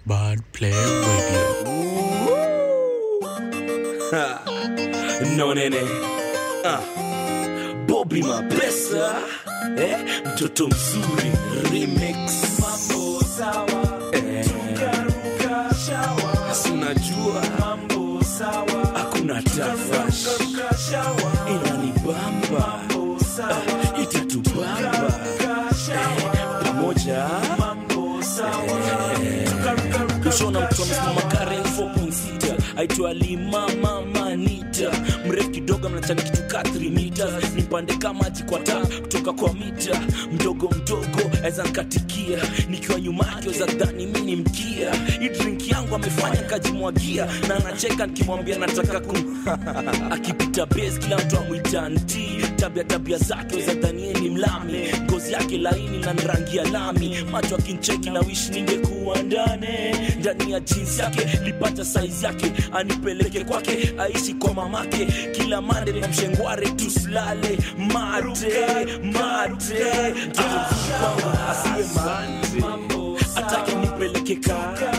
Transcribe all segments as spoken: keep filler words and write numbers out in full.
Bad Play Radio. No nene ah. Bobby Mapesa eh? Mtoto mzuri remix. Mambo sawa eh. Tukaruka shawa. Sinajua mambo sawa. Hakuna tafash inanibamba eh. Itatubamba eh. Pamoja mambo sawa eh. Tukaruka shona mtoto Karen four point six aitwa Lima Mama Nita. Mrefu kidogo mnachana kitu ka three meters. Nipande kama maji kwa taa kutoka kwa mita. Mdogo mdogo eza nkatikia. Nikiwa nyuma yake za dhani mini mkia. Hii drink yangu amefanya kajimwagia. Na anacheka nikimwambia nataka kum akipita base kila mtu amuita nti. Tabia tabia zake za dhani ni mlami. Ngozi yake laini na rangi ya lami. Macho akincheki na wish ningekuwa ndani. Ndani ya jeans yake lipata size yake. Anipeleke kwake aishi kwa mamake. Kila mande na mshengware tuslale. Mate, mate ah, asiwe mate. Atake nipeleke kaka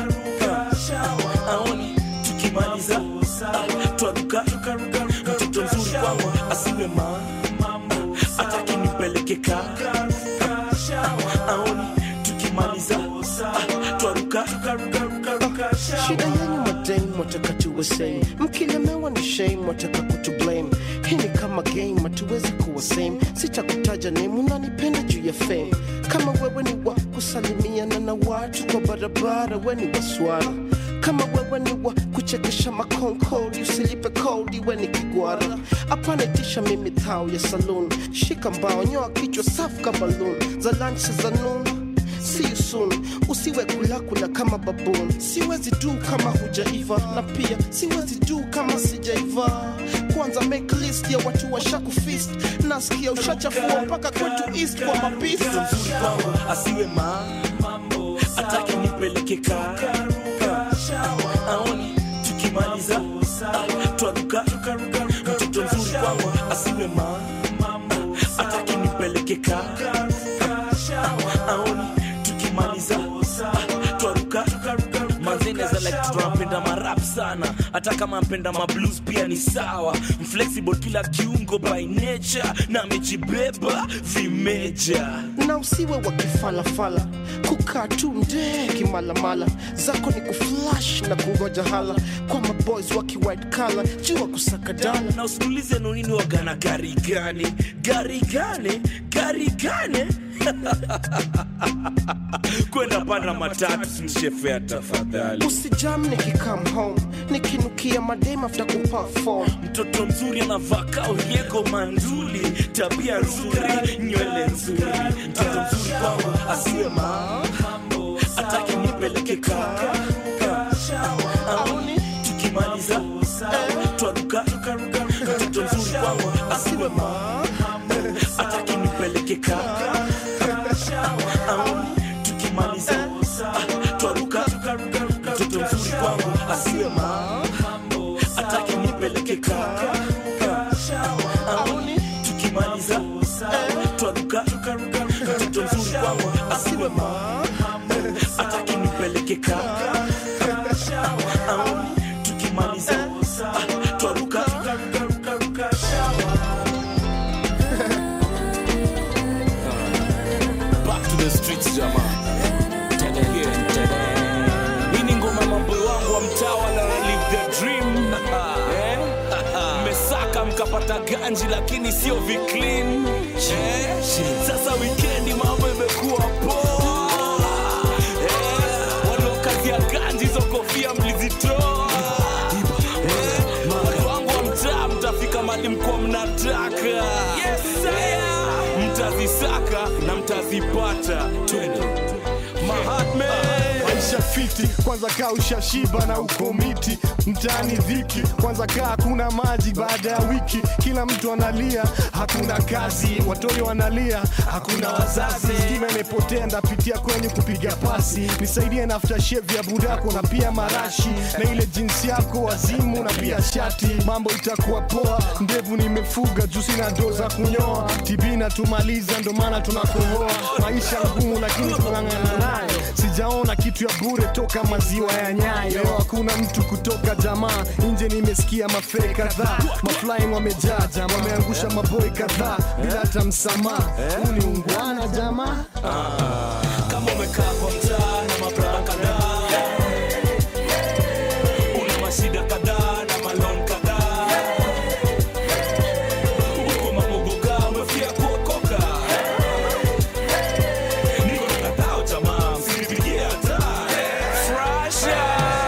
aoni tukimaliza twaruka. Mtoto mzuri kwangu asiwe mate. Atake nipeleke kaka aoni tukimaliza twaruka. Shida yenyu madame wataka tuwe same. Mkilemewa ni shame wataka kutu blame. Hii ni kama game hatuwezi kuwa same. Sitakutaja name unanipenda juu ya fame. Kama wewe ni wa kusalimiana na watu kwa barabara we ni waswara. Kama wewe ni wa kuchekesha makonkodi usilipe kodi we ni kigwara. Apana tisha mimi thao ya saloon. Shika mbao nyoa kichwa safu ka balloon. Za lunch za noon. See you soon. Usiwe kula kula kama baboon. Siwezi do kama hujaiva. Na pia siwezi do kama sijaiva. Kwanza make list ya watu washaku fist. Nasikia ushachafua mpaka kwetu east kwa mabisi. Mzuri kwangu asiwe mambo. Atake nipeleke kaka aoni tukimaliza twaruka. Mtoto mzuri kwangu asiwe mambo. Atake nipeleke kaka aoni tukimaliza twaruka. Manzene za like tunapenda marap sana. Hata kama mpenda mablues pia ni sawa. Mflexible kila kiungo by nature. Na mejibeba vimeja. Na usiwe wakifala fala. Kukaa tu mde kimalamala. Zako ni kuflash na kungoja hala. Kwa maboys waki white collar. Jua kusaka dala. Na usinulize nonini wagana gari gani. Gari gani? Gari gani? Kwenda panda matatu sinishefea tafadhali. Usijam niki come home. Nikinukia madame after kuperform. Mtoto mzuri anavaka urieko manduli. Tabia nzuri, nywele nzuri. Mtoto mzuri kwangu asiwe mambo. Atake nipeleke kaka aoni tukimaliza twaruka. Mtoto mzuri kwangu asiwe mambo. Atake nipeleke kaka aoni tukimaliza twaruka. Mtoto mzuri kwangu asiwe mambo. Atake nipeleke kaka aoni tukimaliza twaruka. Mtoto mzuri kwangu asiwe mambo. Atake nipeleke kaka aoni tukimaliza twaruka. Back to the streets jama. Ini ngoma mambo wangu wa mtawa na live the dream. Eh? Mesaka mkapata ganji lakini sio viclean. Eh? Sasa weekendi mambo imekuwa poa. Eh? Walokazi ya ganji zo kofia mlizitoa. Eh? Mambo wangu wa mtaa mtafika mali mkua mnataka. Yes sir. Mtazisaka na mtazipata. Twende Mahatma. Maisha fiti, kwanza kaa ushashiba na ukomiti. Mtaani dhiki, kwanza kaa kuna maji baada ya wiki. Kila mtu analia, hakuna kazi. Watoto wanalia, hakuna wazazi. Stima imepotea ndapitia kwenye kupiga pasi. Nisaidie na aftershave ya budako na pia marashi. Na ile jinsi yako wazimu na pia shati. Mambo itakuwa poa, ndevu nimefuga juu sina doza kunyoa. Tibina tumaliza ndo maana tunakohoa. Maisha ngumu lakini tunang'ang'ana nayo. Sijaona kitu ya bure to kutoka maziwa ya Nyayo. Hakuna mtu kutoka jamaa, nje nimesikia mafake kadhaa. Maflying wamejaa jamaa, wameangusha maboy kadhaa bila hata msamaha. Huu ni ungwana jamaa. Kama umekaa kwa mtaa na mabrada kadhaa, una mashida kadhaa na malon kadhaa, uko mamogoka umefia kuokoka, niko na kadhaa jamaa, msinipigie hata Frasha.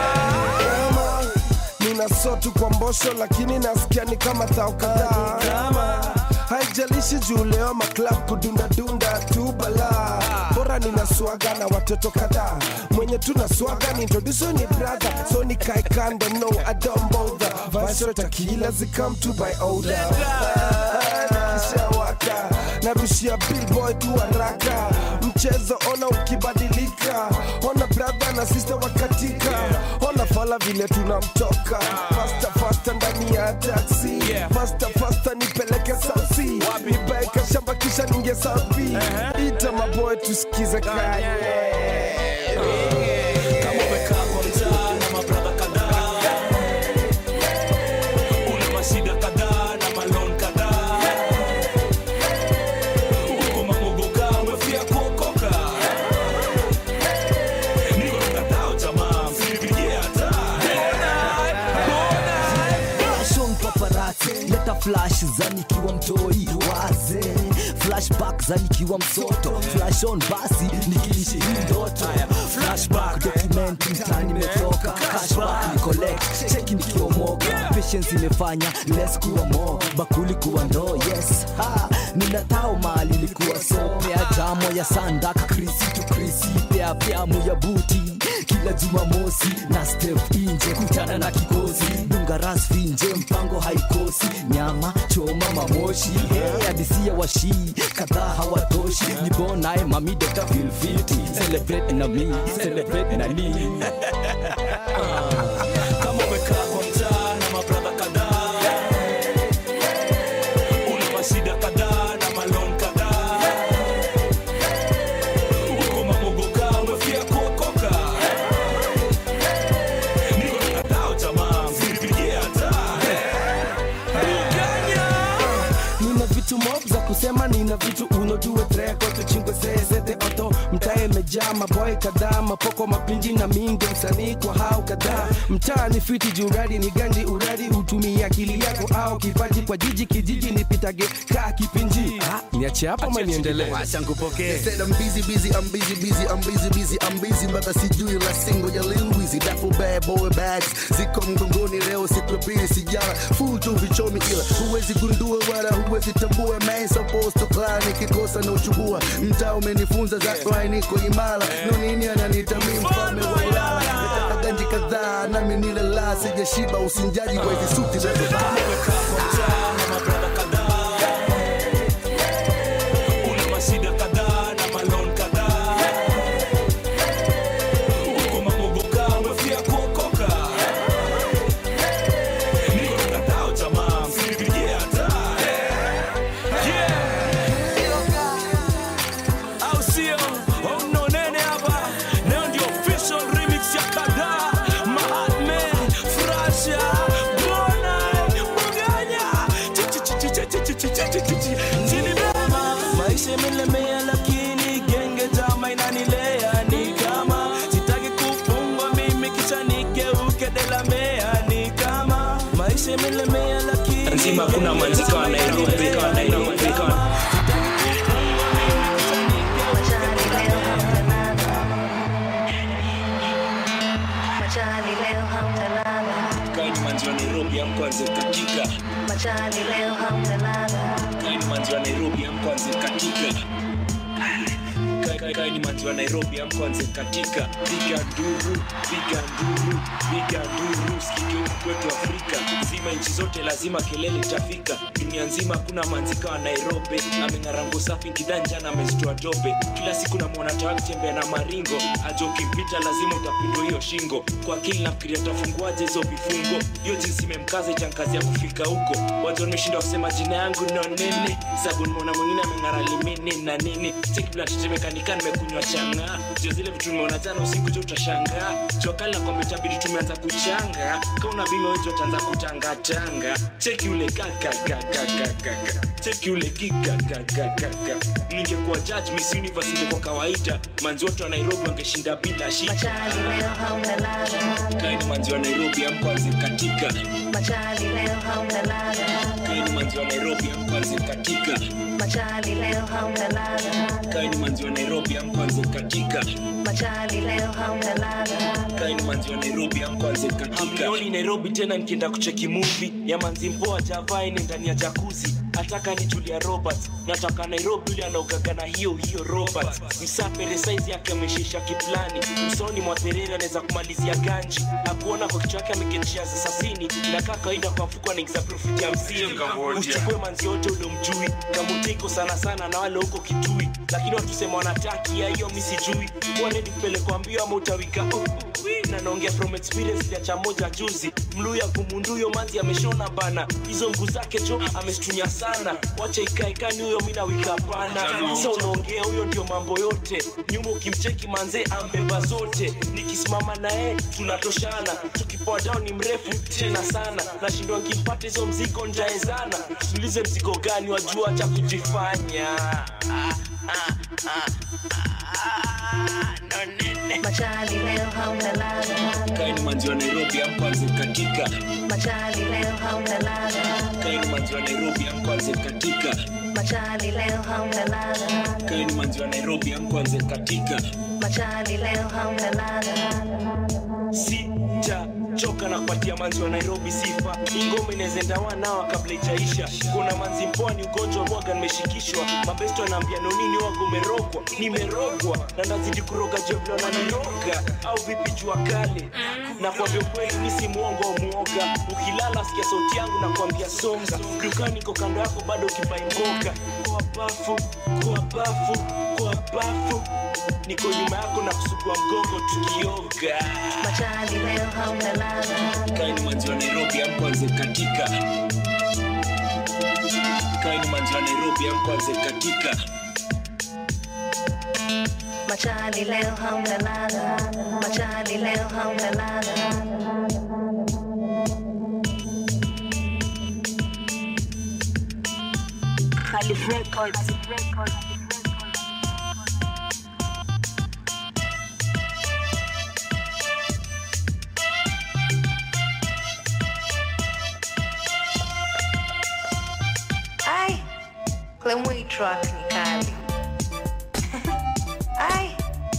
Nina sotu kwa mbosho lakini nasikia ni kama thao kadhaa. Haijalishi juu leo maklub kudunda dunda tu bala. Bora nina swaga na watoto kadhaa. Mwenye tuna swaga ni introduce ni brother. So ni kai kando, no I don't bother. Vice tequila zi come to by older. Kisha waka narushia billboy tu haraka. Mchezo ona ukibadilika. Ona brother na sister wakatika. Ona fala vile tunamtoka. Faster faster ndani ya taxi. Faster faster nipeleke sausi. Nibaika shamba kisha ninge safi. Ita maboy tusikize kaya. Kama umekaa kwa mtaa na mabrada kadhaa, una mashida kadhaa na malon kadhaa, uko mamogoka umefia kuokoka, niko na kadhaa jamaa, msinipigie hata Fashion paparazzi, leta flash za nikiwa mtoi waze, flashback za nikiwa msoto, flash on basi nikilishi hii ndoto, flashback document mtani metoka, cashback ni collect, cheki nikiwa moka, patience imefanya less kuwa more, bakuli kuwa ndo yes, ha, ninatao mali likuwa so, pia jamo ya sandak, krisi tu krisi, pia pia muya buti, kila jumamosi na step inje kutana na kikosi, dunga ras finje mpango haikosi, nyama choma mamoshi, hey adisia washi kadhaa hawatoshi, nipo nae mami dokta feel fiti, celebrate na me, celebrate na ni. Kama umekaa kwa mtaa na mabrada kadhaa, una mashida kadhaa na malon kadhaa, uko mamogoka umefia kuokoka, niko na kadhaa jamaa, msinipigie hata Nina vitu mob za kusema, nina vitu unojue treko tuchingwe seze oto. Mtae mejaa maboy kadhaa, mapoko mapinji na mingi msanii kwa hao kadhaa. Mtaa ni fiti juradi ni ganji uradi, utumia akili yako au kipaji kwa jiji kijiji nipitage kaa kipinji. Ah, niache hapo ama niendelee? Acha nikupokee. Said I'm busy busy I'm busy busy I'm busy busy I'm busy mpaka sijui la single ya Lil Weezy. Duffel bad boy bags ziko mgongoni leo siku pili sijala full tu vichomi ila huwezi gundua wala huwezi tambua man supposed to climb nikikosa na uchubua. Mtaa umenifunza za fly niko imara no nini ananiita mimi mfalme wa Ilala. Nataka ganji kadhaa nami nile la sijashiba usinjaji kwa hizi suti za Kama umekaa kwa mtaa na mabrada kadhaa, una mashida kadhaa na malon kadhaa, uko mamogoka umefia kuokoka, niko na kadhaa jamaa, msinipigie hata au sio? Oh no nene hapa, leo ndio official remix ya kadhaa, Mahatme, Frasha, Bona, Muganya, maisha imelemea lakini genge jama inanilea, ni kama sitaki kufungwa mimi kisha nigeuke delamea, ni kama maisha imelemea lakini nzima kuna manzika wa Nairobi kwa Nairobi kwa Kaini manzi wa Nairobi amkwanze katika Machani leo hamtalala. Kaini manzi wa Nairobi amkwanze katika Kaini manzi wa Nairobi amkwanze katika Piga nduru, piga nduru, piga nduru. Sikike kwetu Afrika zima nchi zote lazima kelele itafika. Dunia nzima kuna manzika wa Nairobi amengarango safi kidanja na amezitoa dope. Kila siku na muona tawa kutembea na maringo. Ajo kimpita lazima utapindwa hiyo shingo. Kwa akili nafikiria tafunguaje hizo vifungo. Hiyo jinsi imemkaza itankazi ya kufika huko. Watu wameshinda kusema jina yangu no nene. Sababu nimeona mwingine amengara limini na nini. Siki bila tetemeka nika nika nimekunywa changa. Sio zile vitu nimeona jana usiku jo utashangaa. Jua kali na kwamba itabidi tumeanza kuchanga. Kauna bima wewe utaanza kutanga tanga. Cheki ule kaka kaka kaka. Cheki ule kika kaka kaka. Ningekuwa judge Miss Universe kwa kawaida. Manzi wote wa Nairobi wangeshinda bila shida. Machali leo hauna lala. Kaini manzi wa Nairobi amkwanze katika. Machali leo hauna lala. Kaini manzi wa Nairobi amkwanze katika. Machali leo hauna lala. Kaini manzi wa Nairobi amkwanze katika. Machali leo hauna lala. Kaini manzi wa Nairobi amkwanze katika. Nioni Nairobi tena nikienda kucheki movie ya manzi mpoa Java ine ndani ya jacuzzi. Ataka ni Julia Roberts. Nataka Nairobi yule anaogaga na hiyo hiyo Roberts. Msapere size yake ameshisha kiplani. Usoni mwa Terera anaweza kumalizia ganji. Hakuona kwa kichwa yake ameketishia sasini. Na kaka kaida kwa mfuko anaingiza profit ya hamsini. Usichukue manzi yote ule mjui. Kamutiko sana sana na wale huko Kitui. Lakini watu sema wanataki ya hiyo mimi sijui. Wale nipelekwa mbio ama utawika. Na naongea from experience ya cha moja juzi. Mluya kumunduyo manzi ameshona bana. Hizo mguu zake jo amestunya sana. Wacha ikae kani huyo mimi na wika pana. Sasa unaongea huyo ndio mambo yote. Nyuma ukimcheki manze ambeba zote. Nikisimama naye tunatoshana. Tukipoa down ni mrefu tena sana. Nashindwa nikimpata hizo mzigo njaezana. Tulize mzigo gani wajua cha kujifanya. Ah ah ah. No nene. Machali leo hauna lala. Kaini manzi wa Nairobi amkwanze katika. Machali leo hauna lala. Kaini manzi wa Nairobi amkwanze katika. Machali leo hauna lala. Kaini manzi wa Nairobi amkwanze katika. Machali leo hauna lala. Sita choka na kupatia manzi wa Nairobi sifa. Ingome inezenda wanao kabla ijaisha. Kuna manzi mpoa ni ugonjwa mwaga nimeshikishwa. Mabesto anaambia no nini wago umerogwa. Nimerogwa na ndazidi kuroga jeblo na niroga. Au vipi jua kale. Na kwa vyo kweli mimi si muongo au muoga. Ukilala sikia sauti yangu na kuambia songa. Dukani niko kando yako bado ukibai mboga. Kwa bafu, kwa bafu, kwa bafu. Niko nyuma yako na kusugua mgongo tukioga. Machali leo hauna lala. Kaini manzi wa Nairobi amkwanze katika. Kaini manzi wa Nairobi amkwanze katika. Machali leo hauna lala. Machali leo hauna lala. Khalif Records. Ai, Clemway track ni kali. Ai,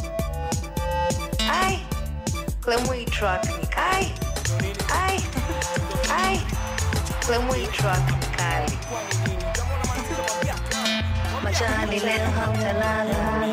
ai, Clemway track ni kali. Ai, ai, Clemway track ni kali. Machali leo hauna lala.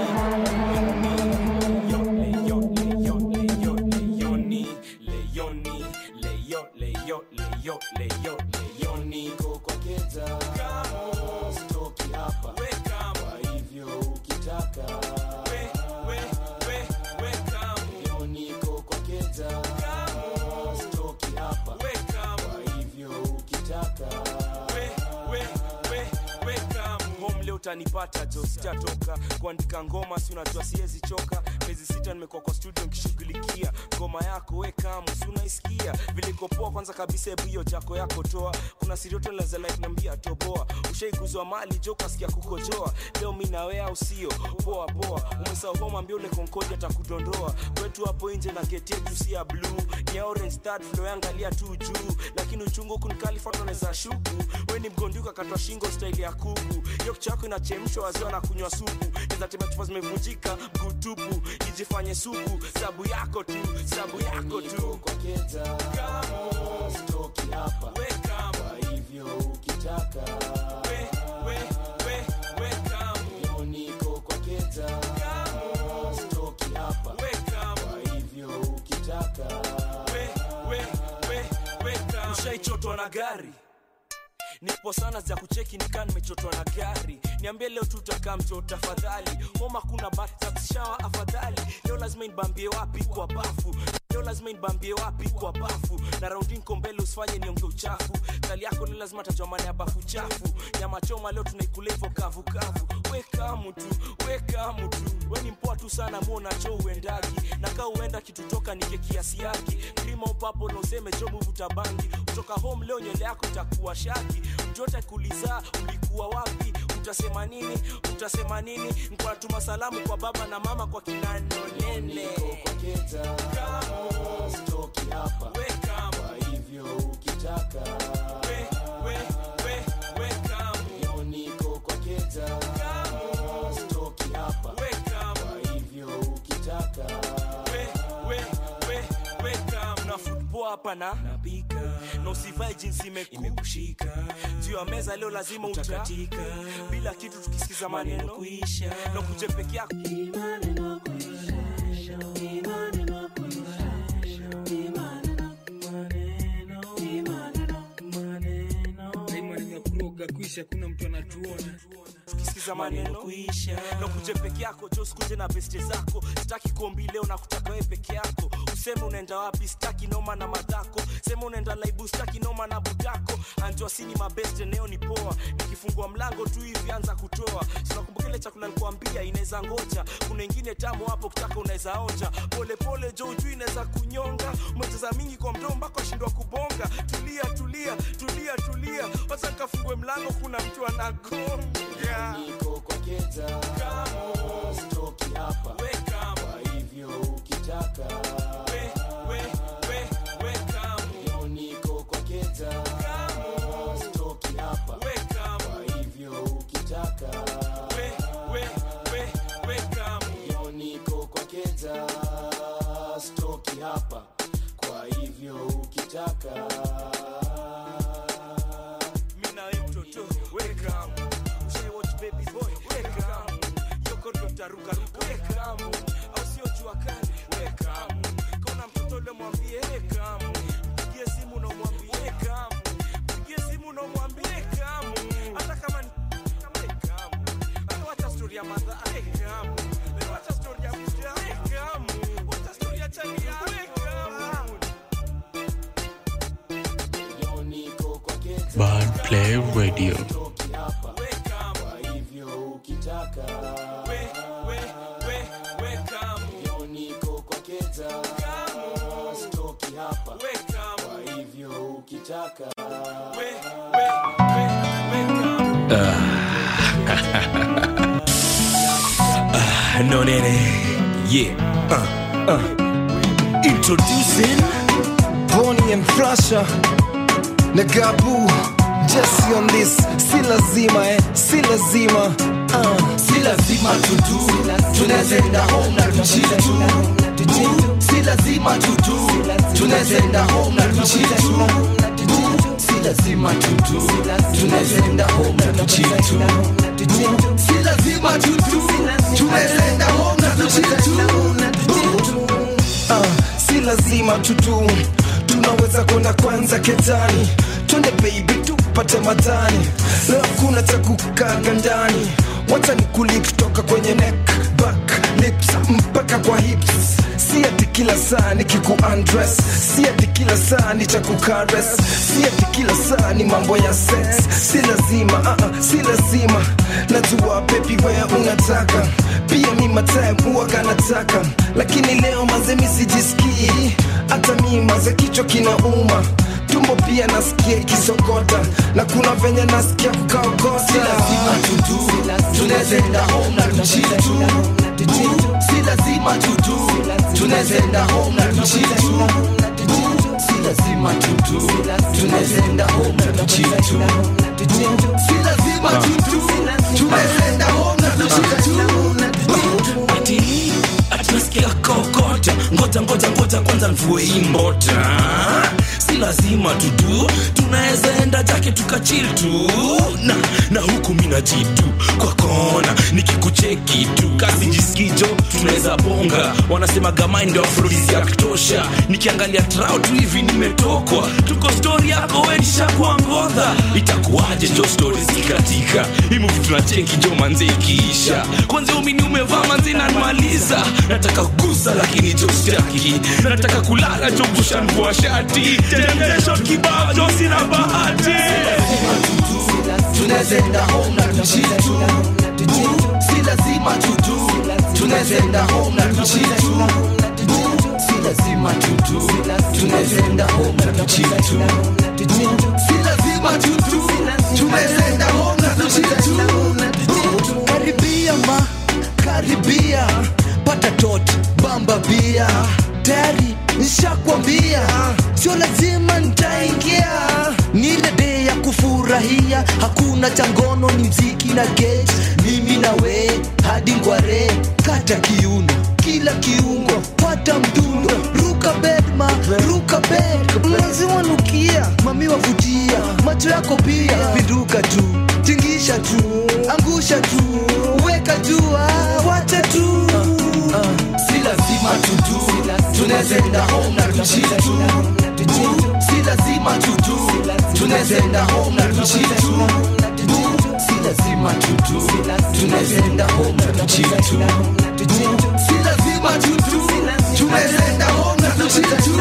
Leoni, Leoni, Leo, Leo, Leo, Leo, Leoni kwa keza. Kamo stoki hapa. We kamo. Kwa hivyo ukitaka. We, we, we, we kamo. Leoni kwa keza. Kamo stoki hapa. We kamo. Kwa hivyo ukitaka. We, we, we, we kamo. Home leo utanipata jo sitatoka. Kuandika ngoma si unajua siwezi choka. Miezi sita nimekuwa kwa studio nikishughulikia ngoma yako we kama si unaisikia vile kopoa kwanza kabisa hebu hiyo jako yako toa. Kuna sirioto la za life niambia toboa. Ushaiguzwa mali joka sikia kukojoa. Leo mimi na wewe usio poa poa. Umesahau homa ambia ule Concordia atakudondoa. Kwetu hapo nje na gate yetu si ya blue. Ni orange start flow yangalia tu juu. Lakini uchungu kunikalifa tunaweza shuku. Wewe ni mgonduka katwa shingo style ya kuku. Hiyo chako inachemshwa waziwa na kunywa supu. Neza tema chupa zimevunjika gutupu. Ijifanye supu sabu yako tu sabu yako tu kwa keta kama stoki hapa we kama kwa hivyo ukitaka we we we we kama niko kwa keta kama stoki hapa we kama kwa hivyo ukitaka we we we we kama ushaichotwa na gari. Nipo sana za kucheki nikaa nimechotwa na gari. Niambie leo tutakaa mto tafadhali. Homa kuna bath shower afadhali. Leo lazima nibambie wapi kwa bafu. Leo lazima nibambie wapi kwa bafu. Na rounding kombele usifanye nionge uchafu. chali yako ni lazima tajomane hapa kuchafu. Nyama choma leo tunaikula hivyo kavu kavu. Weka mtu, weka mtu. Wewe ni mpoa tu sana muona cho uendagi. Na kaa uenda kitu toka nike kiasi yake. Krima upapo na useme cho mvuta bangi. Kutoka home leo nywele yako itakuwa shaki. Mjota kuliza ulikuwa wapi? Utasema nini? Utasema nini? Nikuwa tuma salamu kwa baba na mama kwa kinano nene. Kwa keta kama stoki hapa. Weka kwa hivyo ukitaka. We, we, we, weka Yo niko kwa keta kama stoki hapa. Weka kwa hivyo ukitaka. We, we, we, weka na football hapa na napika. Na usivai jinsi imekushika. Juu ya meza leo lazima utakatika. Bila kitu tukisikiza maneno kuisha. Na kuje peke yako. Maneno kuisha. Maneno kuisha. Maneno maneno kuroga kuisha kuna mtu anatuona. Tukisikiza maneno kuisha. Na kuje peke yako, jo sikuje na beste zako. Sitaki kuombi leo na kutaka wewe peke yako. Useme unaenda wapi, sitaki noma na madako. Sema unaenda laibu, sitaki noma na budako. Anjua sini mabeste neo ni poa. Nikifungua mlango tu hivi anza kutoa. Sinakumbuka ile chakula nilikwambia inaweza ngoja. Kuna nyingine tamu hapo kitaka unaweza onja. Pole pole jo ujui inaweza kunyonga. Umecheza mingi kwa mdomo mpaka shindwa kubonga. Tulia tulia tulia tulia. Wacha nikafungue mlango kuna mtu anagonga. Niko kwa keta kama stoki hapa. Weka kwa hivyo ukitaka. We, we, we, weka Yo niko kwa keta kama stoki hapa. Weka kwa hivyo ukitaka. We, we, we, weka Yo niko kwa keta stoki hapa. Kwa hivyo ukitaka. Mina we mtoto, weka Ushe watch baby boy, weka Yoko dokta ruka ruka, weka Au sio jua kali, weka Kona mtoto le mwambie, weka Mpigie simu na mwambie, weka Mpigie simu na mwambie, weka Hata kama ni weka Hata wacha story ya madha, weka Wacha story ya mjia, weka Wacha story ya chani ya, weka Yo niko kwa keta Bad Play Radio. stoki hapa. Kwa hivyo ukitaka. We, we, we, weka Yo niko kwa keta kama stoki hapa. Weka Kwa hivyo ukitaka. we, we, we, weka No nene, yeah, uh, uh. Introducing Bonnie and Flasher Nagabu Jesse on this. Si lazima eh, si lazima uh. Si lazima tutu tunazenda home na tuchitu. Si lazima tutu tunazenda home na tuchitu. Si lazima tutu tunazenda home na tuchitu. Si lazima tutu tunazenda home na tuchitu. Uh, si lazima tutu tunaweza kwenda kwanza ketani. Twende baby tupate matani. Leo kuna cha kukaga ndani. Wacha nikulip toka kwenye neck, back, lips mpaka kwa hips. Si ati kila saa nikiku undress. Si ati kila saa ni cha kukares. Si ati kila saa ni mambo ya sex. Si lazima, uh -uh, si lazima. Najua baby wewe unataka. Pia mi matime huwa kanataka. Lakini leo manze mi sijisikii. Hata mi manze kichwa kinauma. Tumbo pia nasikia ikisokota. Na kuna venye nasikia kukaokota. Si lazima tutu tunazenda home na tuchitu. Si lazima tutu tunazenda home na tuchitu. Si lazima tutu tunazenda home na tuchitu. Si lazima tutu tunazenda home na tuchitu. Ati, ati nasikia kokota. Ngoja ngoja ngoja kwanza mvue hii mbota. Si lazima tutu tunaweza enda jake tukachill tu. Na, na huku mina jitu kwa kona nikikucheki tu kasi jisikijo tunaweza bonga. Wanasema gama ndio afrodisi ya kutosha. Nikiangalia trao tu hivi nimetokwa. Tuko story yako wenisha kwa ngodha. Itakuwaje jo story zikatika. Hii movie tunacheki jo manze ikiisha. Kwanza umini umevaa manze inanimaliza. Nataka kugusa lakini jo sitaki. Nataka kulala jo busha mvua shati. Tena temptation kibao josi na bahati tunazenda home na tuchitu si lazima tutu tunazenda home na tuchitu si lazima tutu tunazenda home na tuchitu si lazima tutu tunazenda home na tuchitu karibia ma karibia pata tot bamba bia tayari nishakwambia sio lazima nitaingia ni ile day ya kufurahia hakuna changono ni mziki na gate mimi na we hadi ngware kata kiuno kila kiungo pata mdundo ruka bedma ruka bed lazima nukia mami wavutia macho yako pia pinduka tu tingisha tu angusha tu weka jua wacha tu si lazima tutu tunazenda home na tuchitu si lazima tutu tunazenda home na tuchitu si lazima tutu tunazenda home na tuchitu si lazima tutu tunazenda home na tuchitu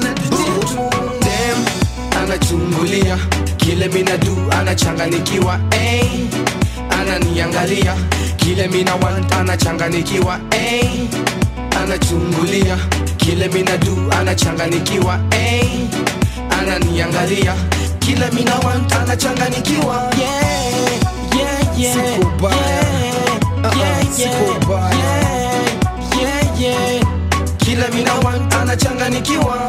dem anachungulia kile mina du anachanganikiwa eh ananiangalia kile mina want anachanganikiwa eh anachungulia kile mina du anachanganikiwa eh ananiangalia kile mina want anachanganikiwa yeah yeah yeah sikubaya yeah sikubaya yeah yeah kile mina want anachanganikiwa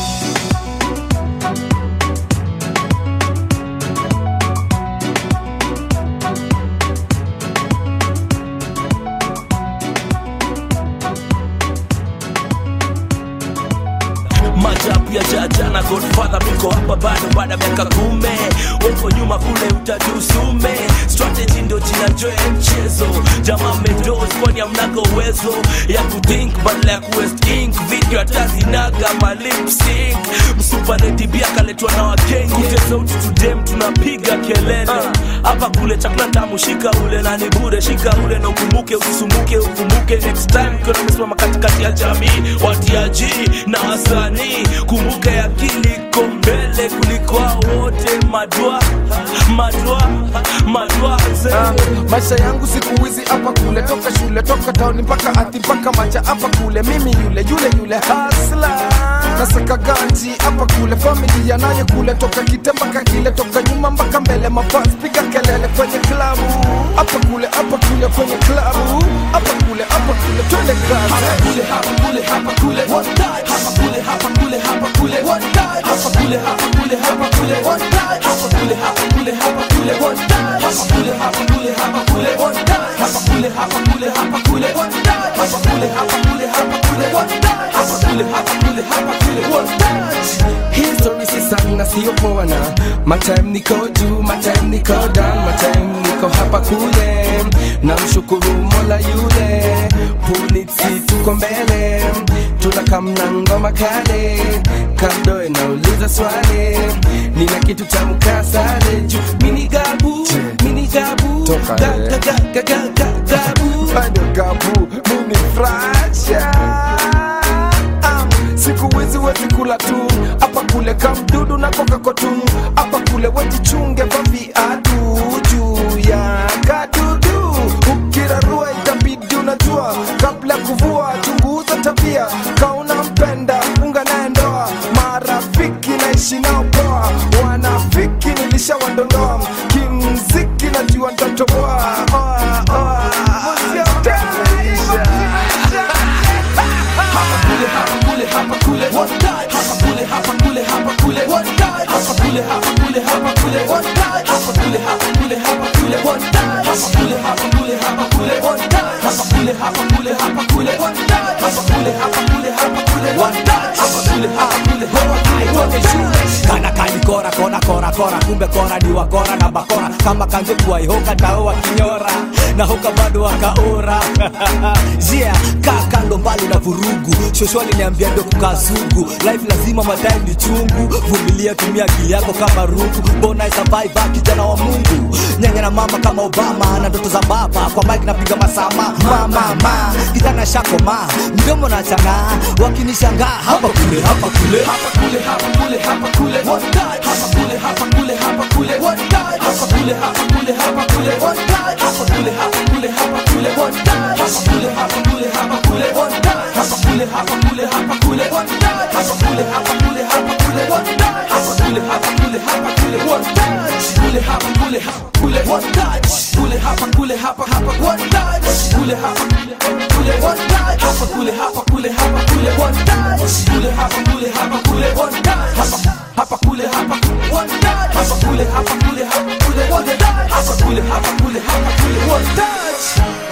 majabu ya jaja na Godfather miko hapa bado baada miaka kume weko nyuma kule utajusume strategy ndio jina joe mchezo jamaa medos kwani amnaga uwezo ya kuthink badala ya kuwest ink video atazinaga ma lip sync msupa lady bia kaletwa na wakenge kute sauti tudem tunapiga kelele hapa kule chakula tamu shika ule na ni bure shika ule na ukumbuke usisumuke ukumbuke next time kuna msimama katikati ya jamii watiaji na wasanii kumbuke akili kombele kuliko wote madwa madwa madwa uh, maisha yangu siku hizi hapa kule toka shule toka town mpaka ati mpaka macha hapa kule mimi yule yule yule hustler nasaka ganji hapa kule familia naye kule toka kitemba kakile toka nyuma mpaka mbele mafans piga kelele kwenye klabu hapa kule hapa kule kwenye klabu hapa kule hapa kule twende kazi hapa kule hapa kule hapa kule one time hapa kule hapa kule hapa kule one time hapa kule hapa kule hapa kule one time hapa kule hapa kule hapa kule one time hapa kule hapa kule hapa kule one time hapa kule hapa kule hapa kule one time hapa kule hapa kule hapa kule one time hapa kule hapa kule hapa kule one time history si sana sio poana my time niko juu my time niko down my time niko hapa kule na mshukuru Mola yule polisi tuko mbele tunakamna ngoma kale kando inauliza swali nina kitu cha mkasale juu mini gabu mini gabu gaga gaga gaga gabu bado gabu mini frasha siku hizi wezi kula tu hapa kule kamdudu na koka kotu hapa kule wejichunge kwa viatu juu ya kadudu ukirarua itabidi unajua kabla kuvua chunguza tabia kauna mpenda unga naye ndoa marafiki naishi nao poa wanafiki nilishawadondoa kimziki najua nitatoboa oa oa hapa kule hapa kule one time hapa kule hapa kule hapa kule one time hapa kule hapa kule hapa kule one time hapa kule hapa kule hapa kule one time hapa kule hapa kule hapa kule one time hapa kule hapa kule hapa kule one time hapa kule hapa kule hapa kule one time hapa kule hapa kule hapa kule kana kani kora kora kora kora kumbe kora ni wakora na bakora kama kanze kuwa ihoka tao wa kinyora na hoka bado wakaora. Yeah, kaa kando mbali na vurugu. Shosho aliniambia ndo kukasugu. Life lazima madai ni chungu. Vumilia, tumia akili yako kama rungu. Bona survive kijana wa Mungu. Nyanya na mama kama Obama na ndoto za baba. Kwa mic napiga masama. Mama ma, kijana shako ma. Mdomo na changa, wakinishangaa hapa kule hapa kule hapa kule hapa kule hapa kule one touch hapa kule hapa kule hapa kule one touch hapa kule hapa kule hapa kule one touch hapa kule hapa kule hapa kule one touch hapa kule hapa kule hapa kule one touch hapa kule hapa kule hapa kule one touch hapa kule hapa kule hapa kule one touch hapa kule hapa kule hapa kule one touch kule hapa kule hapa kule one touch kule hapa kule hapa hapa one touch kule hapa kule one touch hapa kule hapa kule hapa kule one touch kule hapa kule hapa kule one touch hapa kule hapa one touch hapa kule hapa kule hapa kule one touch hapa kule hapa kule hapa kule one touch.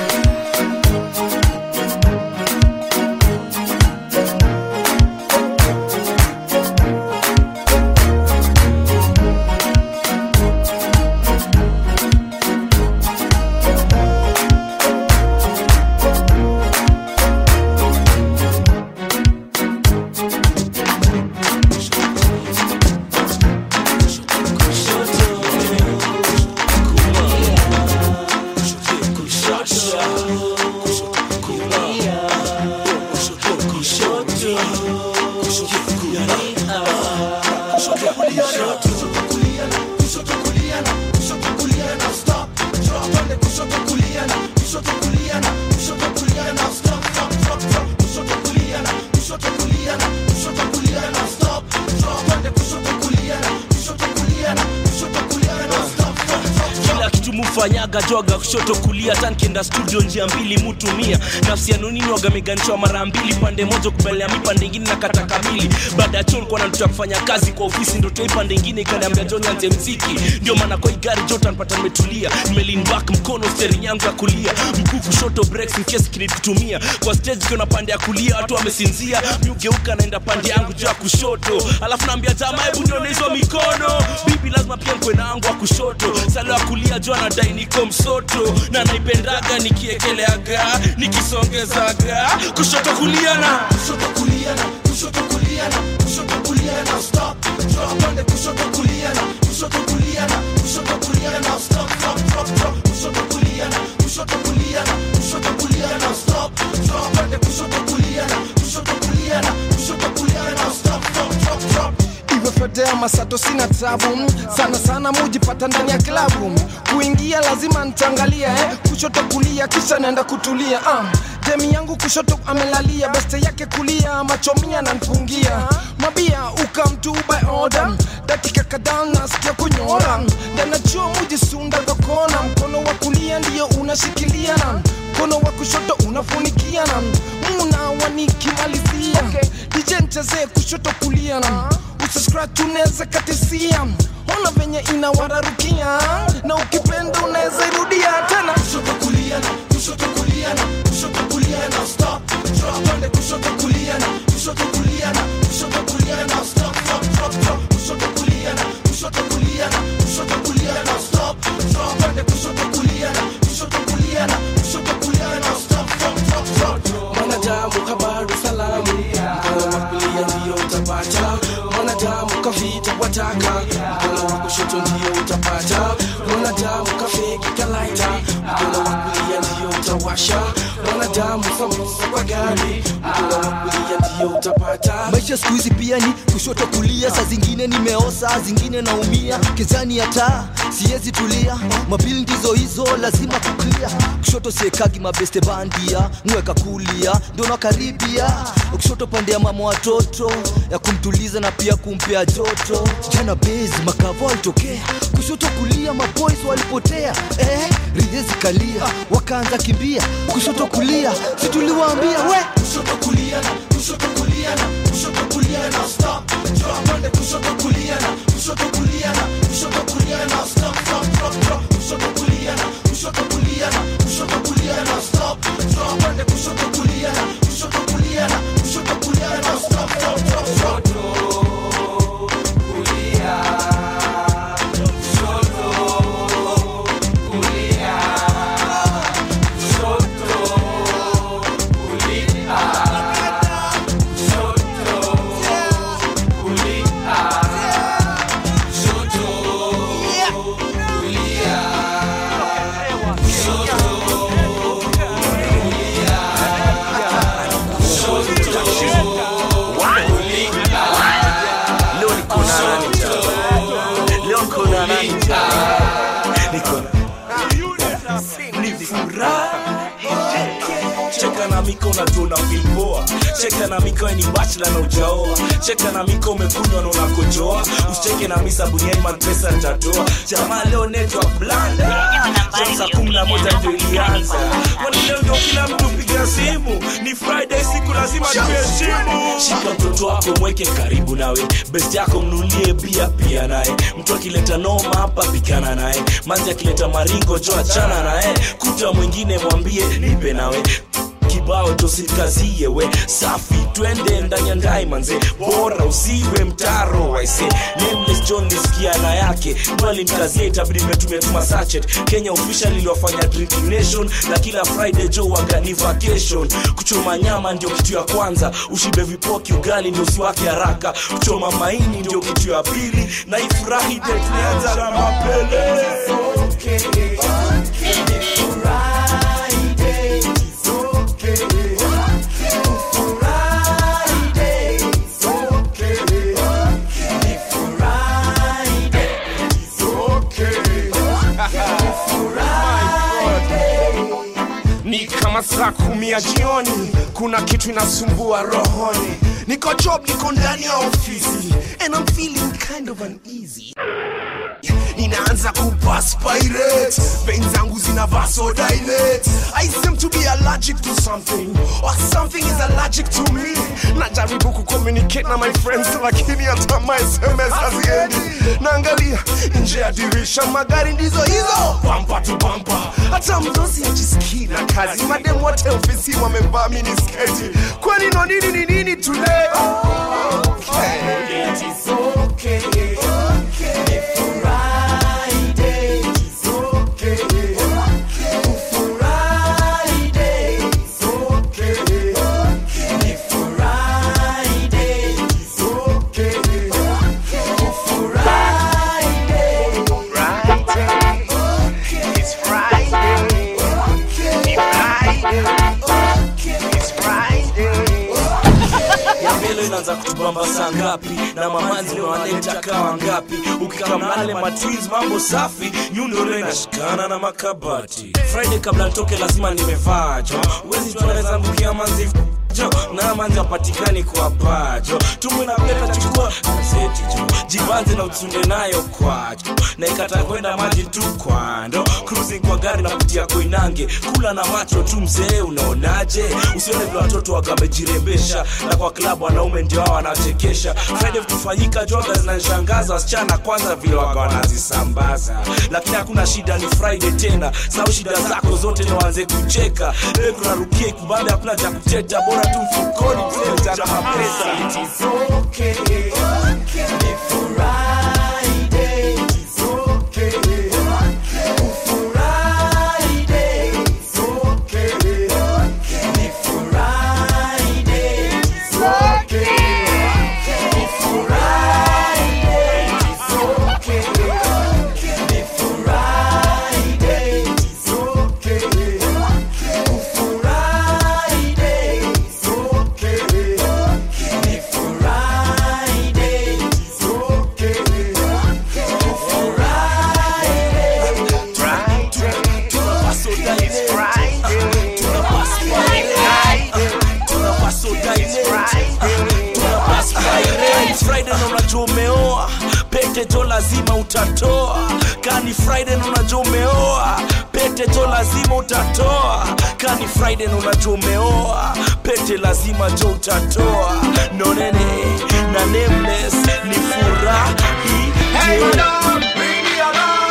Fanyaga joga kushoto kulia tankienda studio njia mbili mutumia nafsi ya nunini waga meganishwa mara mbili pande moja kubelea mipande ingine na kata kamili baada ya chon kwa nantuta kufanya kazi kwa ofisi ndo toi pande ingine ikaniambia John anze mziki ndio maana kwa igari jota nipata nimetulia nimelin back mkono steering yangu ya kulia mkuu kushoto breaks in case kinikutumia kwa stage kuna pande ya kulia watu wamesinzia miugeuka naenda pande yangu juu ya kushoto alafu naambia jamaa hebu ndio hizo mikono bibi lazima pia mkwe na yangu wa kushoto salo ya kulia juu anadai niko msoto na naipendaga nikiekeleaga nikisongezaga kushoto kulia na kushoto kulia na kushoto kulia na kushoto kulia na stop drop pande kushoto kulia na kushoto kulia na kushoto kulia na stop drop drop drop kushoto kulia na kushoto kulia na kushoto kulia na stop drop pande kushoto kulia na kushoto kulia na kushoto kulia na stop drop drop drop Fedea masato sina tabu sana sana mujipata ndani ya klabu kuingia lazima nitangalia eh kushoto kulia kisha naenda kutulia ah demi yangu kushoto amelalia beste yake kulia machomia na nfungia mabia ukamtu by order dakika kadhaa nasikia kunyora ndana chuo mujisunda dokona mkono wa kulia ndio unashikilia na mkono wa kushoto unafunikia na muna wanikimalizia okay. D J ncheze kushoto kulia na Scratch unaweza katisia ona venye inawararukia na ukipenda unaweza irudia tena kushoto kulia na kushoto kulia na kushoto kulia na stop drop pande kushoto kulia na kushoto kulia na kushoto kulia na stop drop drop drop kushoto kulia na kushoto kulia na kushoto kulia na stop drop pande kushoto kulia na kushoto kulia na kushoto kulia na stop drop drop drop mwanadamu habari salamu mkono wa kulia ndio utapata mwanadamu kafita wataka mkono wa kushoto ndio utapata mwanadamu kafiki kalaita mkono wa kulia ndio utawasha mwanadamu samusa kwa gari mkono wa kulia ndio utapata maisha siku hizi pia ni kushoto kulia saa zingine nimeosa zingine naumia kezani ya taa siwezi tulia mabili ndizo hizo lazima kuklia kushoto siekagi mabeste bandia mweka kulia ndio nakaribia kushoto pande ya mama watoto ya kumtuliza na pia kumpea joto jana bezi makavo alitokea kushoto kulia maboys walipotea eh ridhezi kalia wakaanza kimbia kushoto kulia situliwaambia we kushoto kulia na kushoto kulia na kushoto kulia na stop drop pande kushoto kulia na kushoto kulia na kushoto kulia na stop drop drop drop kushoto kulia na kushoto kulia na kushoto kulia na stop drop pande kushoto kulia na kushoto kulia na kushoto kulia na stop drop drop drop kulia kushoto kulia miko unatuona feel poa. Cheka na miko ni bachelor na ujaoa. Cheka na miko umekunywa na unakojoa. Usicheke na misa buniani man pesa nitatoa. Jamaa leo network blanda. Sasa kumi na moja ndio ilianza. Kwani leo ndio kila mtu piga simu. Ni Friday siku lazima tuheshimu. Shika mtoto wako mweke karibu nawe. Best yako mnulie bia pia naye. Mtu akileta noma hapa pikana naye. Manzi akileta maringo jo achana naye. Kuta mwingine mwambie nipe nawe. Kibao tosikazie we safi twende ndani ya ndai manze bora usiwe mtaro I say Nameless John nisikia na yake mwali mkazie itabidi metumia tuma sachet Kenya official iliwafanya drinking nation na kila Friday jo wagani vacation kuchoma nyama ndio kitu ya kwanza ushibe vipoki ugali ndio usiwake haraka kuchoma maini ndio kitu ya pili na ifurahi date nianza na mapele okay okay Ni kama saa kumi ya jioni, kuna kitu inasumbua rohoni. Niko job, niko ndani ya ofisi, and I'm feeling kind of uneasy. Ninaanza kuperspirate, veins zangu zina vasodilate. I seem to be allergic to something, or something is allergic to me. Najaribu kucommunicate na my friends, lakini hata my S M S haziendi. Naangalia nje ya dirisha, magari ndizo hizo, bumper to bumper. Hata mdosi hajisikii na kazi, madem wote ofisi wamevaa minisketi. Kwani no nini ni nini today? Okay, it is okay, okay. Inaanza kutubamba saa ngapi na mamanzi leo wanaleta kawa ngapi ukikamale matwiz mambo safi nyundo leo inashikana na makabati Friday kabla nitoke lazima nimevaa jo uwezi tunaweza ngukia manzi jo na manzi apatikani kwa bajo tumu na peta chukua seti jo jibanze na utsunde nayo kwacho na ikata kwenda maji tu kwando cruising kwa gari na kutia Koinange kula na macho tu mzee unaonaje usione vile watoto wakamejirembesha na kwa klabu wanaume ndio hao wanachekesha Friday kufanyika joga zinanishangaza wasichana kwanza vile waka wanazisambaza lakini hakuna shida ni Friday tena sawa shida zako zote na waanze kucheka leo tunarukia kubanda hakuna cha kuteta bora tu mfukoni mzee cha mapesa it is okay okay Friday it's okay Friday na unajua umeoa pete jo lazima utatoa kani Friday na unajua umeoa pete jo lazima utatoa kani Friday na unajua umeoa pete lazima jo utatoa no nene na Nameless ni furahi hey madam bring me along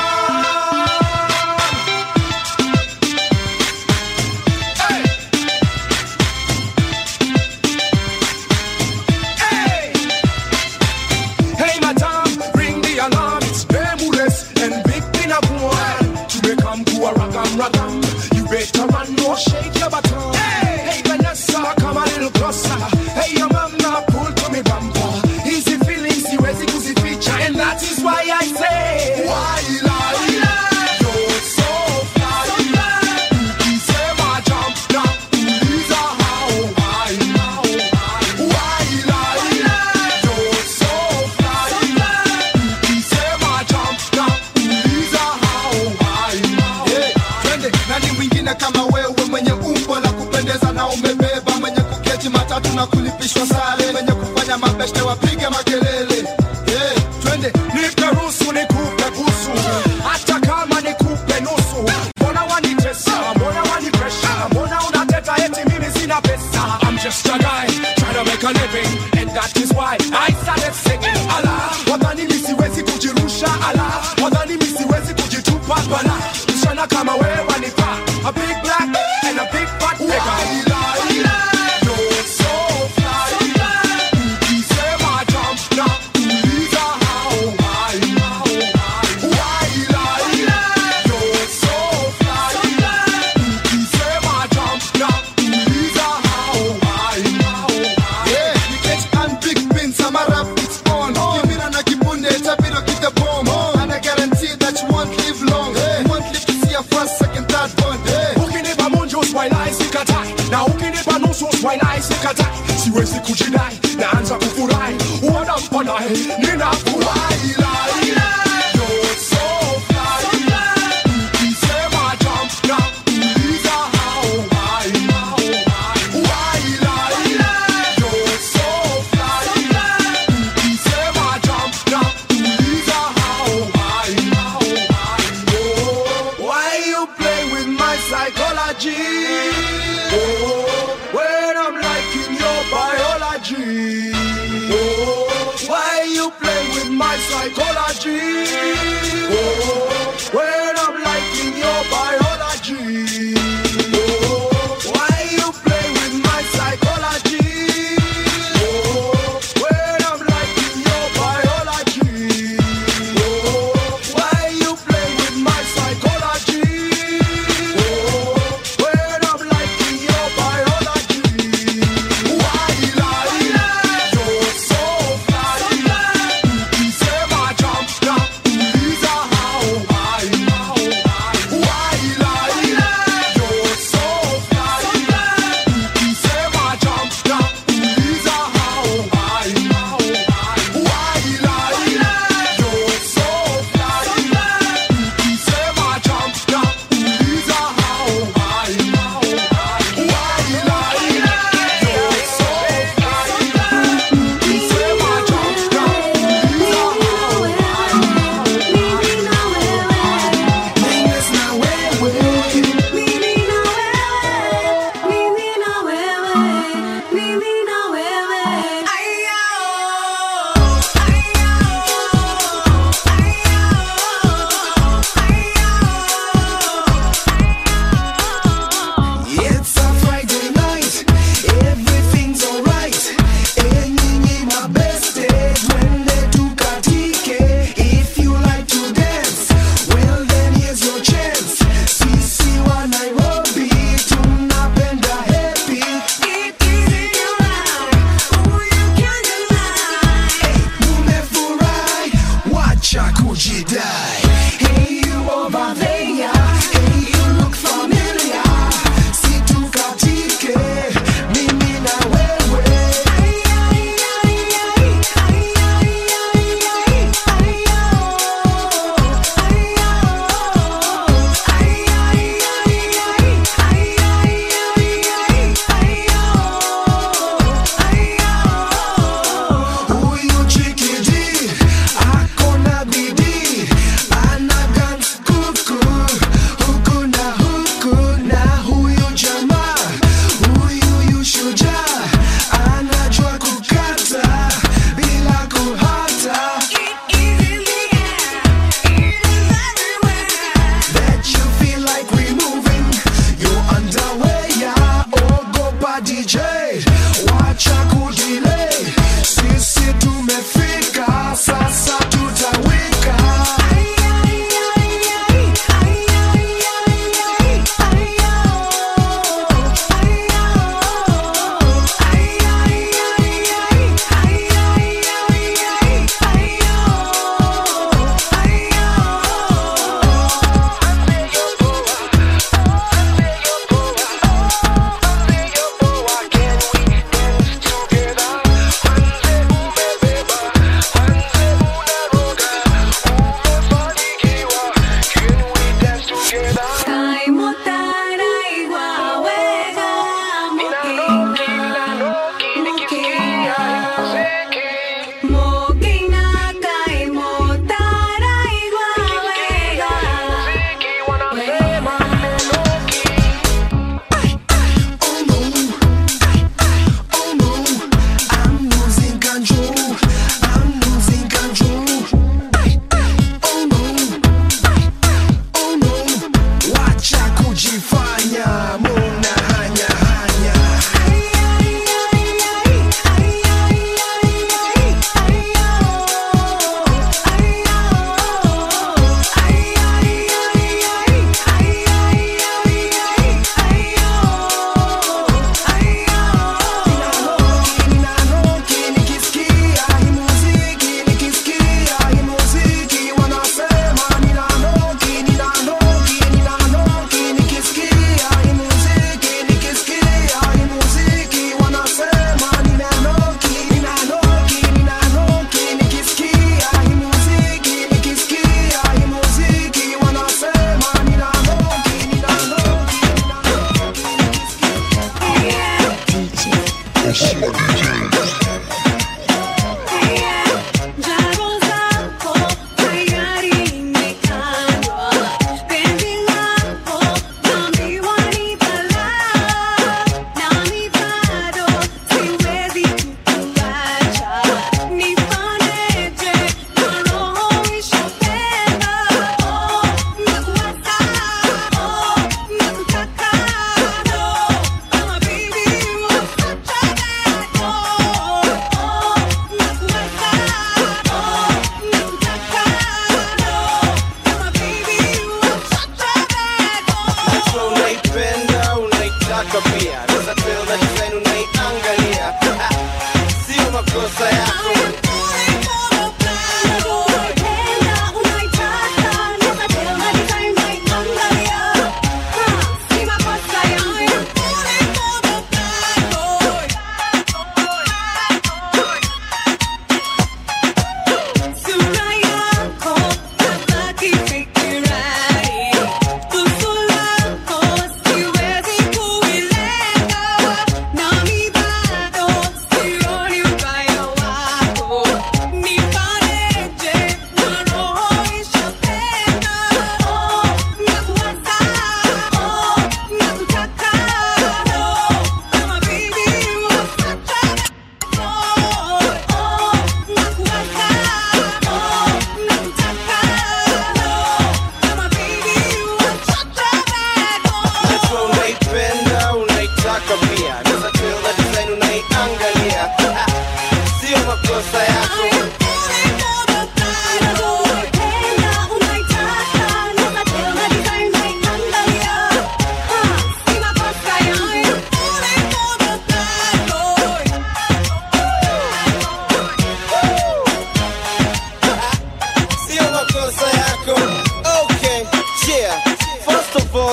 you better run, no shake your baton. Hey, hey Vanessa, come a little closer. Hey, your mama, pull to me bumper. Easy feelings, you easy to see feature, and that is why I say, why lie? You're so fly. You say my jump, now please how why now? Why lie? You're so fly. You say my jump, now please how why now? Nani wingine kama wewe mwenye umbo la kujidai, naanza kufurahi, wanampa naye, ninafurahi lai. You're so fly, ukisema jump na uliza how high, why lai. You're so fly, ukisema jump na uliza how high. Why you play with my psychology? Oh, when I'm liking your biology. Oh, why you play with my psychology? Oh, when I'm liking your biology. Oh, why you play with my psychology? Oh, when I'm liking your biology. Oh, why you play with my psychology? Oh, when I'm liking your biology. Why lie? You're so fly. Ukisema jump na uliza how high. Why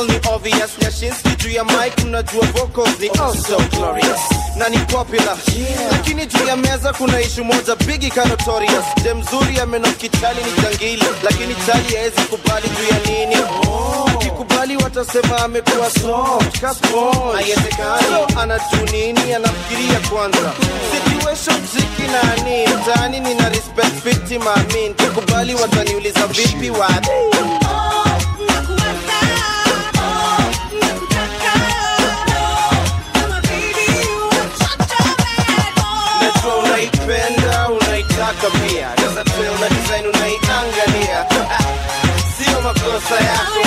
All ni obvious, Nyashinsky juu ya mic mnajua vocals ni also glorious na ni popular, lakini juu ya meza kuna issue moja bigi ka notorious. Dem mzuri amenoki chali ni jangili, lakini chali haezi kubali juu ya nini? Akikubali watasema amekuwa soft, kaspo haiwezekani. So anajua nini, anafikiria kwanza situation ziki nani mtaani. Nina respect fifty maamin, kikubali wataniuliza vipi wadi. Unaipenda, unaitaka pia. Sasa tuwe una design unaiangalia. Sio makosa yako.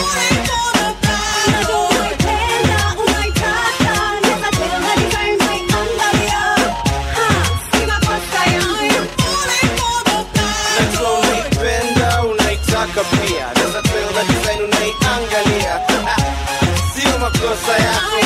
Unaipenda, unaitaka pia. Sasa tuwe una design unaiangalia. Sio makosa yako.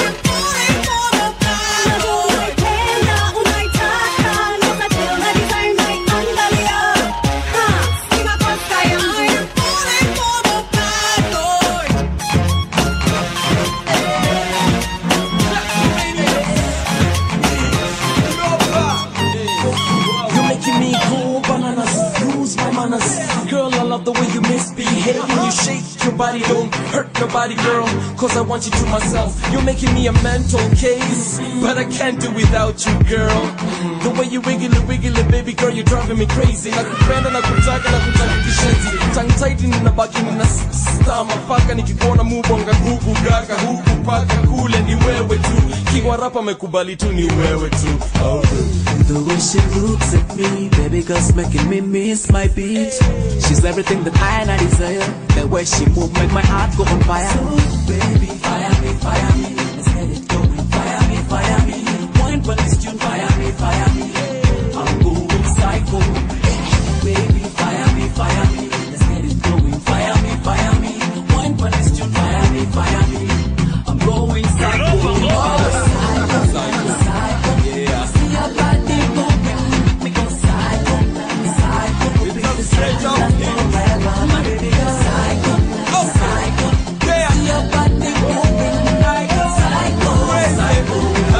Girl, I love the way you misbehave when you shake your body. Don't hurt nobody, girl, cause I want you to myself. You're making me a mental case, but I can't do without you, girl. The way you wiggle it, wiggle it, baby girl, you're driving me crazy. Nakupenda, nakutaka, nakutaka kishenzi. Tongue tight ninabaki nina star mapaka. Nikikuona mubonga gugu gaga huku paka kule ni wewe tu. Kiwa rapa mekubali tu ni wewe tu. Oh. The way she looks at me, baby girl's making me miss my beat. She's everything that I and I desire. The way she move make my heart go on fire. So baby, fire me, fire me, let's get it going. Fire me, fire me, point for this tune. Fire me, fire me, I'm going psycho. Baby, fire me, fire me, let's get it going. Fire me, fire me, point for this tune. Fire me, fire me, I'm going psycho. Psycho, psycho, psycho, yeah. See your body moving, make me go psycho, psycho. Baby, this is forever, my baby girl. Psycho, psycho, yeah. See your body moving, psycho, psycho,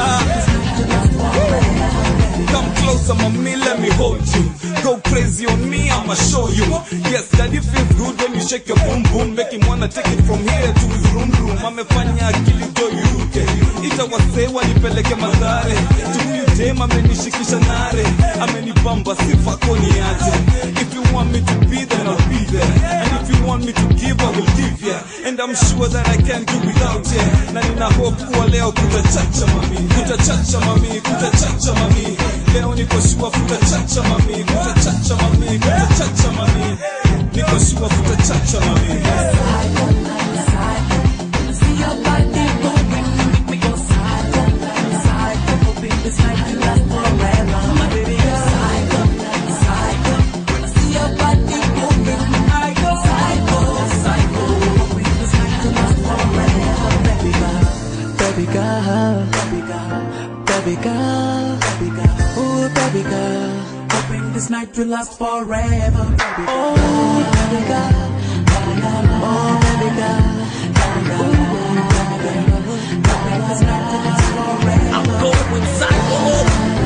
psycho. Come closer, mommy, let me hold you. Go crazy on me, I'ma show you. Yes, daddy feels good when you shake your boom boom. Make him wanna take it from here to his room room. Amefanya akili do yuruke. Ita wase wanipeleke madhare. Tumiu dem amenishikisha nare. Amenibamba sifa koni aje. If you want me to be there, I'll be there. And if you want me to give, I will give ya. And I'm sure that I can't do without ya. Na nina hope kuwa leo kutachacha mami. Kutachacha mami, kutachacha mami. Leo niko sure kutachacha mami. Kutachacha mami, kutachacha mami. Niko sure kutachacha mami. See your body moving, make me go psycho, psycho. Hoping this night will last forever, my baby girl. Psycho, psycho. See your body moving, psycho, psycho. Hoping this night will last forever, baby girl, baby girl, baby girl, baby girl, baby girl. Ooh, baby girl. Hoping this night will last forever, baby girl. Oh, baby girl, baby girl. Oh, baby girl. I'm going psycho.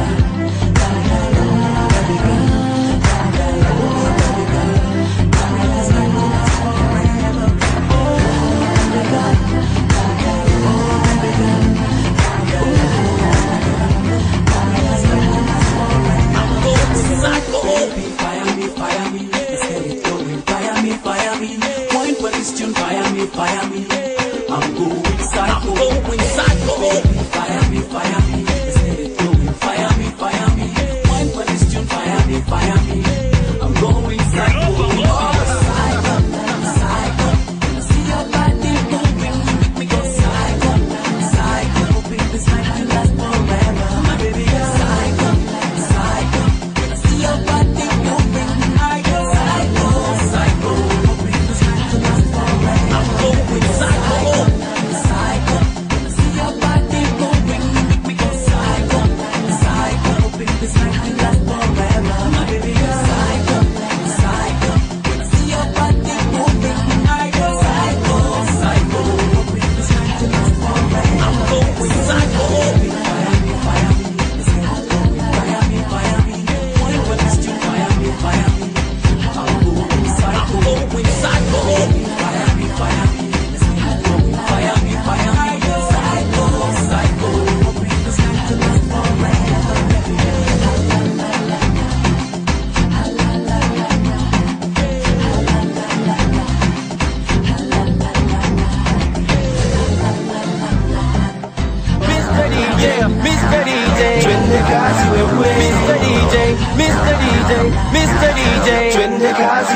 Baby, fire me, fire me, let's get it going. Fire me, fire me, point for this tune. Fire me, fire me, I'm going psycho. I'm going psycho. Baby, fire me, fire me, let's get it going. Fire me, fire me, point for this tune. Fire me, fire me, I'm going psycho. Oh, psycho, psycho. See your body moving, make me go psycho, psycho. Hoping this night will last forever, my baby girl. Psycho, psycho. See your body moving, psycho, psycho, psycho. Hoping this night will last forever. I'm going psycho.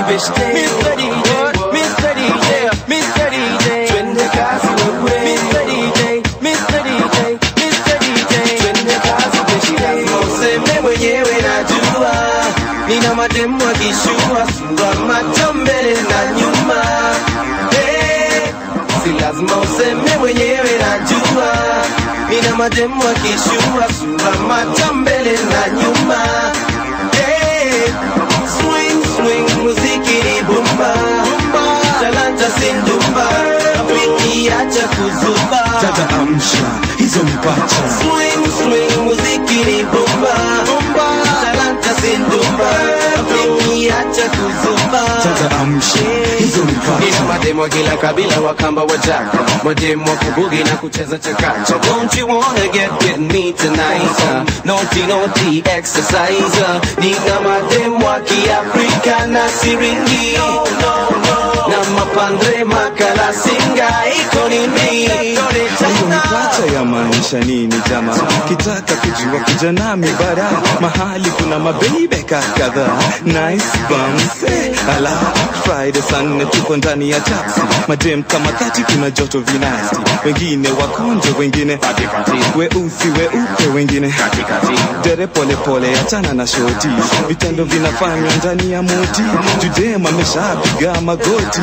beshte Mister D J, Mister D J, Mister D J, twende kazi wewe Mister D J, Mister D J, Mister D J, twende kazi beshte. Lazima useme mwenyewe najua, nina mademu akishua sura macho mbele na nyuma. Hey, si lazima useme mwenyewe najua, nina mademu akishua sura macho mbele na nyuma. Hey, swing swing muziki ni bomba, talanta sindumba, wiki acha kuzuba. Dada amsha hizo mipacha. Swing swing muziki ni bomba, talanta sindumba, wiki acha kuzuba. Dada amsha hizo mipacha. Nina mademo kila kabila wakamba wajaka, mademo kubugi na kucheza chakacha. Don't you wanna get with me tonight? Uh, naughty naughty exercise. Uh, nina mademo wa Kiafrika na siringi, no, no, no. Na mapandre makala singa iko nini? Hiyo mipacha ya maanisha nini jama? Kitaka kujua kuja nami bara, mahali kuna mabebe kadhaa. Nice bums, eh, ala Friday sana tuko ndani ya taxi. Madem kama thati kuna joto vinasti. Wengine wakonjo, wengine weusi weupe, wengine dere pole pole achana na shoti. Vitendo vinafanywa ndani ya moti. Judema ameshapiga magoti.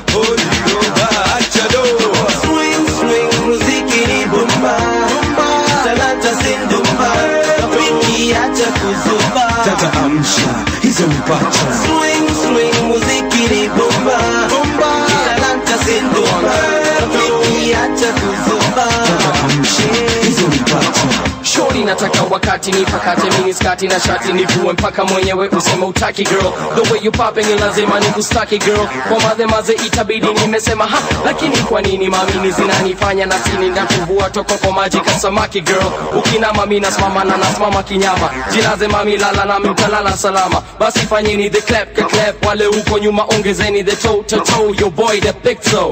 Swing swing muziki ni bomba, talanta sindumba, wiki acha kuzuba. Dada amsha hizo mipacha. Swing swing muziki ni bomba, talanta sindumba, wiki acha kuzuba. Dada amsha hizo mipacha. Shorty nataka wakati nipakate mini skati na shati nivue mpaka mwenyewe useme utaki girl. The way you popping ni lazima nikustaki girl. Kwa madhe maze itabidi nimesema ha, lakini kwa nini mamini zinanifanya na tini na kuvua toko kwa maji kasamaki girl. Ukina mami nasimama na nasimama kinyama, jilaze mami lala na mtalala salama. Basi fanyeni the clap ka clap, wale uko nyuma ongezeni the toe to toe. Your boy the big toe.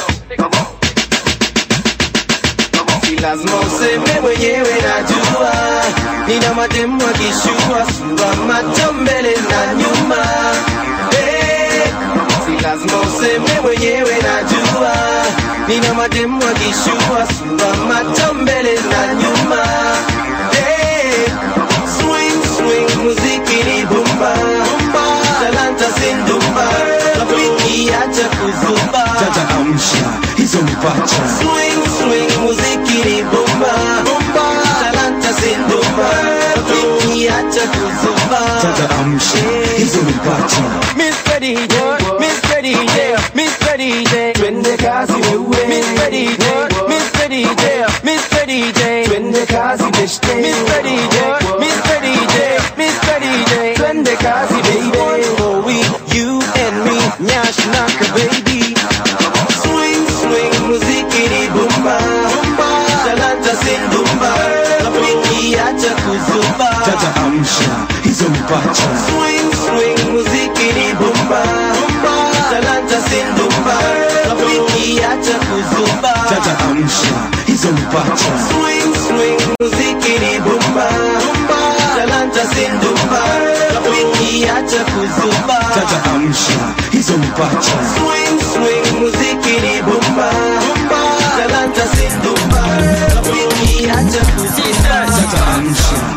Lazima useme mwenyewe najua, nina mademu akishua sura macho mbele na nyuma. Hey, si lazima useme mwenyewe najua, nina mademu akishua sura macho mbele na nyuma. Hey, swing swing muziki ni bomba, talanta sindumba, wiki acha kuzuba. Dada amsha hizo mipacha. Swing swing muziki ni bomba, talanta sindumba, wiki acha kuzuba. Dada amsha hizo mipacha. Mister D J, Mister D J, Mister D J, twende kazi wewe. Mister D J, Mister D J, Mister D J, twende kazi beshte. Mister D J, Mister D J, Mister D J, twende kazi baby. For we, you and me, nyash naka baby. Swing swing muziki ni bomba, talanta sindumba, wiki acha kuzuba. Dada amsha hizo mipacha. Swing swing muziki ni bomba, talanta sindumba, wiki acha kuzuba. Dada amsha hizo mipacha. Swing swing muziki ni bomba, talanta sindumba, wiki acha kuzuba. Dada amsha hizo mipacha. Swing swing muziki ni bomba, talanta sindumba, wiki acha kuzuba. Dada amsha.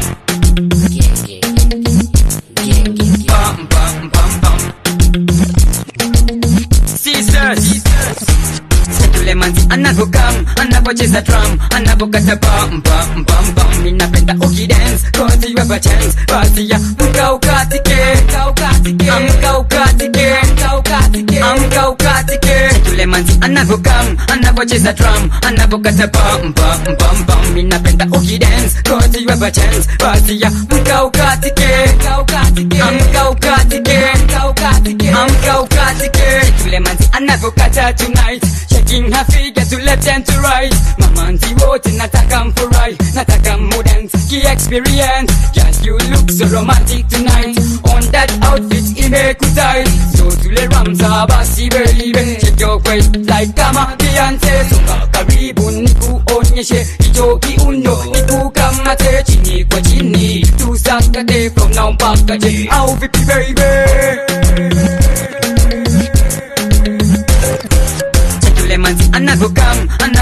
Manzi anavokam, anavocheza drum, anavokata bam bam bam bam. Ninapenda ukidance, cause you have a chance. Basi ya mka ukatike, mka ukatike, mka ukatike, mka ukatike, mka ukatike. Yule manzi anavokam, anavocheza drum, anavokata bam bam bam bam. Ninapenda ukidance, cause you have a chance. Basi ya mka ukatike, mka ukatike, mka ukatike, mka ukatike, mka ukatike. Yule manzi anavokata tonight, shaking her figure to left and to right. Mamanzi wote nataka mfurai, nataka mudance ki experience. Just you look so romantic tonight, on that outfit imekutai. So tule ramza basi baby, shake your waist like kama Beyonce. Songa karibu nikuonyeshe hicho kiuno, nikukamate chini kwa chini, tusakate from now mpaka je. Au vipi baby?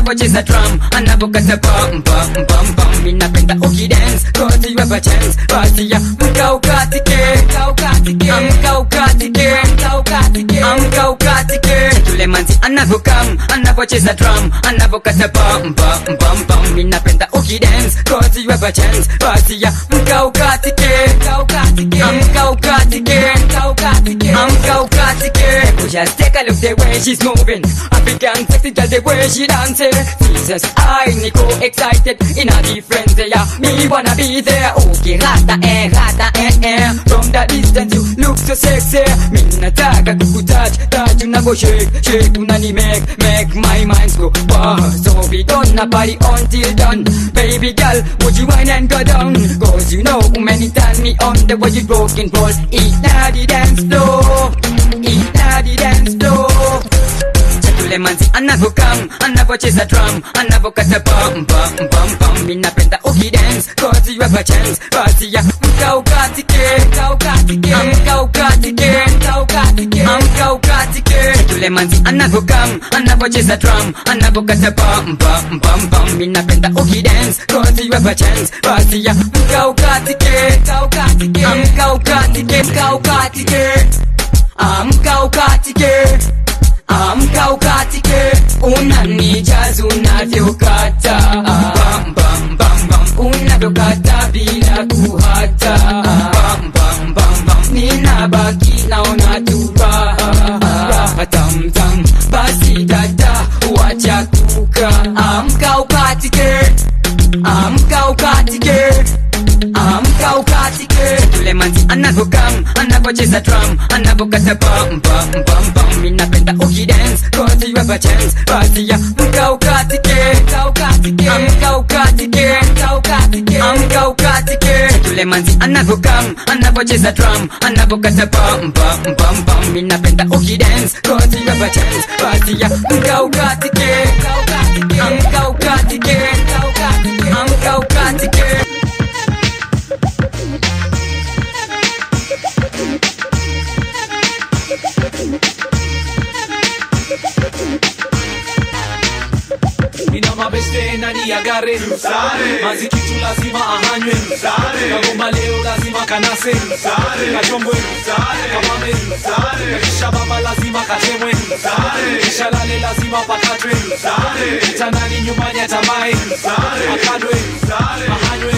anapocheza drum, anapokata pam pam pam pam. Mimi napenda ukidance, cause you have a chance. Basi ya mka ukatike, mka ukatike, mka ukatike, mka ukatike, mka ukatike. Yule manzi anavokam, anapocheza drum, anapokata pam pam pam pam. Mimi napenda ukidance, cause you have a chance. Basi ya mka ukatike, mka ukatike, mka ukatike, mka ukatike, mka ukatike. Just take a look the way she's moving, African sexy, just the way she dancing. Jesus, I Nico excited in a different day. Me wanna be there. Okay, rata eh, rata eh eh. From the distance you look so sexy. Me nataka kukutouch, touch unavo shake, shake unani make, make my mind go wow. So we gonna party until done. Baby girl, would you whine and go down? Cause you know many turn me on the way you broken balls. Eat now the dance floor, eat now the dance floor. Yule manzi anavokam, anavocheza drum, anavokata pam pam pam pam. Mimi napenda ukidance, cause you have a chance. Basi ya mka ukatike, mka ukatike, mka ukatike, mka ukatike, mka ukatike. Yule manzi anavokam, anavocheza drum, anavokata pam pam pam pam. Mimi napenda ukidance, cause you have a chance. Basi ya mka ukatike, mka ukatike, mka ukatike, mka ukatike, mka ukatike. Amka ukatike, unanijaza unavyokata, bam bam bam bam, unavyokata bila kuhata, bam bam bam bam, ninabaki naona tu raha, raha tam tam. Basi dada, wacha kuka, amka ukatike, amka ukatike, amka ukatike. Yule manzi anavokam, anavocheza drum, anavokata pam pam pam pam. Mimi napenda ukidance, cause you have a chance. Basi ya mka ukatike, mka ukatike, mka ukatike, mka ukatike, mka ukatike. Yule manzi anavokam, anavocheza drum, anavokata pam pam pam pam. Mimi napenda ukidance, cause you have a chance. Basi ya mka ukatike, mka ukatike, mka ukatike, mka ukatike, mka ukatike. Mina mabeste nani ya gare Mazi kitu lazima ahanywe Kagomba leo lazima kanase Kachombwe Kamame Kisha baba lazima katemwe Kisha lale lazima pakatwe Kitanani nyumbani atamae Akadwe Ahanywe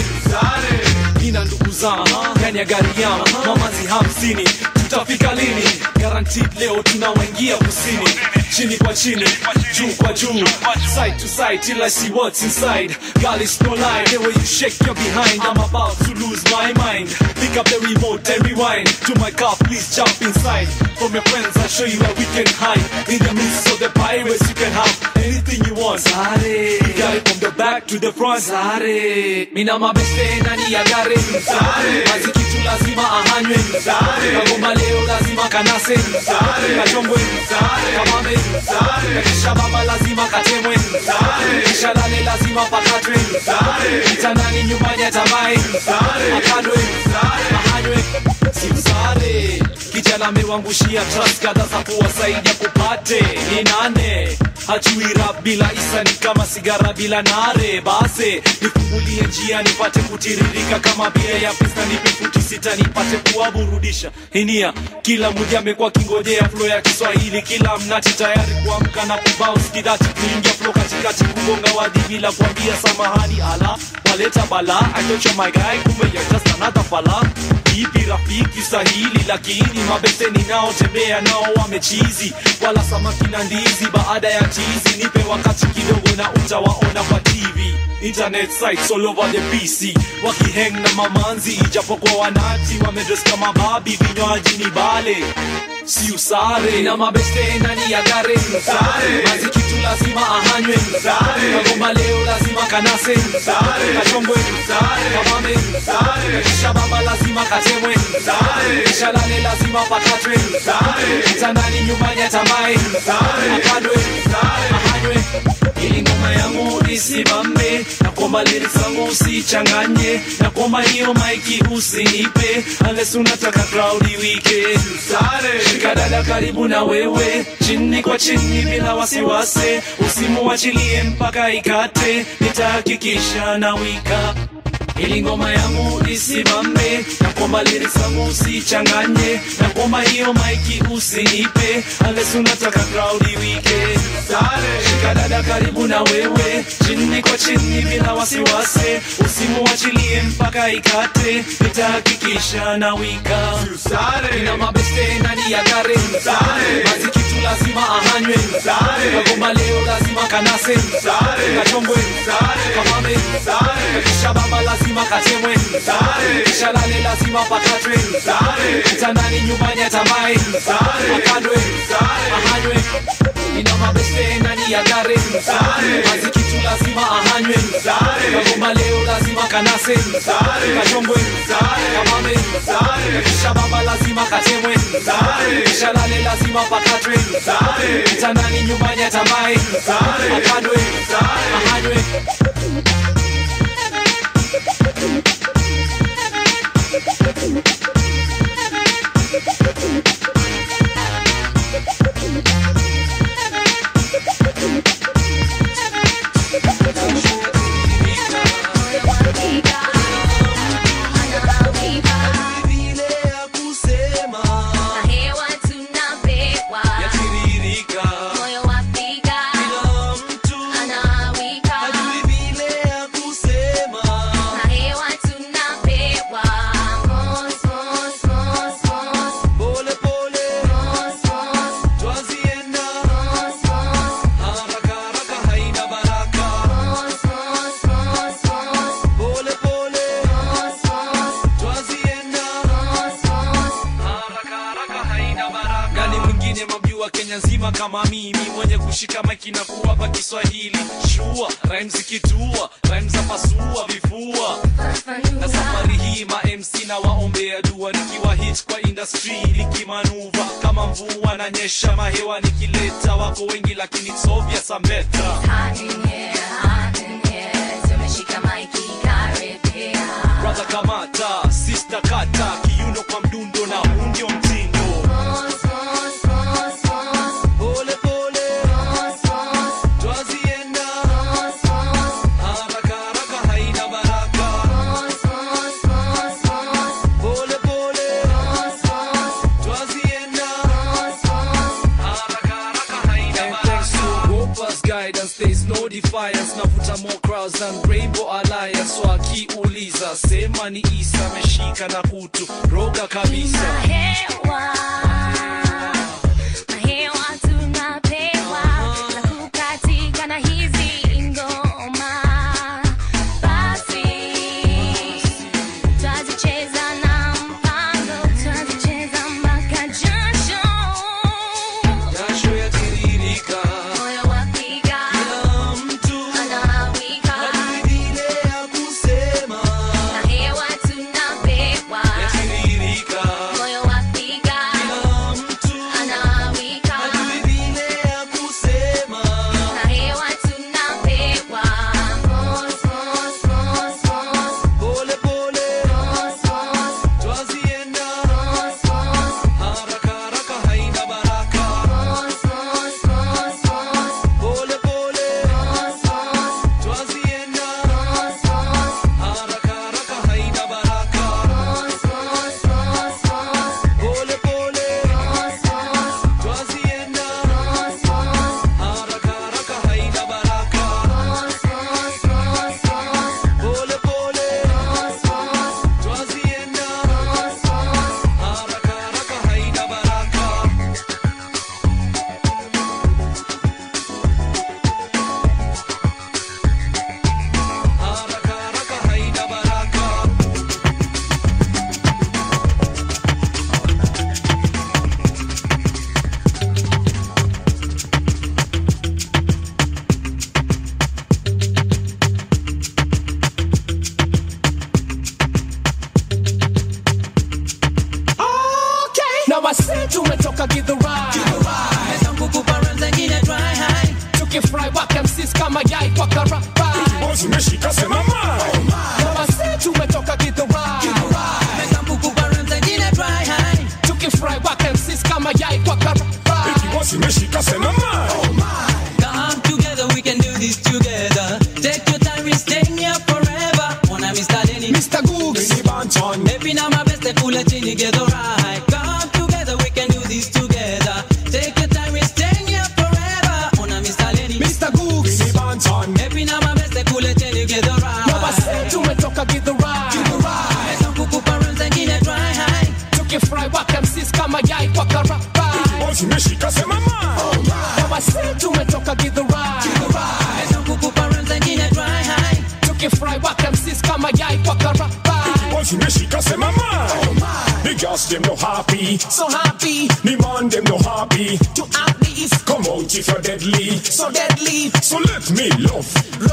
Nina ndugu zama Ndani ya gari yama Mamazi hamsini Tutafika lini Guaranteed leo tunawaingia kusini Chini kwa chini Juu kwa juu Side to side till I see what's inside Girl it's no lie The way you shake your behind I'm about to lose my mind Pick up the remote and rewind To my car please jump inside From your friends I'll show you where we can hide In the midst of the pirates you can have anything you want Sare You got it from the back to the front Sare Mina mabeste nani ya gare Sare Mazi kitu lazima ahanywe Sare Kagomba leo lazima kanase Sare Kachombwe Sare Kamame Sare Kisha baba lazima katemwe Sare Kisha lale lazima pakatwe Sare Kitanani nyumbani atamae Sare Akadwe Sare Ahanywe Simsare Kijana amewangushia trust kadha za kuwasaidia kupate Ni nane Hajui rap bila isa ni kama sigara bila nare Base nifungulie njia nipate kutiririka kama bia ya pista nipe futi sita nipate kuwaburudisha Hinia kila mmoja amekuwa kingojea flow ya Kiswahili Kila mnati tayari kuamka na kubounce kidati kuingia flow katikati kugonga wadi bila kuambia samahani ala Waleta bala I thought you're my guy kumbe you're just another fella Ipi rafiki sahili lakini mabeseni nao tembea nao wamechizi Wala samaki na ndizi baada ya chizi Nipe wakati kidogo na utawaona kwa T V Internet sites all over the P C Wakihang na mamanzi ijapokuwa wanati Wamedress kama babi vinywaji ni bale Si usare Na mabeste nani ya gare Sare Mazi kitu lazima ahanywe Sare Kagomba leo lazima kanase Sare Kachombwe Sare Kamame Sare Kisha baba lazima katemwe Sare Kisha lale lazima pakatwe Sare Kitanani nyumbani atamae Sare Akadwe Sare Ahanywe Ili ngoma yangu isimame Na kwa nakuomba lyrics zangu usichanganye, nakuomba hiyo maiki usinipe unless unataka crowd iwike. Shika dada karibu na wewe, chini kwa chini bila wasiwasi, usimuachilie mpaka ikate, nitahakikisha na wika ili ngoma yangu isimame. Nakuomba lyrics zangu usichanganye, nakuomba hiyo maiki usinipe unless unataka crowd iwike. Shika dada karibu na wewe, chini kwa chini bila wasiwasi, usimuachilie mpaka ikate, nitahakikisha na wika. Ina mabeste ndani ya gari, maziki tu lazima ahanywe, kagomba leo lazima kanase, kachongwe, kamame, kisha baba lazima katemwe, kisha lale lazima pakatwe, kitandani nyumbani atamai, akadwe, ahanywe. Ina mabeste ndani ya gari, maziki tu lazima ahanywe, kagomba leo lazima kanase, kachongwe, kamame, kisha baba lazima katemwe, kisha lale lazima pakatwe, kitandani nyumbani atamai, akadwe, ahanywe. Kama mimi mwenye kushika maiki na kuwapa Kiswahili shua, rhymes ikitua, rhymes zapasua vifua. Na safari hii ma M C na waombea dua, nikiwa hit kwa industry nikimanuva kama mvua na nyesha mahewa, nikileta wako wengi lakini it's obvious I'm better. Brother kamata, sister kata, kiuno kwa mdundo na undio mtindo. There's no defiance, navuta more crowds than Rainbow Alliance. So akiuliza sema ni Isa, meshika na kutu roga kabisa. Mahewa, mahewa tunapewa, na kukatika na hizi ngoma. Basi, twazicheza na mpango, twazicheza mpaka jasho. Jasho ya tiririka, wase tumetoka Githurai, Githurai. Meza ngugu bara zengine dry high, tukifry waka msis kama yai kwa karapa. boss umeshika sema mai. Na wase tumetoka Githurai. Meka mbuku barem zengine dry high. Tukifry wak M Cs kama yai kwa karai. Eki boss umeshika sema mai. Come together, we can do this together. Take your time, we're staying here forever. Wanna Mister Denny, Mister Googs, Benny Banton. Maybe now my best, they pull it in together, right? Come together, we can do this together. Take your time, we're staying here forever. Wanna Mister Denny, Mister Googs, Benny Banton. Maybe now my best, they pull it in together, right? Na wase tumetoka Githurai. Meka mbuku barem zengine dry high. Tukifry wak M Cs kama yai kwa karai. Boss umeshika sema mai. Na wase tumetoka Githurai. Meka mbuku barem zengine dry high. Tukifry wak M Cs kama yai kwa karai. Boss umeshika sema mai. The girls them no happy, so happy. The man them no happy. To uplift, come out if you're deadly, so deadly. So let me love.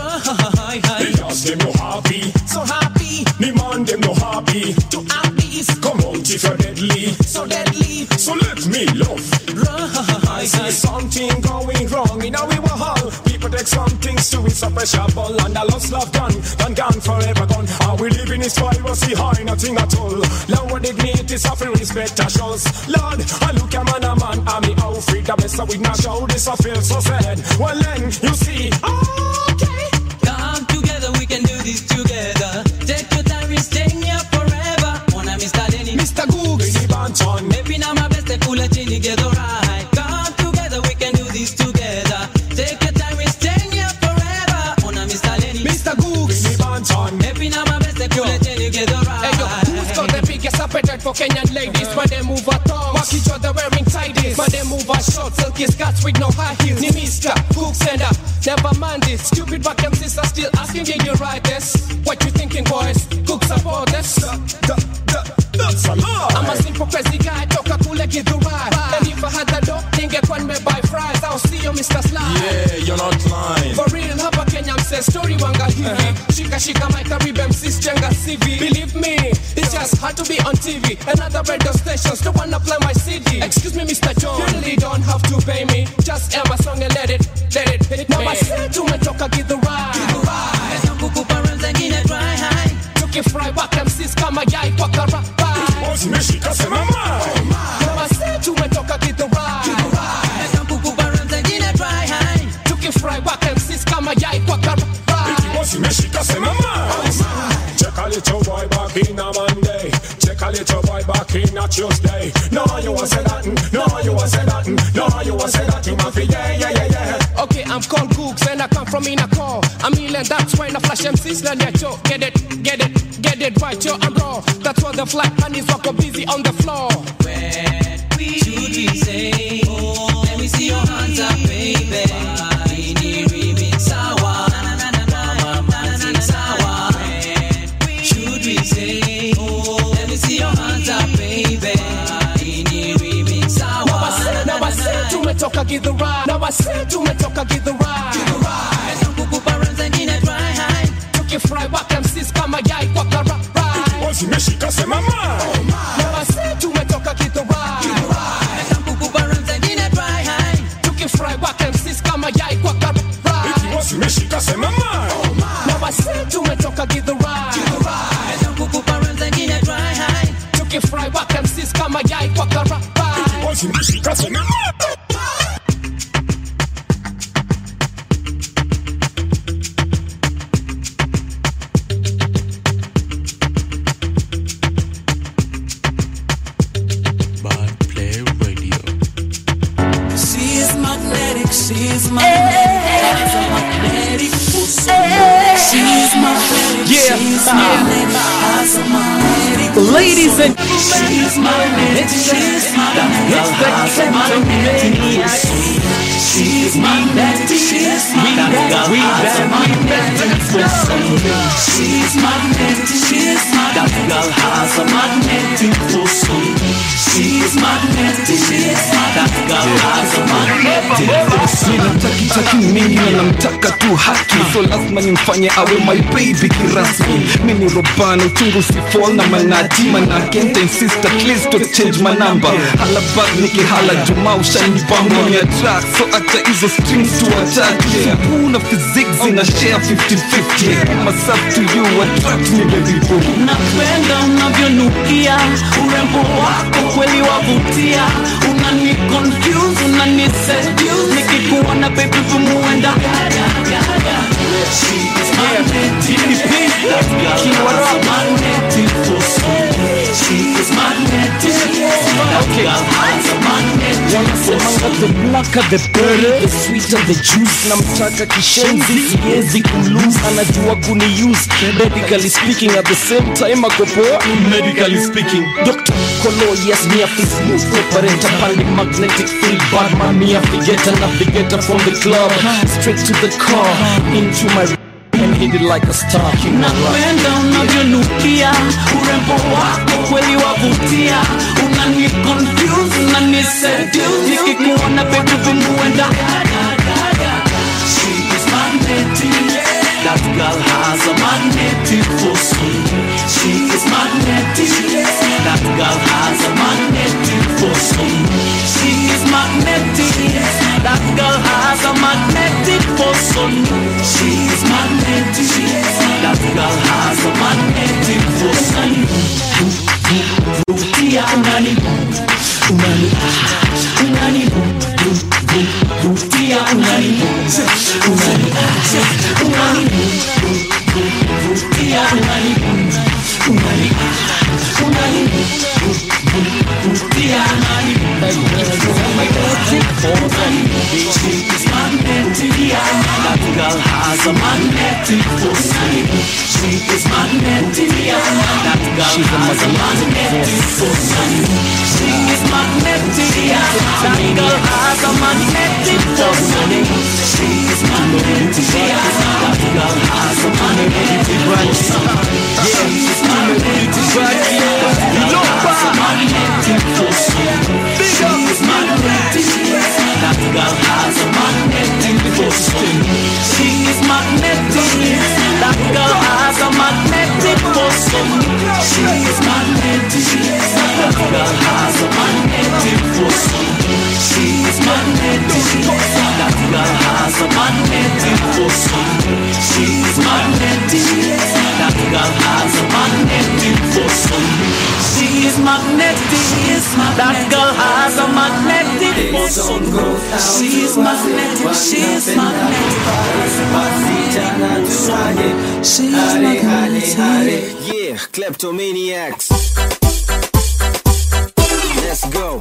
Right. The girls them no happy, so happy. The man them no happy. To uplift, come out if you're deadly, so deadly. So let me love. Right. I see something going wrong in our hall. People take some things to it's a pressure ball, and a lost love gone, gone, gone, forever gone. Are we living is privacy high, nothing at all. Lower dignity, suffering, respect, a shows. Lord, I look a man, a man, I'm me outfit, the best of with not show. This I feel so sad. Well then, you see, okay. Come together, we can do this together. Take your time, we're staying here forever. Wanna Mister Denny, Mister Googs, Benny Banton. Maybe now my best, they pull it in together, right? Come together, we can do this together. Take your time, we're staying here forever. Wanna Mister Denny, Mister Googs, Benny Banton. Maybe now my best, they pull it in together, right? Hey yo, who's got the biggest appetite for Kenyan ladies? When they move her tongues, walk each other wearing tighties. When they move her short, silky skirts with no high heels. Ni Mister Googs and uh, never mind this. Stupid back and sister still asking, did you write this? What you thinking, boys? Googs about this? That's a lie. I'm a simple crazy guy, toka kule Githurai. And if I had the dough, ningekuwa nimebuy fries. I'll see you, Mister Sly. Yeah, you're not lying. For real, hapa Kenya mse story wanga hivi. Shika shika my Caribbean M Cs jenga C V. Believe me, it's just hard to be on T V. Another radio stations don't wanna play my C D. Excuse me, Mister John, you really don't have to pay me. Just air my song and let it, let it hit me. Now I say tumetoka Githurai. Meka mbuku barem zengine dry high. Tukifry wak M Cs kama yai kwa karai. Boss umeshika sema mai. Now I say tumetoka Githurai. Meka mbuku barem zengine dry high. Tukifry wak M Cs kama yai kwa karai. Boss umeshika sema mai. Check a little boy back in a Monday. Check a little boy back in a Tuesday. No, you want say that. No, you want say that. No, you want say that. You must be yeah, yeah, yeah, yeah. Okay, I'm called Googs and I come from Inako. I'm ill and that's why I flash M Cs learn your show. Get it, get it, get it right, yo, I'm raw. That's why the flat honeys walk up busy on the floor. When we should we say, oh, let me see your hands up, baby. Ini remix sawa, mama mati sawa. When should we say, oh, let me see your hands up, baby. Ini remix sawa. Now I say tumetoka Githurai. Now I say tumetoka Githurai. Meka mbuku barem zengine dry high. Tukifry wak M Cs kama yai kwa karai. Boss umeshika sema mai. Now I say tumetoka Githurai. Meka mbuku barem zengine dry high. Tukifry wak M Cs kama yai kwa karai. Boss umeshika sema mai. Now I say tumetoka Githurai. Meka mbuku barem zengine dry high. Tukifry wak M Cs kama yai kwa karai. Boss umeshika sema mai. She's magnetic, she's a magnetic pussy. She's magnetic, Yeah. she's magnetic, has a magnetic pussy. Ladies and she's magnetic, she's magnetic, has a magnetic pussy. She's magnetic, she's magnetic, has a magnetic pussy. She's magnetic, she's magnetic, That girl has a magnetic force on me. She is magnetic. That girl has a magnetic force on me. Ninataki taki mingi na namtaka tu haki, so lazima nimfanye awe my baby kirasmi. Mini robana uchungu si fall na manati, manake nta insist at least to change my number. Hala bag niki hala juma ushani bamba ni track, so acha hizo strings to attack. Una physics ina share fifty fifty. Myself to you attract me baby boo. Napenda unavyonukia, urembo wako kweli wavutia. Unani confuse, unani seduce, nikikuona baby vumuenda. She is magnetic. That girl has a magnetic force on me. She is magnetic. That girl has a magnetic force on me. The blacker the better, the sweeter the juice. Namtaka kishenzi, siwezi kumlose. Anajua kuni-use, medically speaking. At the same time akopo, medically speaking. Doctor Kolo, yes, me a feel smooth operator, pandi magnetic field. Bad man, me a figure, navigator from the club straight to the car, into my and hit it like a star. Napenda unavyonukia, urembo wako kweli wavutia. Unani confuse, unani seduce, nikikuona baby vumuenda. She is magnetic. That girl has a magnetic force on me. She is magnetic. That girl has a magnetic force on me. She is magnetic. That girl has a magnetic force on me. She is magnetic. That girl has a magnetic force on me. Vutia unani, unani, unani, vutia unani, unani, unani, vutia unani, unani, unani, vutia unani. Magnetic force on me. She is magnetic. That girl has a magnetic force on me. She is magnetic. That girl has a magnetic force on me. She is magnetic. That girl has a magnetic force on me. She is magnetic. That girl has a magnetic force on me. She is magnetic. That girl has a magnetic force on me. She is magnetic. That girl has a magnetic force on me. She is magnetic. That girl has a magnetic force on me. She is magnetic. That girl has a magnetic force on me. She is magnetic. That girl has a magnetic force on me. She is magnetic. That girl has a magnetic force on me. She is magnetic. That girl has a magnetic force on me. She is magnetic. She is magnetic. She is magnetic. Yeah, kleptomaniacs. Let's go.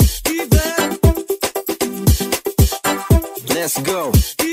Let's go.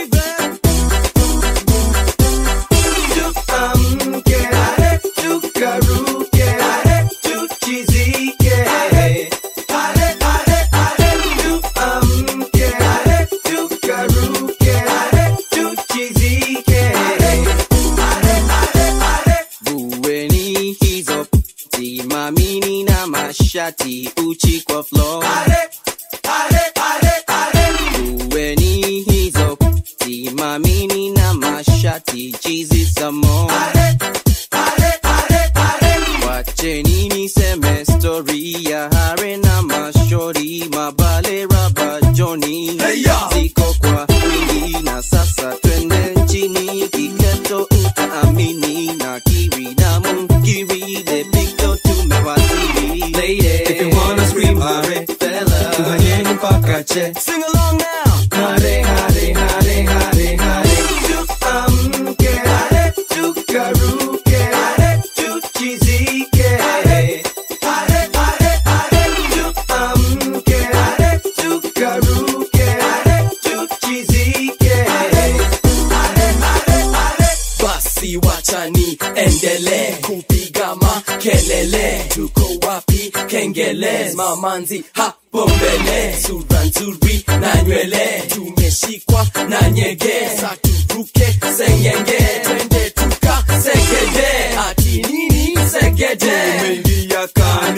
Shati uchi kwa floor. Are, are, are, are. Uweni hizo simamini na mashati chizi samo. Are, are, are, are. Wacheni niseme story ya hare na mashori mabale raba Johnny. Hey, ziko kwa wingi na sasa twende nchini kiketo utaamini na kiri na mungiri the big dot tumewasili. Lady, if you wanna scream hare, fella, tuhanyeni mpaka che. Sing along now. Hare, hare, hare, hare, hare. Tuamke, hare, tukaruke, hare, tuchizike. Hare, hare, hare, hare. Tuamke, hare, tukaruke, hare, tuchizike. Hare, hare, hare, hare. Basi wachani endele kupiga makelele. Tuko wapi kengele, mamanzi hapo mbele. Sura nzuri na nywele, tumeshikwa na nyege. Saturuke sengenge, twende tuka segede. Ati nini segede?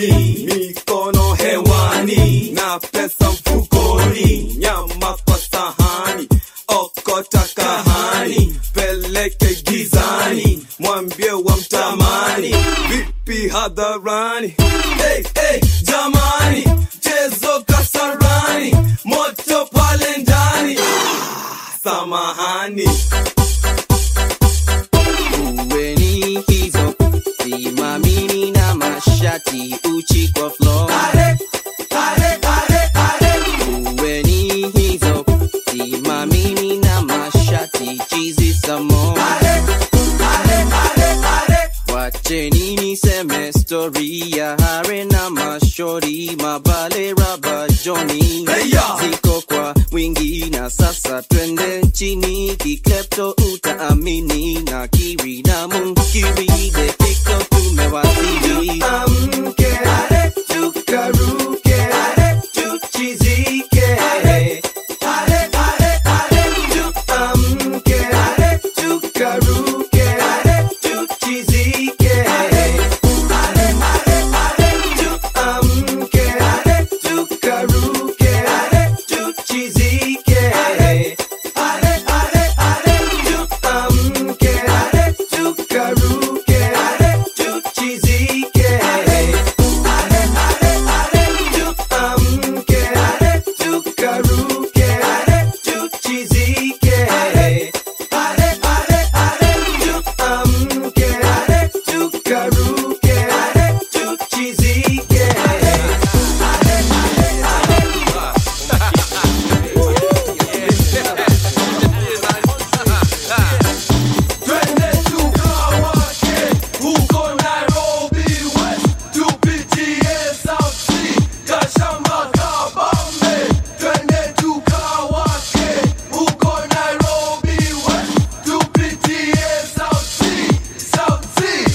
mkononi, mikono hewani na pesa mfukoni, nyama kwa sahani, okota kahani, peleke gizani, mwambie wa mtamani, vipi hadharani. Hey, hey, jamani, chezo kasarani, moto pale ndani, ah, samahani. Uweni hizo simamini na mashati uchi kwa floor. Ale, ale, ale, ale. Uweni hizo simamini na mashati chizi samo. Ale, ale, ale, ale. Wacheni niseme story ya hare na mashori, mabale raba Johnny. Hey, ziko kwa wingi na sasa twende chini, kiklepto utaamini na kiri na munkiri de tiko tumewasili. Amke, ale, tukaruke, ale, tuchizike, ale, ale, ale, ale, tuamke, ale, tukaruke, ale, tuchizike, ale, ale, ale, ale, tuamke, ale, tukaruke, ale, tuchizike, ale, ale, ale, ale, tuamke, ale, tukaruke, ale, tuchizike, ale, ale, ale, ale, tuamke, ale, tukaruke, ale, tuchizike, ale, ale, ale, ale, tuamke, ale, tukaruke, ale, tuchizike, ale, ale, ale, ale, Twende tukawake huko Nairobi West, tupitie South Sea, Kashamba Kabambe. Twende tukawake huko Nairobi West, tupitie South Sea, South Sea.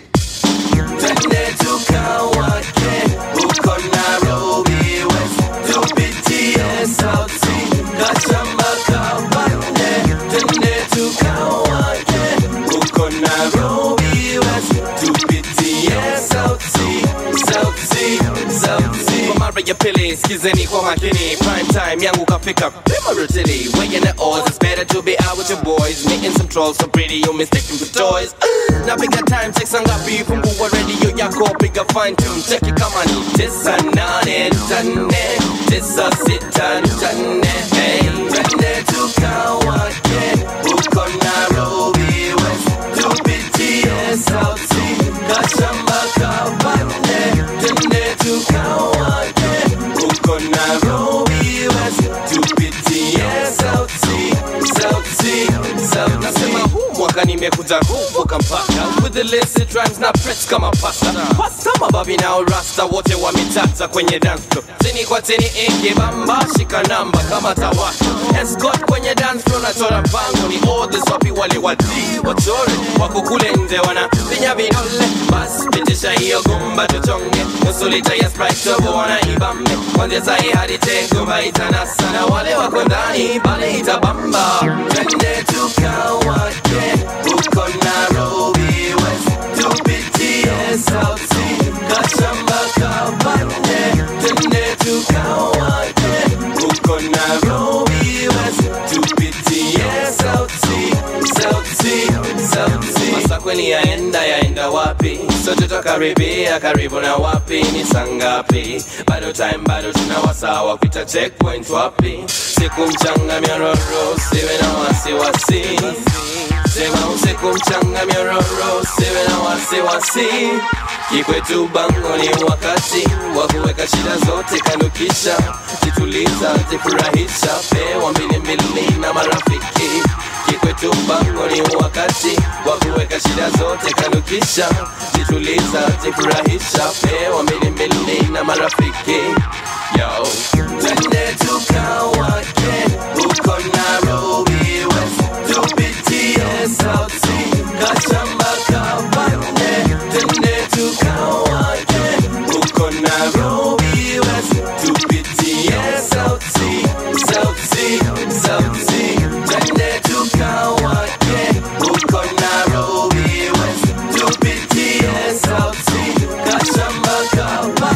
Twende tukawake huko Nairobi West, tupitie South Sea, Kashamba Kabambe. Twende tukawake huko Nairobi West, tupitie South Sea, South Sea, South Sea. Kwa mara ya pili skizeni kwa makini, prime time yangu kafika pima rutili, weighing the odds, it's better to be out with your boys, meeting some trolls so pretty you mistaken for toys. Na piga time check sangapi, fungua radio yako, piga fine tune check it kama ni tisa nane tane, tisa sita tane. Hey, twende tukawake huko Nairobi West, tupitie South Sea, Kashamba Kabambe. Twende tukawake huko Nairobi West, tupitie South Sea, South Sea, South Sea. Nasema huu mwaka nimekuja kuvuka mpaka, with the illicit rhymes na press kama pasta. Pasta mababi na rasta wote wametata kwenye dance floor, tini kwa tini ingi bamba, shika namba kama tawaka. Escort kwenye dance floor na chora bango, ni all the sopi wale wadi wachore, wako kule nje wana pinya vidole. Bas pitisha hiyo gumba tuchonge, nusu lita ya Sprite tobo wana ibambe. Kwanzia sahi hadi tengo maitanasa, na wale wako ndani pale itabamba. Twende tukawake huko Nairobi West, tupitie South Sea, Kashamba Kabambe. Twende tukawake huko Nairobi West, tupitie South Sea, South Sea, South Sea. Masa kweli yaenda yaenda wapi? Sote tukaribia karibu na wapi? Ni sangapi? Bado time bado tunawasawa kupita checkpoint wapi? Siku mchanga miororo, siwe na wasiwasi. Sema usiku mchanga miororo, siwe na wasiwasi. Kikwetu bango ni wakati wa kuweka shida zote kando, kisha jituliza, jifurahisha, pewa mbili mbili na marafiki. Kikwetu bango ni wakati wa kuweka shida zote kando, kisha jituliza, jifurahisha, pewa mbili mbili na marafiki. Yo, twende tukawake huko Nairobi West, tupitie South Sea, Kashamba Kabambe. Twende tukawake huko Nairobi West, tupitie South Sea, South Sea, South Sea. Twende tukawake huko Nairobi West, tupitie South Sea, Kashamba Kabambe.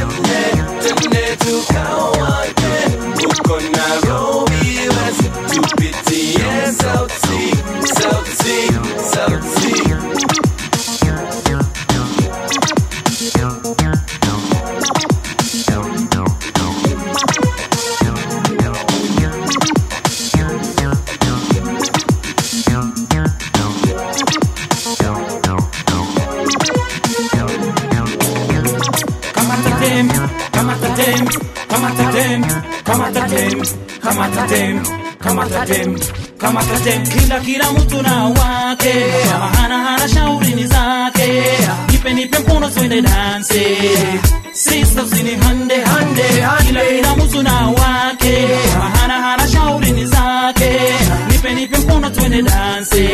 dem, kamata dem, kamata dem, kamata dem. Kila kila mtu na wake, kama hana hana shauri ni zake. Nipe nipe mkono twende dance, sister usini hande hande. Kila kila mtu na wake, kama hana hana shauri ni zake. Nipe nipe mkono twende dance,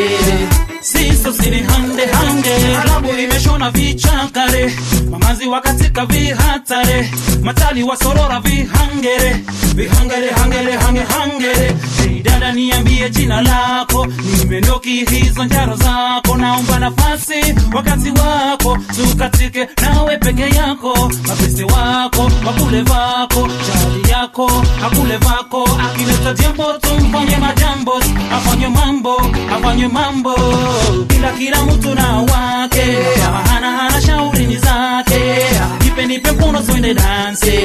sister usini hande hande. Klabu imeshona vichakare, mamazi wakatika vihatare, matali wasorora vihangere, vihangere hangere hange hangere. Hey dada niambie jina lako, nimendoki hizo njaro zako. Naomba nafasi wakati wako, tukatike nawe peke yako. Mapese wako, wakule vako, chali yako, hakule vako. Akileta jambo tumfanye majambo, afanye mambo, afanye mambo. Kila kila mtu na wake, kama hana hana shauri ni zake. Nipe nipe mkono twende dance,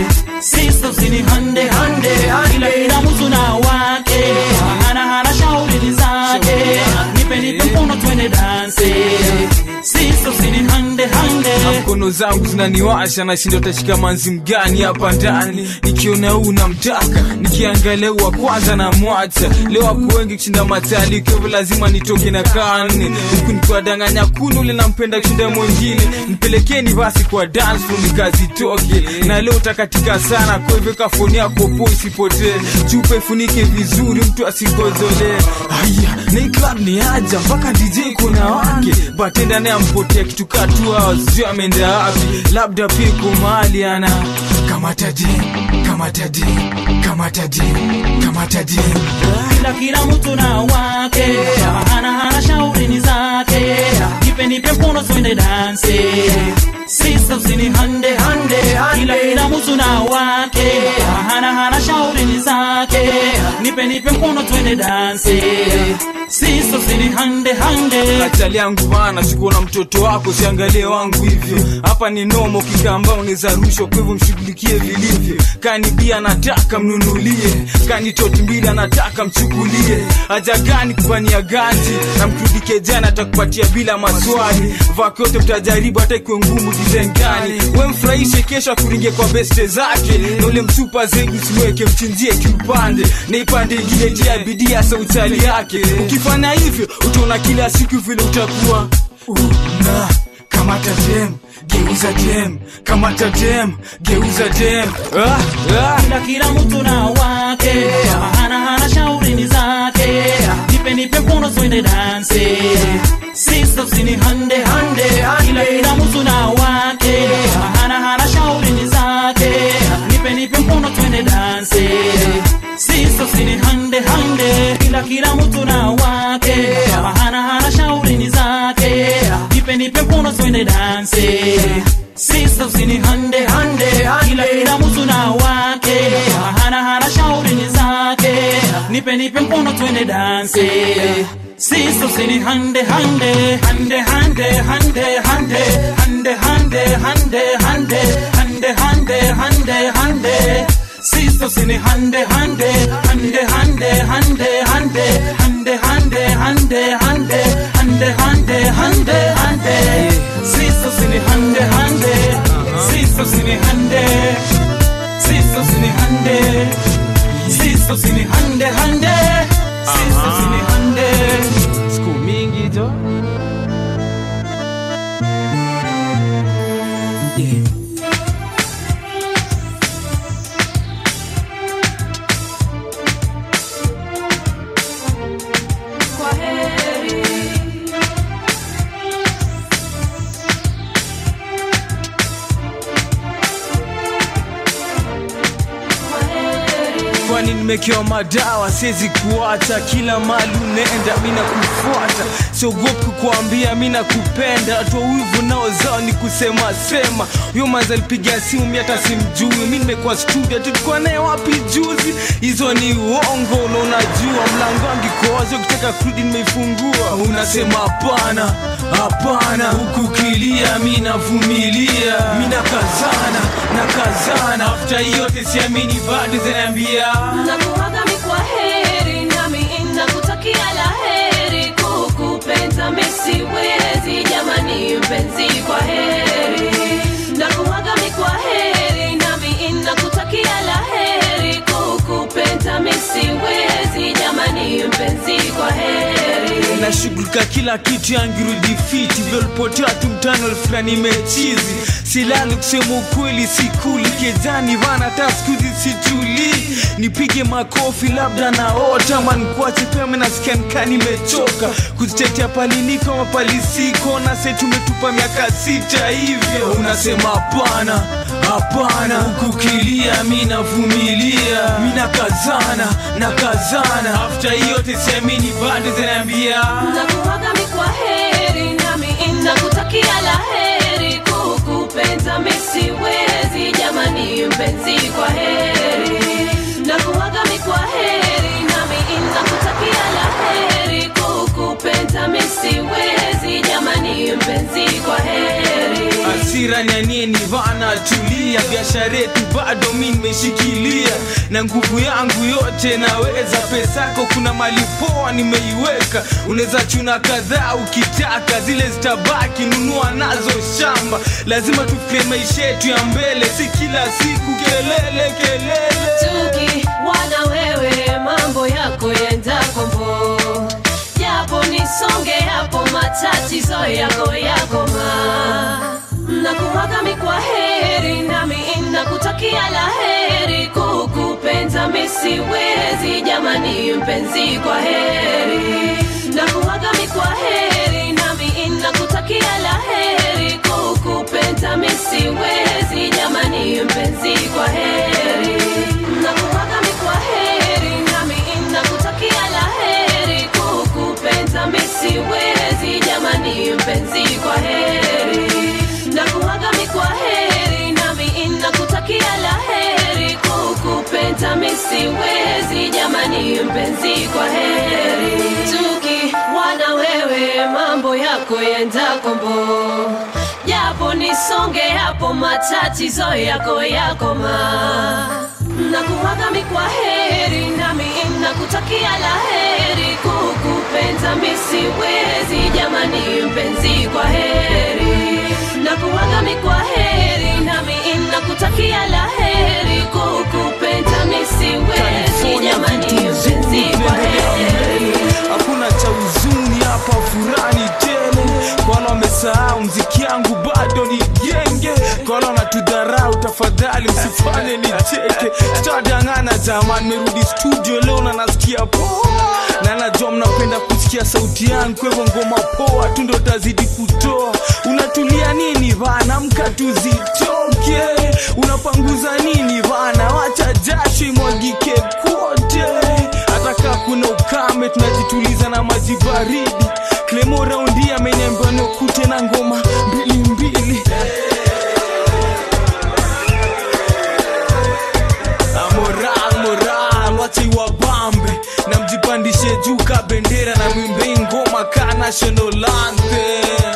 sister usini hande hande. Kila kila mtu na wake, kama hana hana shauri ni zake. Nipe nipe mkono twende dance, sister usini hande hande. Mkono zangu zinaniwasha na shindo tashika manzi mgani hapa ndani. Nikiona huu namtaka, nikiangalia wa kwanza na mwacha. Leo wako wengi kushinda matali, kwa lazima nitoke na kani. Huku nikuwa danganya kunu ule nampenda kushinda mwingine. Nipelekeni basi kwa dance floor nikazi toke. Na leo utakatika sana, kwa hivyo kafoni yako po isipotee. Chupa ifunike vizuri mtu asigozole. Haya, na hii club ni aja, mpaka D J kuna wake. Batenda naye ampotea kitu katua, sio ameenda wapi. Labda pia kwa mahali ana kamata dem, kamata dem, kamata dem, kamata dem. Kila kila mtu na wake, kama hana hana shauri ni zake. Nipe nipe mkono twende dance, sister usini hande hande. Kila kila mtu na wake, kama hana hana shauri ni zake. Nipe nipe mkono twende dance, sister usini hande hande. Achali yangu bana, sikuona mtoto wako, siangalie wangu hivyo. Hapa ni nomo kikamba unaweza rushwa, kwa hivyo mshughulikie vilivyo. Kani bia nataka mnunulie, kani toti mbili anataka mchukulie. Haja gani kufanyia ganji, na mkudike jana atakupatia bila maswali. Vako yote mtajaribu hata ikuwe ngumu design gani. We mfurahishe kesho akuringe kwa beste zake. Na ule mtupa zegu simweke mchinjie kiupande. Na ipande ingine tia bidii ya sautali yake. Ukifanya hivyo utaona kila siku vile utakuwa una kamata dem, geuza dem, kamata dem, geuza dem. Ah, ah. Kila kila mtu na wake, kama hana hana shauri ni zake. Nipe nipe mkono twende dance, sister usini hande hande. Kila kila mtu na wake, kama hana hana shauri ni zake. Nipe nipe mkono twende dance, sister usini hande hande. Kila kila mtu na wake, kama hana hana shauri ni zake. Nipe nipe mkono twende dance, sister usini hande hande. Kila kila mtu na wake, kama hana hana shauri ni zake. Nipe nipe mkono twende dance, sister usini hande hande. Hande hande hande hande hande hande hande hande hande hande hande hande. Sister usini hande hande hande hande hande hande hande hande hande hande hande hande hande hande. Sister usini hande hande, sister usini hande, sister usini hande, sister usini hande hande, sister usini hande. Siku mingi jo. Yeah. Kwani nimekewa madawa, siwezi kuacha. Kila mali unaenda mina kufuata, siogopi kukuambia mina kupenda. Watu wivu nao zao ni kusema sema. Yo manza alipigia simu mimi hata simjui. Mimi nimekuwa studio, tulikuwa naye wapi juzi. Hizo ni uongo na unajua. Mlango wangu koazo, ukitaka kurudi nimeifungua. Unasema hapana, hapana. Huku kilia mimi navumilia. Mimi nakazana, nakazana. After yote siamini bado zaniambia nakuaga mi kwa heri, nami nakutakia la heri. Kukupenda mi siwezi, jamani mpenzi kwa heri. Nakuaga mi kwa heri, nami nakutakia la heri. Kukupenda na shughulika kila kitu yangirudi fiti vyolipotea tumtano fulani mechizi silali kusema ukweli sikuli kezani vana taskuzi situli nipige makofi labda naota manikuache peme nasikia nika nimechoka kuzitetea paliniko mapalisiko na se tumetupa miaka sita hivyo unasema hapana hapana kukilia mina vumilia mina kazana na kazana after hiyo tesemini bado zinaambia nakuwaga mikwa heri nami inakutakia la heri kukupenda misiwezi jamani mpenzi kwa heri nakuwaga mikwa heri nami inakutakia la heri kukupenda misiwezi jamani mpenzi kwa heri asira nyanie ni vana tulia biashara yetu bado mimi nimeshikilia na nguvu yangu yote naweza pesako kuna mali poa nimeiweka unaweza chuna kadhaa ukitaka zile zitabaki nunua nazo shamba lazima tufikie maisha yetu ya mbele si kila siku kelele kelele tuki wana wewe mambo yako yenda kombo japo nisonge hapo matatizo yako yako ma nakuwaga mikwa heri nami inakutakia la heri kukupenda misiwezi jamani mpenzi kwa heri nakuwaga mikwa heri nami inakutakia la heri kukupenda misiwezi jamani mpenzi kwa heri nakuwaga mikwa heri nami inakutakia la heri kukupenda misiwezi jamani mpenzi kwa heri nakuwaga mikwa heri nami inakutakia la heri kukupenda misiwezi jamani mpenzi kwa heri tuki wana wewe mambo yako yenda kombo japo nisonge hapo matatizo yako yako ma nakuwaga mikwa heri nami inakutakia la heri kukupenda misiwezi jamani mpenzi kwa heri nakuwaga mikwa heri nami inakutakia la heri kukupenda misiwezi jamani mpenzi kwa heri hakuna cha huzuni hapa furani tele kwa wale wamesahau mziki yangu bado ni genge kwa wale wanatudharau tafadhali msifanye nicheke sitadangana jamani merudi studio leo na nasikia poa na najua mnapenda kusikia sauti yangu kwa hivyo ngoma poa tu ndo tazidi kutoa unatulia nini bana mkatuzitoke unapanguza nini bana wacha jasho imwagike kote hata kama kuna ukame tunajituliza na maji baridi Clemo raundi ameniambia nokute na ngoma mbili mbili moral moral wacha iwabambe na mjipandishe juu ka bendera na mwimbe ngoma ka national anthem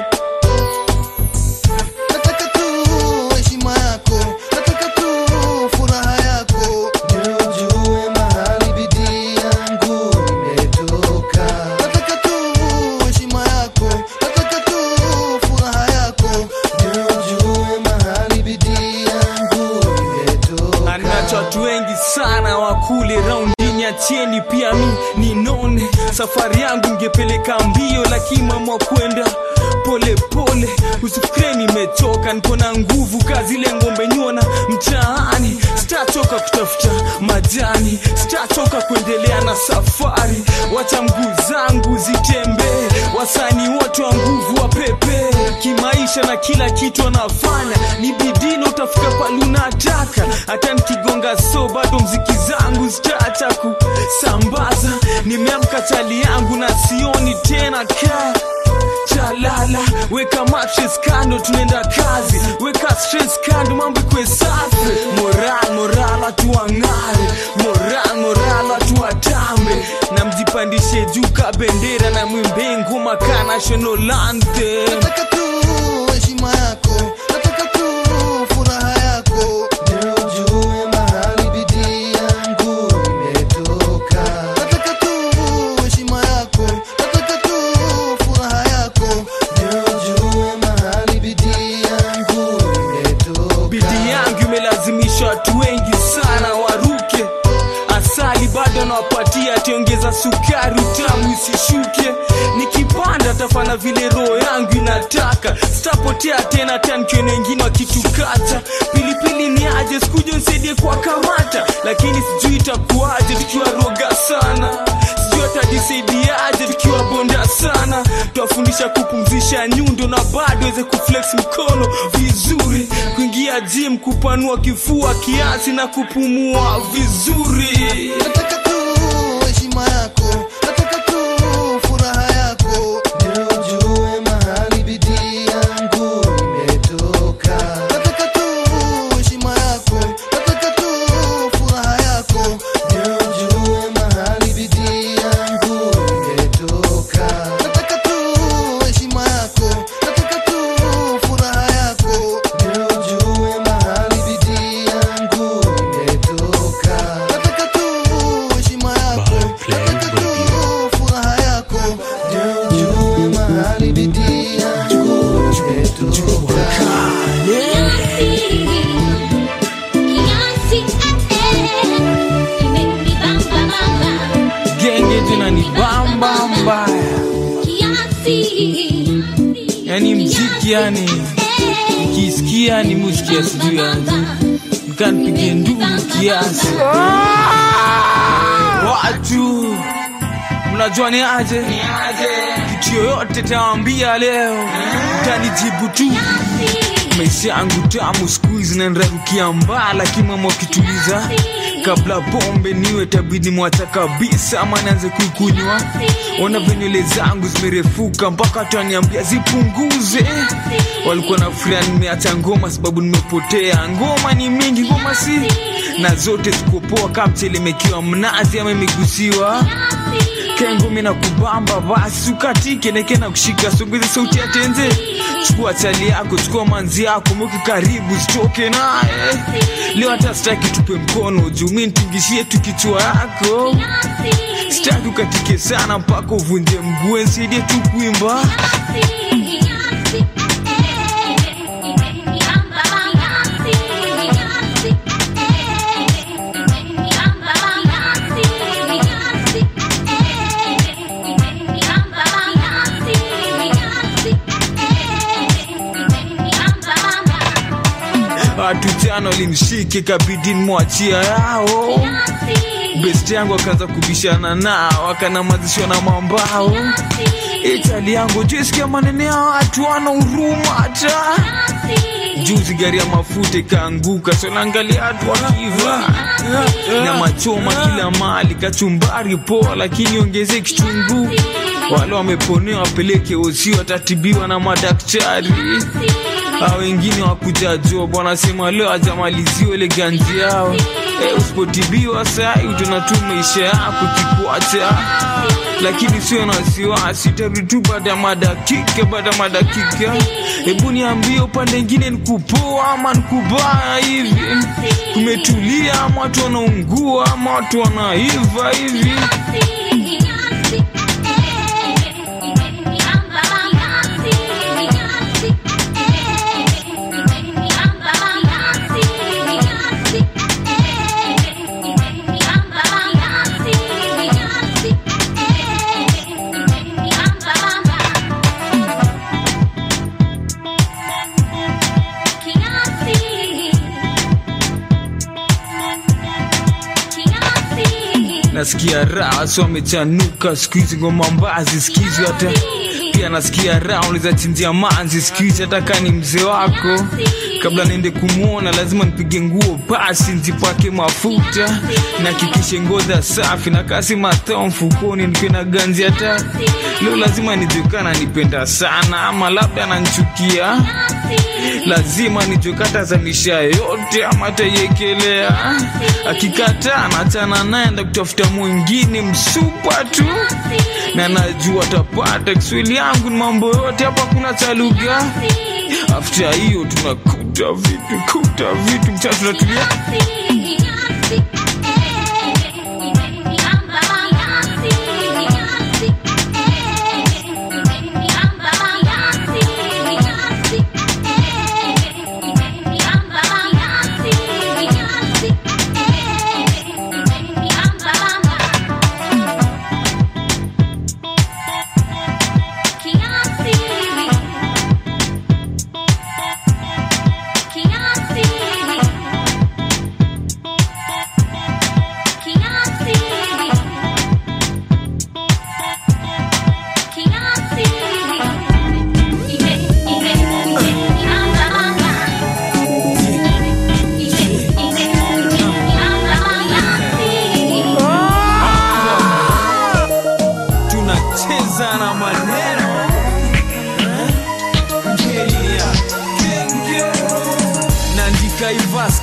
nataka tu heshima yako nataka tu furaha yako ndio ujue mahali bidii yangu imetoka nataka tu heshima yako nataka tu furaha yako ndio ujue mahali bidii yangu imetoka anacho watu wengi sana wakule raundi nyatieni pia mi ninone safari yangu ngepeleka mbio lakini mama kwenda pole pole usifikire nimechoka niko na nguvu kazi ile ngombe nyona mtaani sitachoka kutafuta majani sitachoka kuendelea na safari wacha mguu zangu zitembee wasanii wote wa nguvu wa pepe kimaisha na kila kitu anafanya ni bidii utafika pale unataka hata nikigonga so bado mziki zangu zitaacha kusambaza nimeamka chali yangu na sioni tena ka chalala weka mattress kando tunaenda kazi weka stress kando mambo kwe safi moral moral atuangare moral moral atuatambe na mjipandishe juu ka bendera na mwimbe ngoma ka national anthem nataka tu heshima yako nataka tu furaha yako ndio ujue mahali bidii yangu imetoka nataka tu heshima yako nataka tu furaha yako ndio ujue mahali bidii yangu imetoka bidii yangu imelazimisha watu wengi sana waruke asa mali bado nawapatia, tiongeza sukari utamu isishuke. Nikipanda tafana vile roho yangu inataka, sitapotea tena tankione wengine wakitukata. Pilipili ni aje sikuja nisaidie kwa kamata, lakini sijui itakuaje tukiwa roga sana, sijui atajisaidiaje tukiwa bonda sana. Tuwafundisha kupumzisha nyundo na bado weze kuflex mkono vizuri, kuingia gym kupanua kifua kiasi na kupumua vizuri. Nataka tu heshima yako, nataka tu furaha yako, ndio ujue mahali bidii yangu imetoka. Nataka tu heshima yako, nataka tu furaha yako, ndio ujue mahali bidii yangu imetoka. Nataka tu heshima yako, nataka tu furaha yako, ndio ujue mahali bidii yangu imetoka. Nataka tu heshima yako, nataka tu furaha yako, ndio ujue mahali bidii yangu imetoka. Genge tena ni bamba mbaya, yani mziki yani nikisikia ni muziki ya sijui yangu nikanipige nduru kiasi. Watu mnajua ni aje, kitu yoyote tawambia leo mtanijibu tu. Maisha yangu tamu squeeze na nrarukia mbaa, lakini mama ukituliza kabla pombe niwe tabidi mwacha kabisa ama nianze kuikunywa. Ona venywele zangu zimerefuka mpaka tutaniambia zipunguze. Walikuwa na furaha nimeacha ngoma sababu nimepotea. Ngoma ni mingi, ngoma si na zote zikopoa kapchele mekiwa mnazi ama imegusiwa. Kengo mina kubamba basi ukatike neke na kushika songeze sauti ya tenze. Chukua chali yako, chukua manzi yako, mweke karibu sitoke nae. Leo hata sitaki tupe mkono juu mimi nitingishie tu kichwa yako. Sitaki ukatike sana mpaka uvunje mguu, nisaidie tu kuimba. Watu jana walinishike kabidi mwachia yao. Best yangu akaanza kubishana nao, akanamazishwa na mambao. Itali yangu jisikia manene ya watu wana huruma hata. Juzi gari ya mafuta ikaanguka, so naangalia watu wakiva na machoma kila mali, kachumbari poa lakini ongeze kichungu. Wale wameponea wapeleke osi, watatibiwa na madaktari. Hao wengine wakuja job wanasema leo hajamaliziwa ile ganzi yao. Eh, usipotibiwa saa utanatu maisha yako kikuacha. Lakini sio na wasiwasi, tarudi tu baada ya madakika baada ya madakika. Hebu niambie upande mwingine nikupoa ama nikubaya hivi? Kumetulia ama watu wanaungua ama watu wanaiva hivi? Nasikia raha so wamechanuka squeeze ngoma mbazi skizi hata. Pia nasikia raha uliza chinjia manzi squeeze hata kani mzee wako. Kabla niende kumuona lazima nipige nguo pasi nzipake mafuta na kikishe ngoza safi na kasi matao mfukoni nikiwa na ganzi hata. Leo lazima nijukana nipenda sana ama labda ananichukia. Lazima nijukata za misha yote ama tayekelea. Akikataa nachana naenda kutafuta mwingine msupa tu, na najua tapata. Kiswahili yangu ni mambo yote hapa kuna cha lugha. After hiyo tunakuta vitu kuta vitu mchana tunatulia. Bye.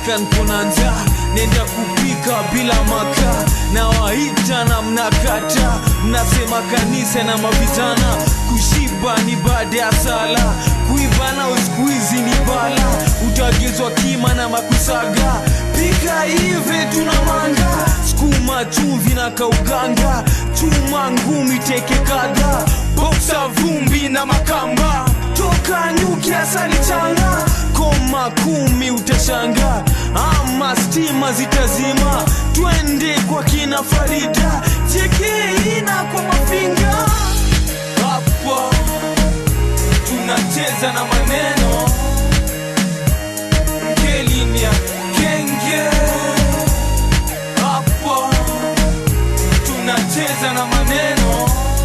kan kuna njaa nenda kupika bila makaa na waita na mnakata mnasema kanisa na mavijana kushiba ni baada ya sala kuiva na uskuizi ni bala utagezwa kima na makusaga pika hive tunamanga skuma chumvi na kauganga chuma ngumi teke kadha boksa vumbi na makamba toka nyuki asali changa koma kumi utashanga ama stima zitazima twende kwa kina Farida chekeina kwa mafinga hapa tunacheza na maneno ngelinia kenge hapa tunacheza na maneno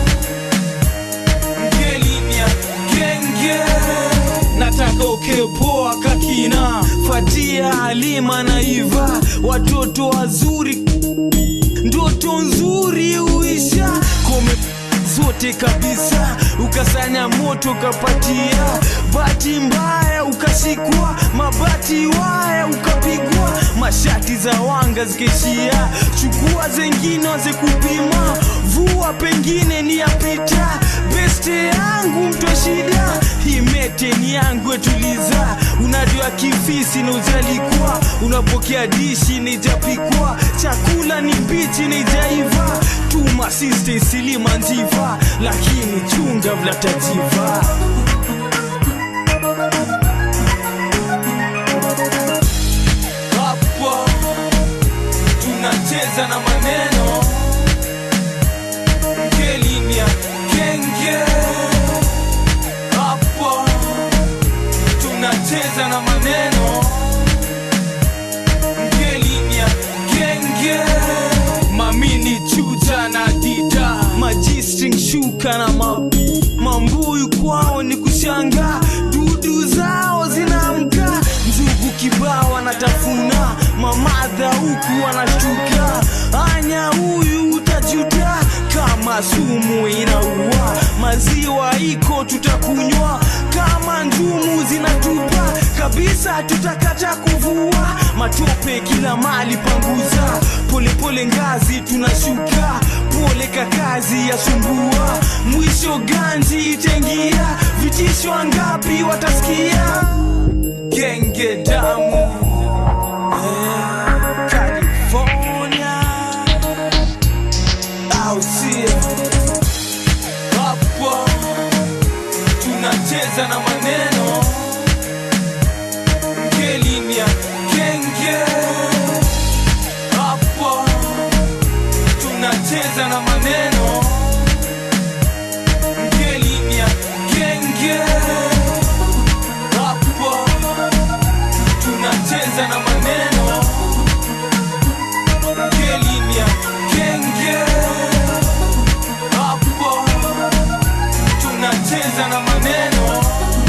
ngelinia kenge nataka ukepoa kakina Fatia Halima na Iva watoto wazuri ndoto nzuri uisha kome zote kabisa ukasanya moto kapatia bati mbaya ukashikwa mabati waya ukapigwa mashati za wanga zikeshia chukua zengine waze kupima vua pengine ni yapita beste yangu mto shida himete ni yangu etuliza unajua kifisi na ujalikwa unapokea dishi ni japikwa chakula ni mbichi ni jaiva tuma siste silima njiva lakini chunga vlatajiva hapa tunacheza na maneno ngelinia kenge hapa tunacheza na maneno ngelinia kenge mamini chuja na dida majistring shuka na mabu mambuyu kwao ni kushanga dudu zao zinaamka njugu kibao anatafuna mamadha huku wanashtuka anya huyu utajuta kama sumu inaua maziwa iko tutakunywa kama njumu zinatupa kabisa tutakata kuvua matope kila mali panguza pole pole ngazi tunashuka pole kakazi ya sumbua mwisho ganji itengia vitisho ngapi watasikia genge damu eh, California au sio hapa tunacheza na maneno ngelinia kenge hapa tunacheza na maneno ngelinia kenge hapa tunacheza na maneno ngelinia kenge hapa tunacheza na maneno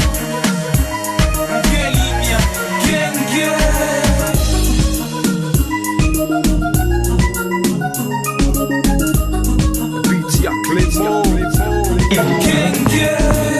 ngelinia kenge Beats ya Clemo kenge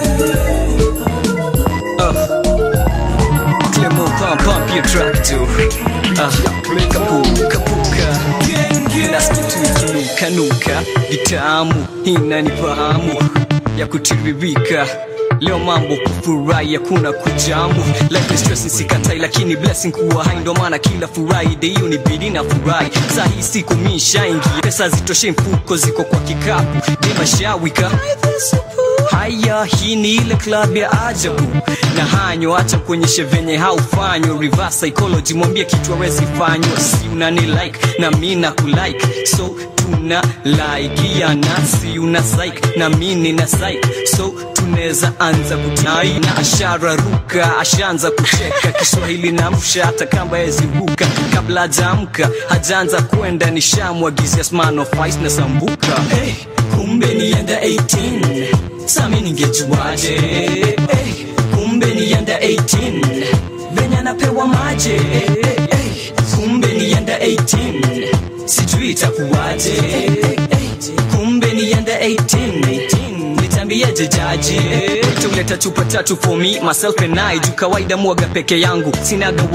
Clemo pump pump your track too uh, kapu kapuka nasikitu nuka vitamu inanifahamu ya kutiririka leo mambo kufurahi hakuna kujamu life is stress sikatai lakini blessing kuwa hai ndo maana kila Friday hiyo ni bidii na furahi saa hii siku mishaingi pesa zitoshe mfuko ziko kwa kikapu dema shawika haya hii ni ile club ya ajabu na hanyo acha kuonyeshe venye haufanywa reverse psychology mwambie kitu hawezi fanywa si unani like na mimi na kulike so tuna like ya nasi una psych na mimi na psych so tunaweza anza kutai na ashara ruka ashaanza kucheka Kiswahili na msha hata kamba yezibuka kabla hajaamka hajaanza kwenda nishamwagizia smano face na sambuka hey, kumbe nienda eighteen sami ningejuaje hey, kumbe nienda eighteen venya napewa maje hey, kumbe nienda eighteen sijui itakuwaje hey, kumbe nienda eighteen nitambiaje jaji tuleta chupa tatu for me myself and I juu kawaida mwaga peke yangu sinaga wife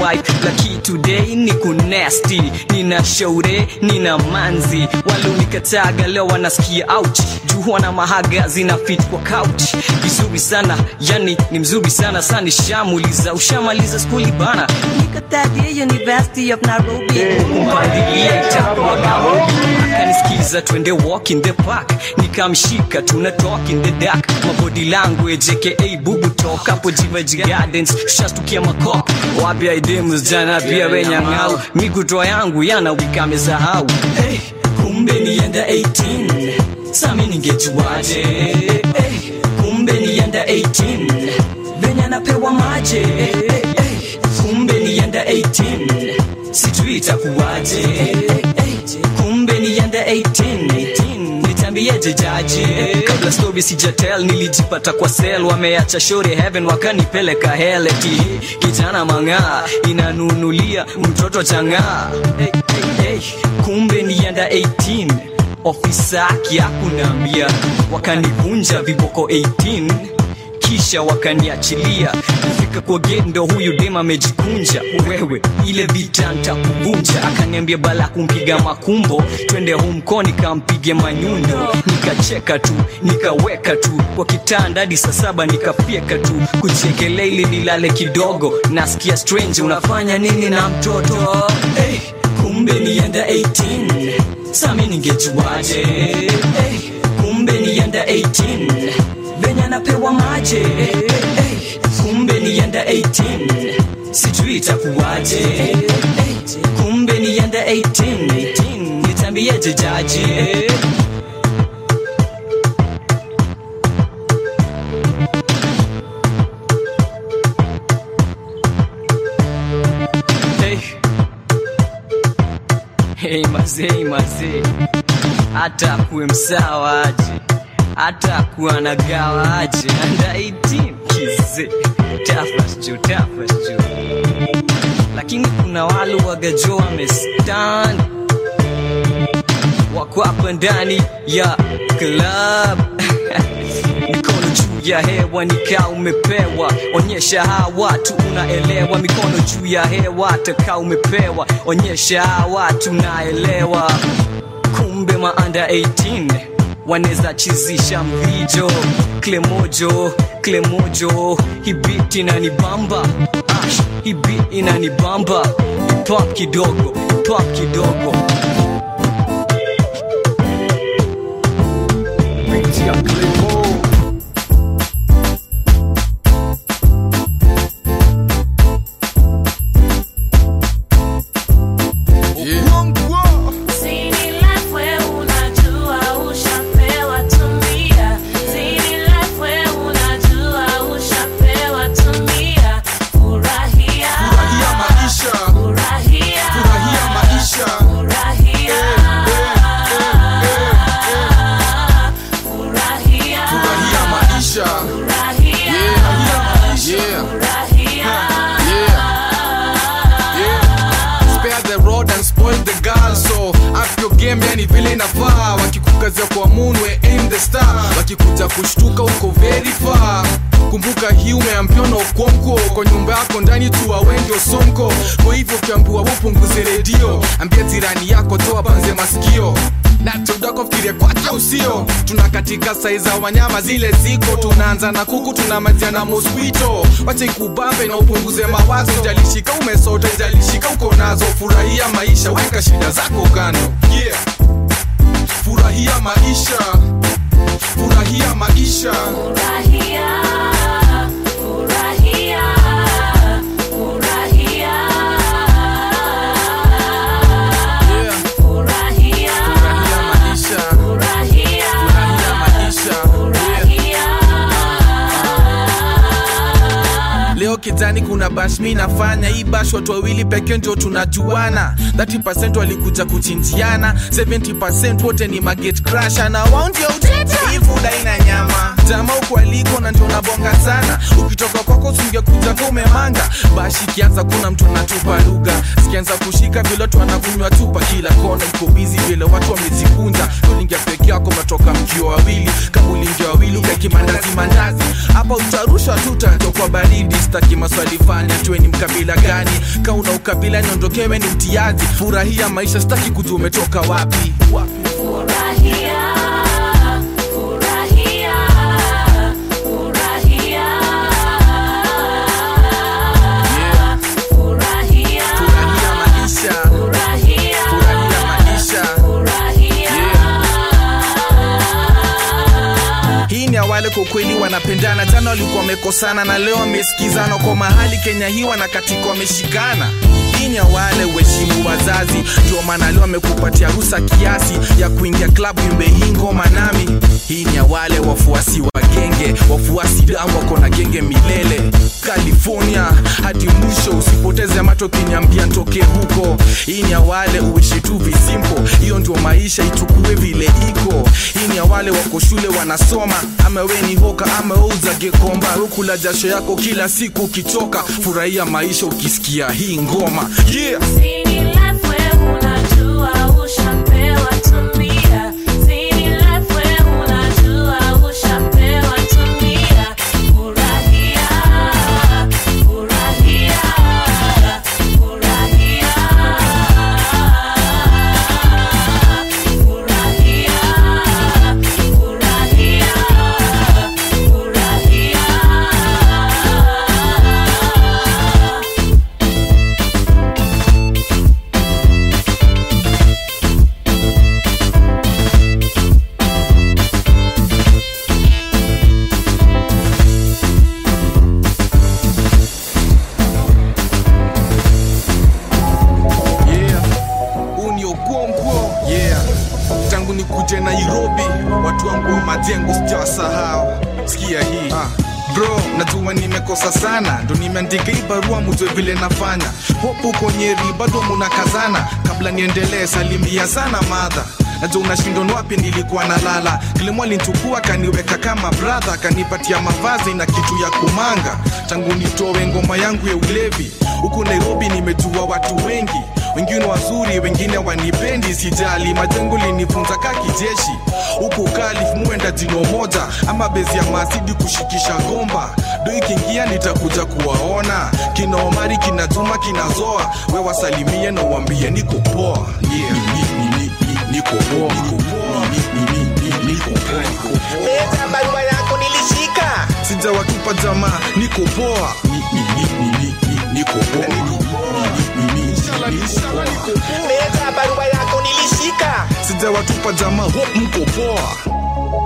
laki today ni kunesti, nina shaure nina manzi, walionikataga leo wanasikia ouch, juu na mahaga zina fit kwa couch, vizuri sana yani ni mzuri sana sana, shamuliza ushamaliza skuli bana, nikatadia University of Nairobi, kumpandilia itakuwa Nairobi, akanisikiza twende walk in the park, nikamshika tuna talk in the dark, mabody language aka bubu talk, hapo Jivaji Gardens shastukia makop, wapi idemus jana pia wenyangau, mikutoa yangu yana wikame sahau, hey, kumbe nienda eighteen, sami ningejuaje, hey, kumbe nienda eighteen, venya napewa maje, hey, hey, kumbe nienda eighteen, sijui itakuwaje, hey, kumbe nienda eighteen, nitambiaje jaji, kabla story sijatel nilijipata kwa cell, wameacha shore heaven wakanipeleka hell, eti kijana manga inanunulia mtoto changa, hey, hey, hey, kumbe nienda eighteen, ofisa kia kunambia, wakanivunja viboko eighteen, kisha wakaniachilia, kufika kwa gate ndo huyu dema amejikunja, wewe ile vita nitakuvunja, akaniambia bala kumpiga makumbo, twende home koni kampige manyundo, nikacheka tu nikaweka tu kwa kitanda hadi saa saba nikafyeka tu, kuchekelea ili nilale kidogo, nasikia strange unafanya nini na mtoto, hey, kumbe nienda eighteen, sami ningejuaje, hey, kumbe nienda eighteen, venya napewa maje, hey, hey, kumbe nienda eighteen, sijui itakuwaje, hey, kumbe nienda eighteen, nitambiaje jaji, hey. Hey mazee mazee, hata kuwe msawa aje, hata kuwa nagawa aje, under eighteen kize, tafas jo tafas jo, lakini kuna wale wagajo wamestand, wako hapa ndani ya club mikono juu ya hewa nika umepewa, onyesha hawa watu unaelewa, mikono juu ya hewa taka umepewa, onyesha hawa watu unaelewa, kumbe ma under eighteen waneza chizisha mvijo, klemojo klemojo, hibiti inanibamba, ash hibiti inanibamba, pop kidogo pop kidogo, Binti ya Klemo. Yani vile inafaa, wakikukazia kwa moonwe aim the star, wakikuja kushtuka uko very far, kumbuka hii umeambiona ukonko, kwa nyumba yako ndani tu wengi osonko, kwa hivyo ukiambiwa upunguze redio, ambia jirani yako toa banze masikio, na tudako fikirie kwake usio, tunakatika saiza wanyama zile ziko, tunaanza na kuku tunamalizia na mosquito, wacha ikubambe na upunguze mawazo, jalishika umesota jalishika uko nazo, furahia maisha weka shida zako kando, yeah. Furahia maisha, furahia maisha, furahia, furahia, furahia, yeah. Furahia, furahia maisha, furahia, furahia maisha, furahia, yeah. Leo kitani kuna bash mi nafanya, hii bash watu wawili pekee ndio tunajuana, thirty percent walikuja kuchinjiana, seventy percent wote ni magate crasher, na wao ndio utete hii food haina nyama, jamaa uko aliko na ndio nabonga sana, ukitoka kwako usingekuja kwa umemanga, bashi kianza kuna mtu anatupa lugha, sikianza kushika vile watu wanakunywa tupa, kila kona iko busy vile watu wamezikunja, ulingia peke yako matoka mkio wawili, kama ulingia wawili ukaki staki mandazi mandazi hapa utarusha tu utatokwa baridi staki maswali fanya tuwe ni mkabila gani kauna ukabila niondokewe ni mtiaji furahia maisha staki kujua umetoka wapi wapi Furahia, furahia, furahia. Yeah. Furahia, furahia maisha furahia, furahia maisha furahia. Yeah. Hii ni awale kwa kweli wanapendana jana walikuwa wamekosana na leo wamesikizana kwa mahali Kenya hii wanakatika wameshikana hii ni wale uheshimu wazazi ndio maana leo amekupatia ruhusa kiasi ya kuingia klabu imbe hii ngoma nami hii ni wale wafuasi wa genge wafuasi damu wako na genge milele California hadi mwisho usipoteze macho kinyambia ntoke huko hii ni wale uishi tu visimpo hiyo ndio maisha ichukue vile iko hii ni wale wako shule wanasoma ama we ni hoka ama uza gekomba ukula jasho yako kila siku ukichoka furahia maisha ukisikia hii ngoma yeah Sini life we unajua ushapewa tumia Sini life we unajua ushapewa tumia Furahia, furahia, furahia Furahia, furahia, furahia nikuje Nairobi, watu wangu wa majengo sijawasahau. Sikia hii ah. Bro, najua nimekosa sana, ndo nimeandika hii barua mjue vile nafanya. Hopu uko Nyeri, bado munakazana. Kabla niendelee, salimia sana madha. Najua unashindwa ni wapi nilikuwa nalala. Kilimo alinichukua kaniweka kama brother, kanipatia mavazi na kitu ya kumanga. Tangu nitoe ngoma yangu ya ulevi, huku Nairobi nimejua watu wengi. Wengine wazuri, wengine wanipendi, sijali. Majengo linifunza ka kijeshi. Huku Kalif muenda jino moja, ama bezi ya masidi kushikisha gomba. Doi kingia nitakuja kuwaona. Kina Omari, kina Juma, kina Zoa. We wasalimie na uambie niko poa. Yeah, ni, ni, ni, ni, niko poa. Niko poa. Ni, ni, ni, ni, niko poa. Niko poa. Leta barua yako nilishika. Sija watupa jamaa, niko poa. Ni, ni, ni, ni, ni, ni, niko poa. Niko poa. Ni, ni, ni, inshallah, inshallah, niko poa. Leta barua yako nilishika. Sija watupa jamaa, hope mko poa.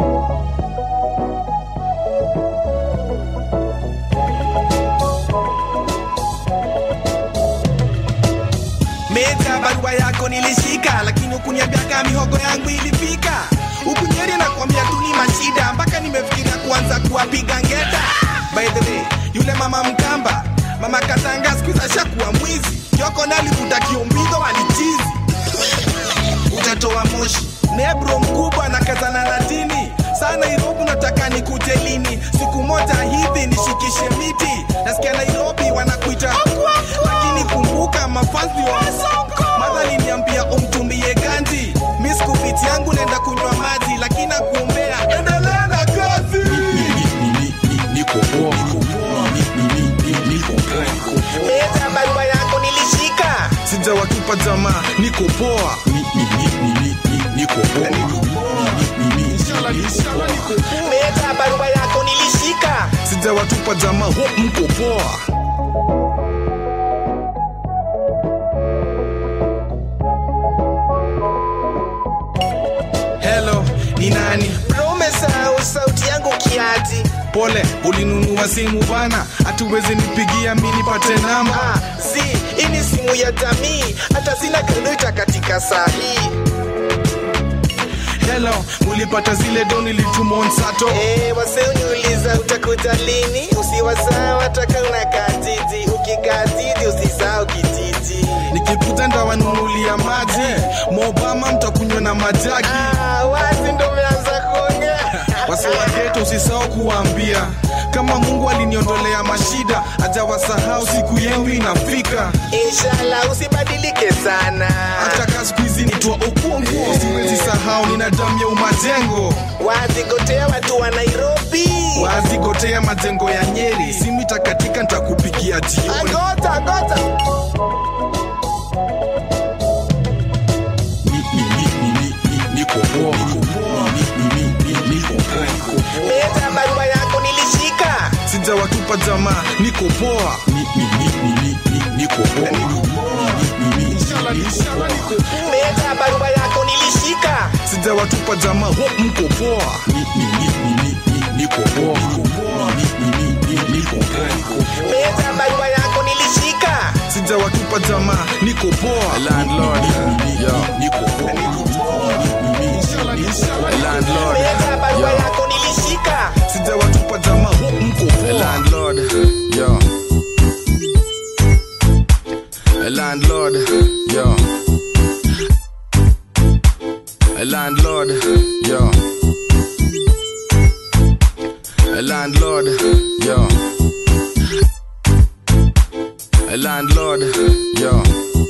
Meta barua yako nilishika, lakini ukuniambia kama mihogo yangu ilifika. Ukunyeri na kuambia tu ni mashida, mpaka nimefikiria kuanza kuwapiga ngeta. By the way, yule mama Mkamba, mama Katanga siku ashakuwa mwizi. Kioko nalivuta kiombizo walichizi. Utatoa moshi. Nebro mkubwa na kazana na dini. Sana Nairobi nataka nikuje lini? Siku moja hivi nishikishe miti. Nasikia Nairobi wanakuita. Lakini kumbuka mafanzi wa Mother aliniambia umtumie ganji. Mimi sikupiti yangu nenda kunywa maji, lakini nakuombea endelea na kazi. Niko poa, niko poa. Niko poa, niko poa. Leta barua yako nilishika. Sija watupa jamaa, niko poa. Niko poa. Inshallah, inshallah, niko poa. Leta barua yako nilishika. Sija watupa jamaa, hope mko poa. Hello, ni nani? Bro, umesahau sauti yangu kiati. Pole, ulinunua simu bana, hatuwezi nipigia mimi nipate namba. Ah, si, hii ni simu ya jamii, hata sina kredita katika saa hii. Hello, mulipata zile doni litumon sato. Eh, wase uniuliza utakuta lini? Usiwasahau hata kama unakaa jiji, ukikaa jiji usisahau kijiji. Nikikuta ndawanunulia maji, Mobama mtakunywa na majagi. Ah, wazi ndo umeanza kuongea. Wase wa ghetto usisahau kuambia, kama Mungu aliniondolea mashida, hajawasahau siku yenu inafika. Inshallah usibadilike sana. Hata kazi hizi nitwa Okonko, siwezi sahau nina damu ya umajengo. Wazigotea watu wa Nairobi, wazigotea majengo ya Nyeri. Simita katika nitakupikia jioni. Agota agota. Niko poa, niko poa. Leta barua yako nilishika. Sijawatupa jamaa, niko poa. Niko poa. Inshallah inshallah niko poa. Leta barua yako nilishika. Sijawatupa jamaa, hope mko poa. Niko poa. Niko poa. Leta barua yako nilishika. Sijawatupa jamaa, niko poa. Landlord, yo, niko poa. Landlord, leta barua yako nilishika. Sijawatupa jamaa, hope mko poa. Landlord, yo. Landlord, yo. Landlord, yo. Landlord, yo. Landlord, yo.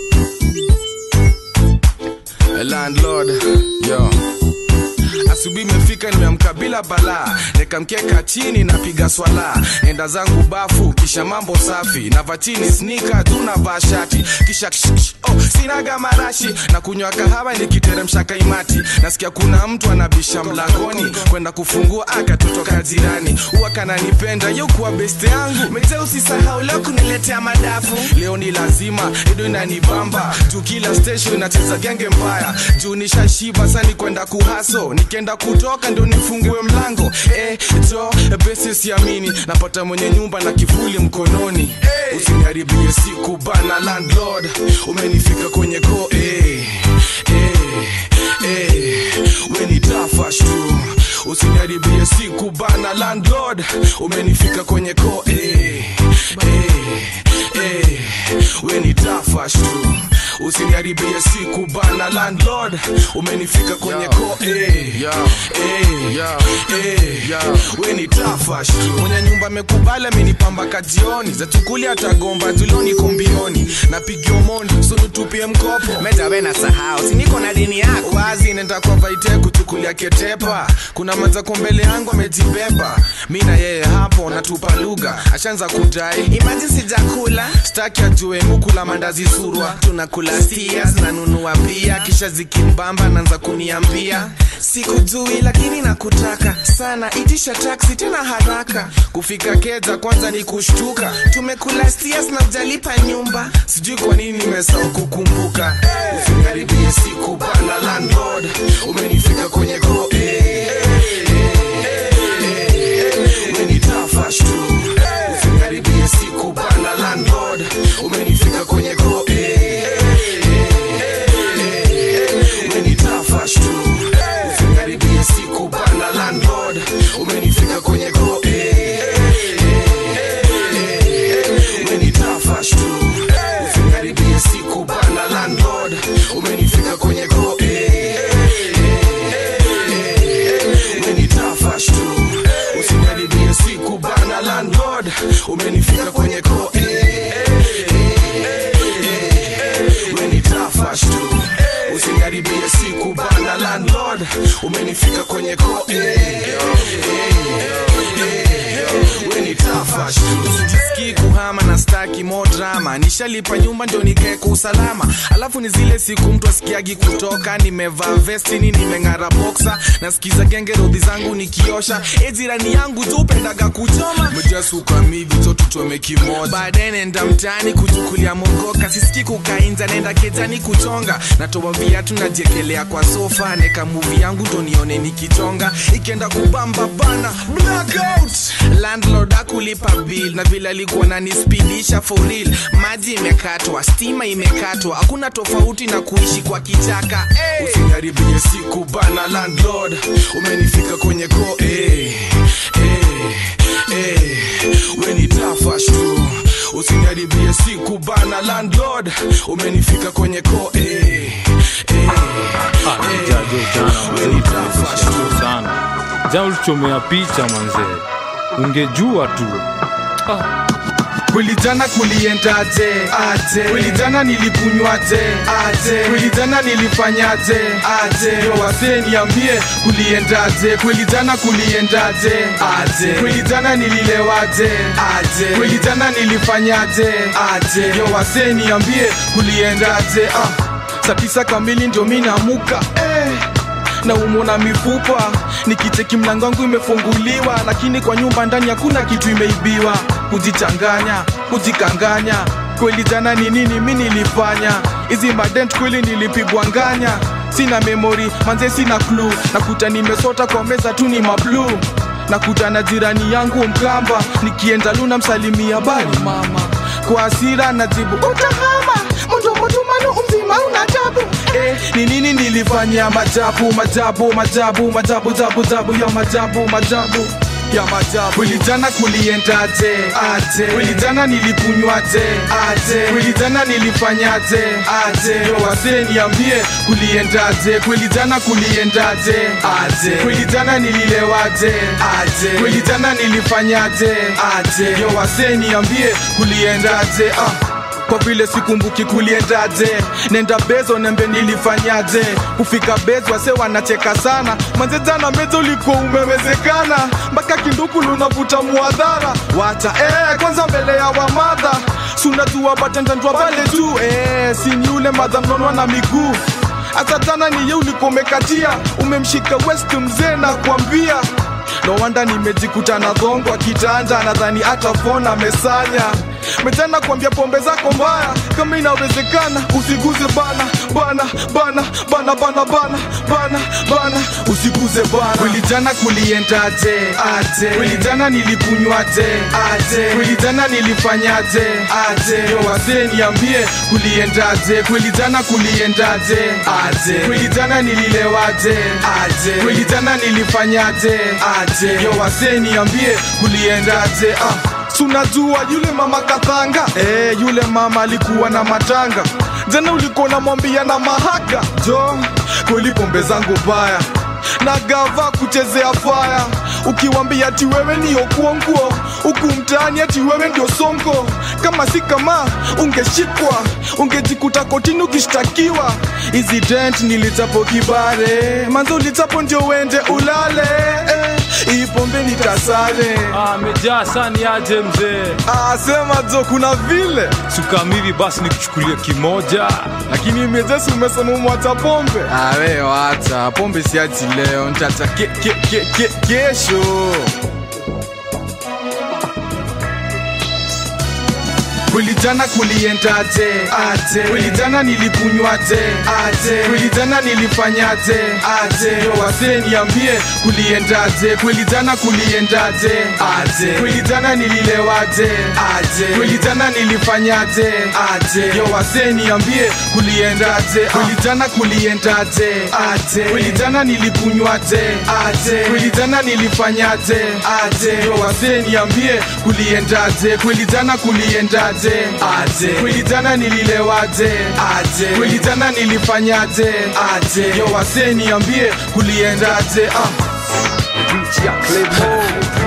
Landlord, yo. Asubuhi imefika nimeamka bila balaa, nikamkeka chini napiga swala, enda zangu bafu kisha mambo safi, na vatini sneaker tunavaa shati kisha ksh, ksh, oh sinaga marashi na kunywa kahawa nikiteremsha kaimati. Nasikia kuna mtu anabisha mlangoni, kwenda kufungua akatotoka jirani, huwa kananipenda yuko best yangu. Mzee usisahau leo kuniletea madafu, leo ni lazima edo inanibamba juu kila station inacheza genge mbaya, juu nishashiba sasa ni kwenda kuhaso, nikienda kutoka ndo nifungue mlango. Eh jo besi siamini, napata mwenye nyumba na kivuli mkononi. Hey. Usiniharibie siku bana landlord, umenifika kwenye go. Eh eh eh when tafash tu, usiniharibie siku bana landlord, umenifika kwenye go. Eh eh eh when tafash tu, usiniharibie siku bana landlord, umenifika kwenye ko. Eh yo eh yo eh yo when tafash tu, mwenye nyumba amekubali amenipamba kajioni, za tukuli atagomba tuloni kombioni, napigia mondi sunu tupie mkopo. Meta wena sahau si niko na dini yako, wazi nenda kwa vaite kuchukulia ketepa, kuna manza kombele yangu amejibeba, mimi na yeye hapo natupa lugha, ashaanza kudai imagine sijakula, staki ajue mukula mandazi surwa, tunakula stias na nunua pia, kisha zikimbamba naanza kuniambia sikujui lakini nakutaka sana, itisha taxi tena haraka, kufika Keza kwanza ni kushtuka, tumekula stias na jalipa nyumba, sijui kwa nini nimesahau kukumbuka. Usiniharibie siku bana landlord, umenifika kwenye go. Eh umenitafash tu, usiniharibie siku bana landlord, umenifika kwenye go. Eh umenitafash tu, usiniharibie siku bana landlord, umenifika kwenye go. Eh umenitafash tu, usiniharibie siku bana landlord, umenifika kwenye go. Eh umenitafash tu, usiniharibie siku bana landlord, umenifika kwenye go. Eh umenitafash tu, usiniharibie siku bana landlord, umenifika kwenye go. Eh umenitafash tu, sijisikii kuhama na staki more drama, nishalipa nyumba ndio nikae kwa usalama, alafu ni zile siku mtu asikiagi kutoka, nimevaa vesti nini nimeng'ara boxer, nasikiza genge rodhi zangu nikiosha, e jirani yangu tu pendaga kuchoma, mjasuka mivi zote tuchome kimoja, baadaye nenda mtaani kuchukulia mogoka, sisikii kukainza nenda Kejani kuchonga, natoa viatu najiekelea kwa sofa, neka movie yangu ndo nione nikichonga, ikienda kubamba bana blackout, landlord akulipa bill na vile alikuwa ananispidisha for real, maji imekatwa, stima imekatwa, hakuna tofauti na kuishi kwa kichaka. Hey. Usiniharibie siku bana landlord, umenifika kwenye go. Eh eh eh when tafash tu, usiniharibie siku bana landlord, umenifika kwenye go. Eh eh Jana ulichomea picha manze, ungejua tu. Ah. Kweli jana kuliendaje? Aje. Kweli jana nilikunywaje? Aje. Kweli jana nilifanyaje? Aje. Yo wase niambie kuliendaje? Kweli jana kuliendaje? Aje. Kweli jana nililewaje? Aje. Kweli jana nilifanyaje? Aje. Yo wase niambie kuliendaje? Ah. Saa tisa kamili ndio mimi namuka. Eh. Na umona mifupa nikicheki mlango wangu imefunguliwa, lakini kwa nyumba ndani hakuna kitu imeibiwa. Kujichanganya, kujikanganya, kweli jana ni nini mimi nilifanya? Hizi madent kweli nilipigwa nganya. Sina memory, manze sina clue. Nakuta nimesota kwa meza tu ni mablu. Nakuta na jirani yangu Mkamba, nikienda Luna msalimia bali mama. Kwa hasira najibu utahama, mtu mtu manu umzima unajabu. Eh, ni nini nilifanya? Majabu, majabu, majabu, majabu, jabu, jabu, ya majabu, majabu ya majabu. Kweli jana kuliendaje? Aje. Kweli jana nilikunywaje? Aje. Kweli jana nilifanyaje? Aje. Yo wase niambie kuliendaje? Kweli jana kuliendaje? Aje. Kweli jana nililewaje? Aje. Kweli jana nilifanyaje? Aje. Yo wase niambie kuliendaje? Ah. Kwa vile sikumbuki kuliendaje, nenda bezo nembe nilifanyaje. Kufika bezo wase wanacheka sana, manze jana bezo liko umewezekana. Mpaka kinduku lunavuta muadhara. Wacha eh kwanza mbele ya wamadha, suna tuwa batendandwa pale tu. Eh sini yule madha mnonwa na miguu. Ata tana ni ye ulikomekatia, umemshika west mzee na kuambia. No wanda nimejikuta na dhongo kitanda, nadhani hata phone amesanya. Metana kuambia pombe zako mbaya, kama inawezekana usiguze bana bana bana bana bana bana bana bana usiguze bana. Kweli jana kuliendaje? Aje. Kweli jana nilikunywaje? Aje. Kweli jana nilifanyaje? Aje. Yo wase niambie kuliendaje? Kweli jana kuliendaje? Aje. Kweli jana nililewaje? Aje. Kweli jana nilifanyaje? Aje. Yo wase niambie kuliendaje? Ah. Sunajua yule mama Kathanga, eh yule mama alikuwa na matanga. Jana ulikuwa namwambia na mahaka jo, kweli pombe zangu baya na gava kuchezea fire. Ukiwambia ati wewe ni okuonguo, huku mtaani ati wewe ndio sonko. Kama si kama ungeshikwa, ungejikuta kotini ukishtakiwa. Hizi dent nilitapo kibare, manzo ulitapo ndio wende ulale. Eh, hii pombe nitasale. Ah, mejaa sani aje mzee. Ah, sema jo kuna vile. Sukamili basi nikuchukulia kimoja. Lakini mejesi umesema umwacha pombe. Ah, wewe wacha, pombe siachi leo, nitata ke, ke, ke, ke, kesho. Kweli jana kuliendaje? Aje. Kweli jana nilikunywaje? Aje. Kweli jana nilifanyaje? Aje. Yo wase niambie kuliendaje? Kweli jana kuliendaje? Aje. Kweli jana nililewaje? Aje. Kweli jana nilifanyaje? Aje. Yo wase niambie kuliendaje? Kweli jana kuliendaje? Aje. Kweli jana nilikunywaje? Aje. Kweli jana nilifanyaje? Aje. Yo wase niambie kuliendaje? Kweli jana kuliendaje? Aje. Kweli jana nililewaje? Aje. Kweli jana nilifanyaje? Aje. Yo wase niambie kuliendaje? Ah. Richi Clemo.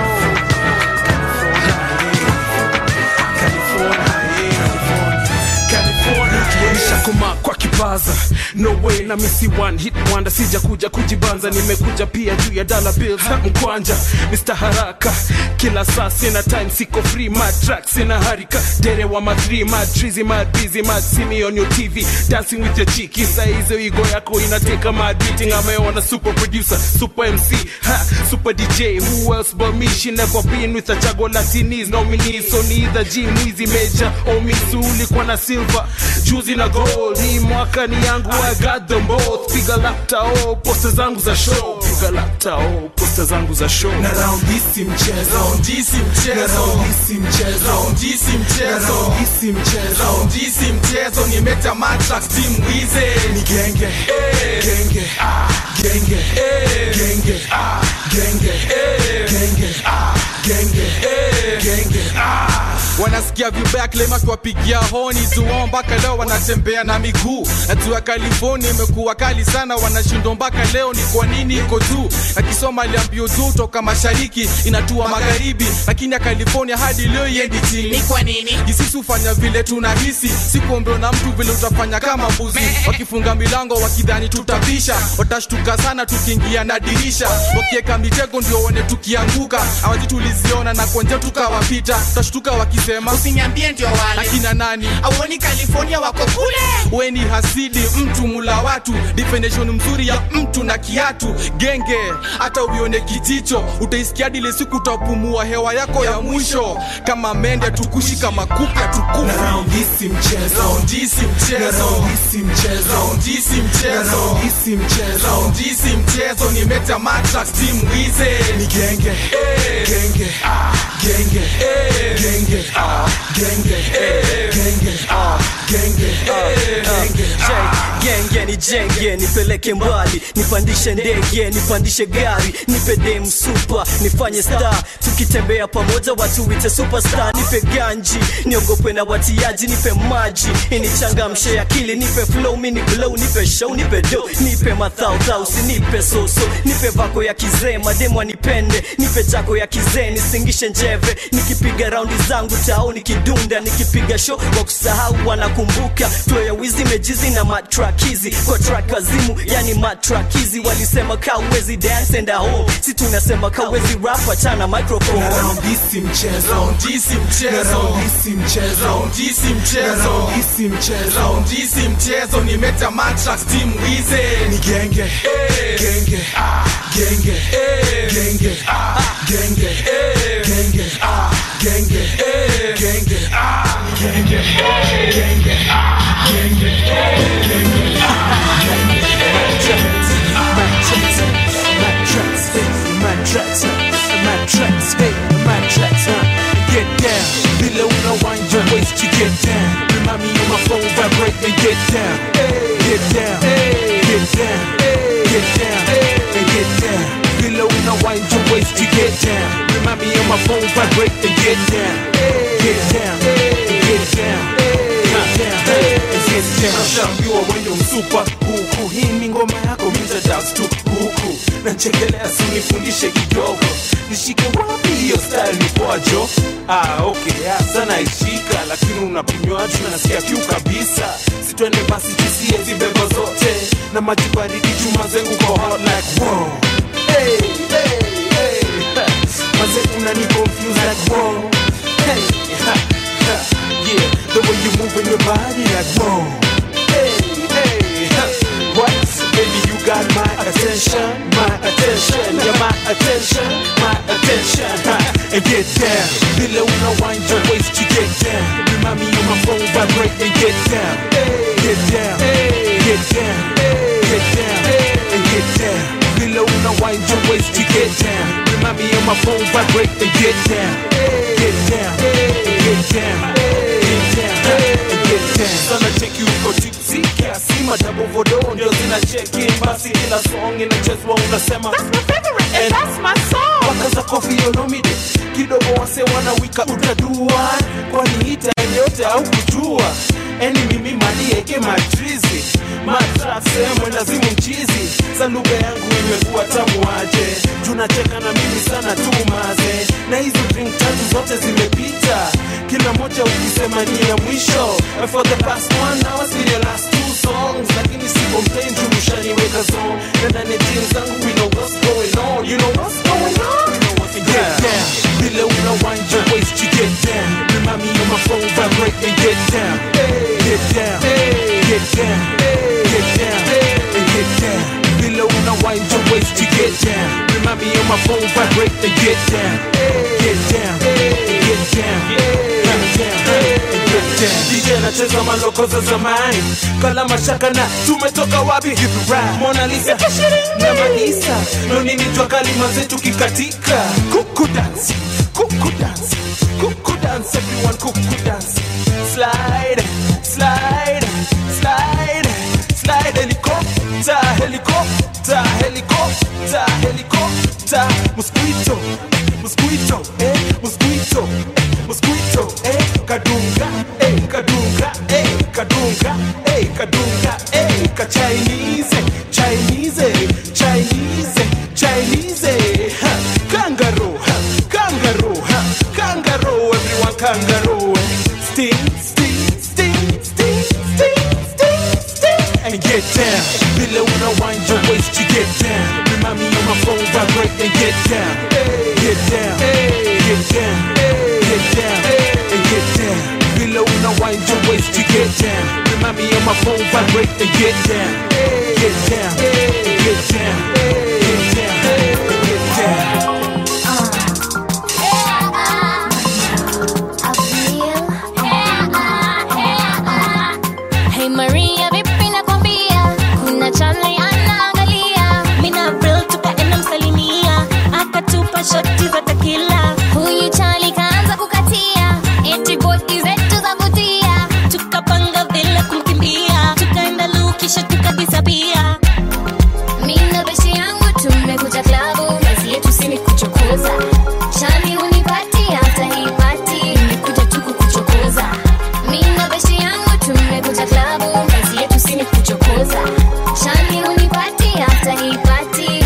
Koma kwa kipaza, no way na misi one hit wonder. Sija kuja kujibanza, nimekuja pia juu ya dollar bills na mkwanja. Mister Haraka, kila saa sina time, siko free, mad tracks in a harika. Dere wa ma three, mad treasy, mad busy, mad see me on your T V, dancing with your cheeky. Sa hizo ego yako inateka mad beating. Ameona super producer, super M C, ha, super D J. Who else but me? She never been with a Chago Latinis nominees. So neither G, Mwizi, Major, or Misuli, kwa na silver, juzi na gold. Hii mwaka ni yangu, I got them both. Piga lapta oh, posta zangu za show. Piga lapta oh, posta zangu za show. Na round hisi mchezo, round hisi mchezo, na round hisi mchezo, round hisi mchezo, round hisi mchezo, round hisi mchezo. Nimeta matrax team Wize. Ni genge, eh, genge, ah, genge, eh, genge, ah, genge, eh, genge, ah, genge, eh, genge, ah. Wana nasikia vibaya klema kuwapigia honi zuo mpaka leo wanatembea na miguu. Najua California imekuwa kali sana, wanashindwa mpaka leo ni kwa nini iko juu. Akisoma aliambio juu toka mashariki inatua magharibi, lakini ya California hadi leo yendi chini. Ni kwa nini? Jisisi ufanya vile tunahisi, sikuombewa na mtu vile utafanya kama mbuzi. Wakifunga milango wakidhani tutapisha, watashtuka sana tukiingia na dirisha. Wakieka mitego ndio one tukianguka, hawaji tuliziona na konje tukawapita. Tashtuka wakisema usiniambie ndio wale. Akina nani? Awoni California wako kule. Weni hasidi mtu mula watu, definition mzuri ya mtu na kiatu. Genge hata uione kijicho, utaisikia dile siku utapumua hewa yako ya mwisho. Kama mende tukushi kama kupe tukufu. Na round hisi mchezo, round hisi mchezo, na round hisi mchezo, round hisi mchezo, na round hisi mchezo, round hisi mchezo. Nimeta matrax team wize ni genge, eh, genge, ah, genge, eh, genge, ah, genge, eh, genge, ah, genge, eh, genge, ah. Genge ni jenge, nipeleke mbali, nipandishe ndege, nipandishe gari, nipe dem super, nifanye star, tukitembea pamoja watu wite superstar. Nipe ganji, niogope na watiaji, nipe maji, inichangamshe akili, nipe flow, mini glow, nipe show, nipe do, nipe mathau thau, nipe soso, nipe vako ya kizee, mademu wanipende, nipe jako ya kizee, nisingishe njeve, nikipiga raundi zangu tao, nikidunda, nikipiga show, wakusahau wanakumbuka, flow ya wizi mejizi na matrakizi, kwa track wazimu, yani matrakizi, walisema kawezi dance and a home, si tunasema kawezi rap, achana microphone. Na round hisi mchezo, round hisi mchezo, na round hisi mchezo, round hisi mchezo, na round hisi mchezo, round hisi mchezo. Nimeta matrax team wize ni genge, eh, genge, ah, genge, eh, genge, ah, genge, eh, genge, ah, genge, eh, genge, ah, genge, genge, ah, genge, genge, ah, genge. Matrax, matrax, matrax, hey, matrax, huh? Get down, below the wind your waist, you get down. Remind me on my phone, vibrate and get down, get down, get down, get down, and get down. Below the wind your waist, you get down. Remind me on my phone, vibrate and get down, get down, get down, get down, and get down. Nashambiwa wendo msupa huku, hii ni ngoma yako mita dance tu huku. Nachekelea sinifundishe kidogo, nishike wapi hiyo style ni poajo. Ah okay, ah, sana ishika, lakini unapinywa tu na nasikia kiu kabisa. Sitwende basi tusie zibebo zote, na maji baridi chuma zengu kwa hot like wow. Hey, hey, hey, maze unani confuse like wow. Hey, ha, ha, yeah, the way you moving your body like wow. Hey, hey, ha, what? Baby, you got my attention, my attention, yeah, my attention, my attention, ha, and get down. Below no wind your waist, you get down. Remind me on my phone, vibrate and get down, get down, get down, get down, and get down. Below no wind your waist, you get down. Remind me on my phone, vibrate and get down, get down, get down, get down, and get down. Sana check you go tipsy, kiasi madabo vodo ndio zina check in, basi kila song inachezwa unasema that's my favorite and that's my song. Wakaza coffee yonomide kidogo wase wanawika utadua, kwani hita yote au kujua. Eni mimi mali eke matrizi matrap sehemu lazimu mchizi. Za lugha yangu imekuwa tamu aje, tunacheka na mimi sana tu maze. Na hizo drink tatu zote zimepita, kila moja ukisema ni ya mwisho. And for the past one hour see the last two songs, lakini sipo mpenzi ushaniweka zone. Na ndani jeans zangu we know what's going on, you know what's going on, you know what's going on. Get down, below no wind your waist, you get down. Remind me on my phone, vibrate and get down, get down, get down, get down, and get down. Below no wind your waist, you get down. Remind me on my phone, vibrate and get down, get down, get down, get down, and get down. D J anacheza maloko za zamani, kala mashaka na tumetoka wapi? Give it right, Mona Lisa na Malisa, no nini jua kalima zetu kikatika. Kuku dance, kuku dance, kuku dance, everyone kuku dance. Slide, slide, slide, slide, helicopter, helicopter, helicopter, helicopter. mosquito, mosquito, mosquito, eh, mosquito, mosquito, eh, kadunga, eh, kadunga, eh, kadunga, eh, kadunga, eh, ka Chinese, Chinese, Chinese, Chinese, huh, kangaroo, huh, kangaroo, huh, kangaroo, everyone kangaroo, sting, sting, sting, sting, sting, sting, sting, and get down. Below when I wind your waist, you get down. Remind me on my phone, vibrate and get down, get down, get down, get down, and get down. Below when I wind your waist, you get down. Remind me on my phone, vibrate and get down, get down, get down, get down, get down. Hey Maria, vipi nakwambia, kuna chali anaangalia, mina real tukaenda msalimia, akatupa shoti za tequila. Huyu chali kaanza kukatia, eti body zetu za vutia, tukapanga vile kumkimbia, tukaenda lu kisha tukadisapia. Mina beshi yangu tumekuja klabu, kazi yetu si ni kuchokoza. Chali unipati hata hii party, nimekuja tu kukuchokoza. Mina beshi yangu tumekuja klabu, kazi yetu si ni kuchokoza. Chali unipati hata hii party.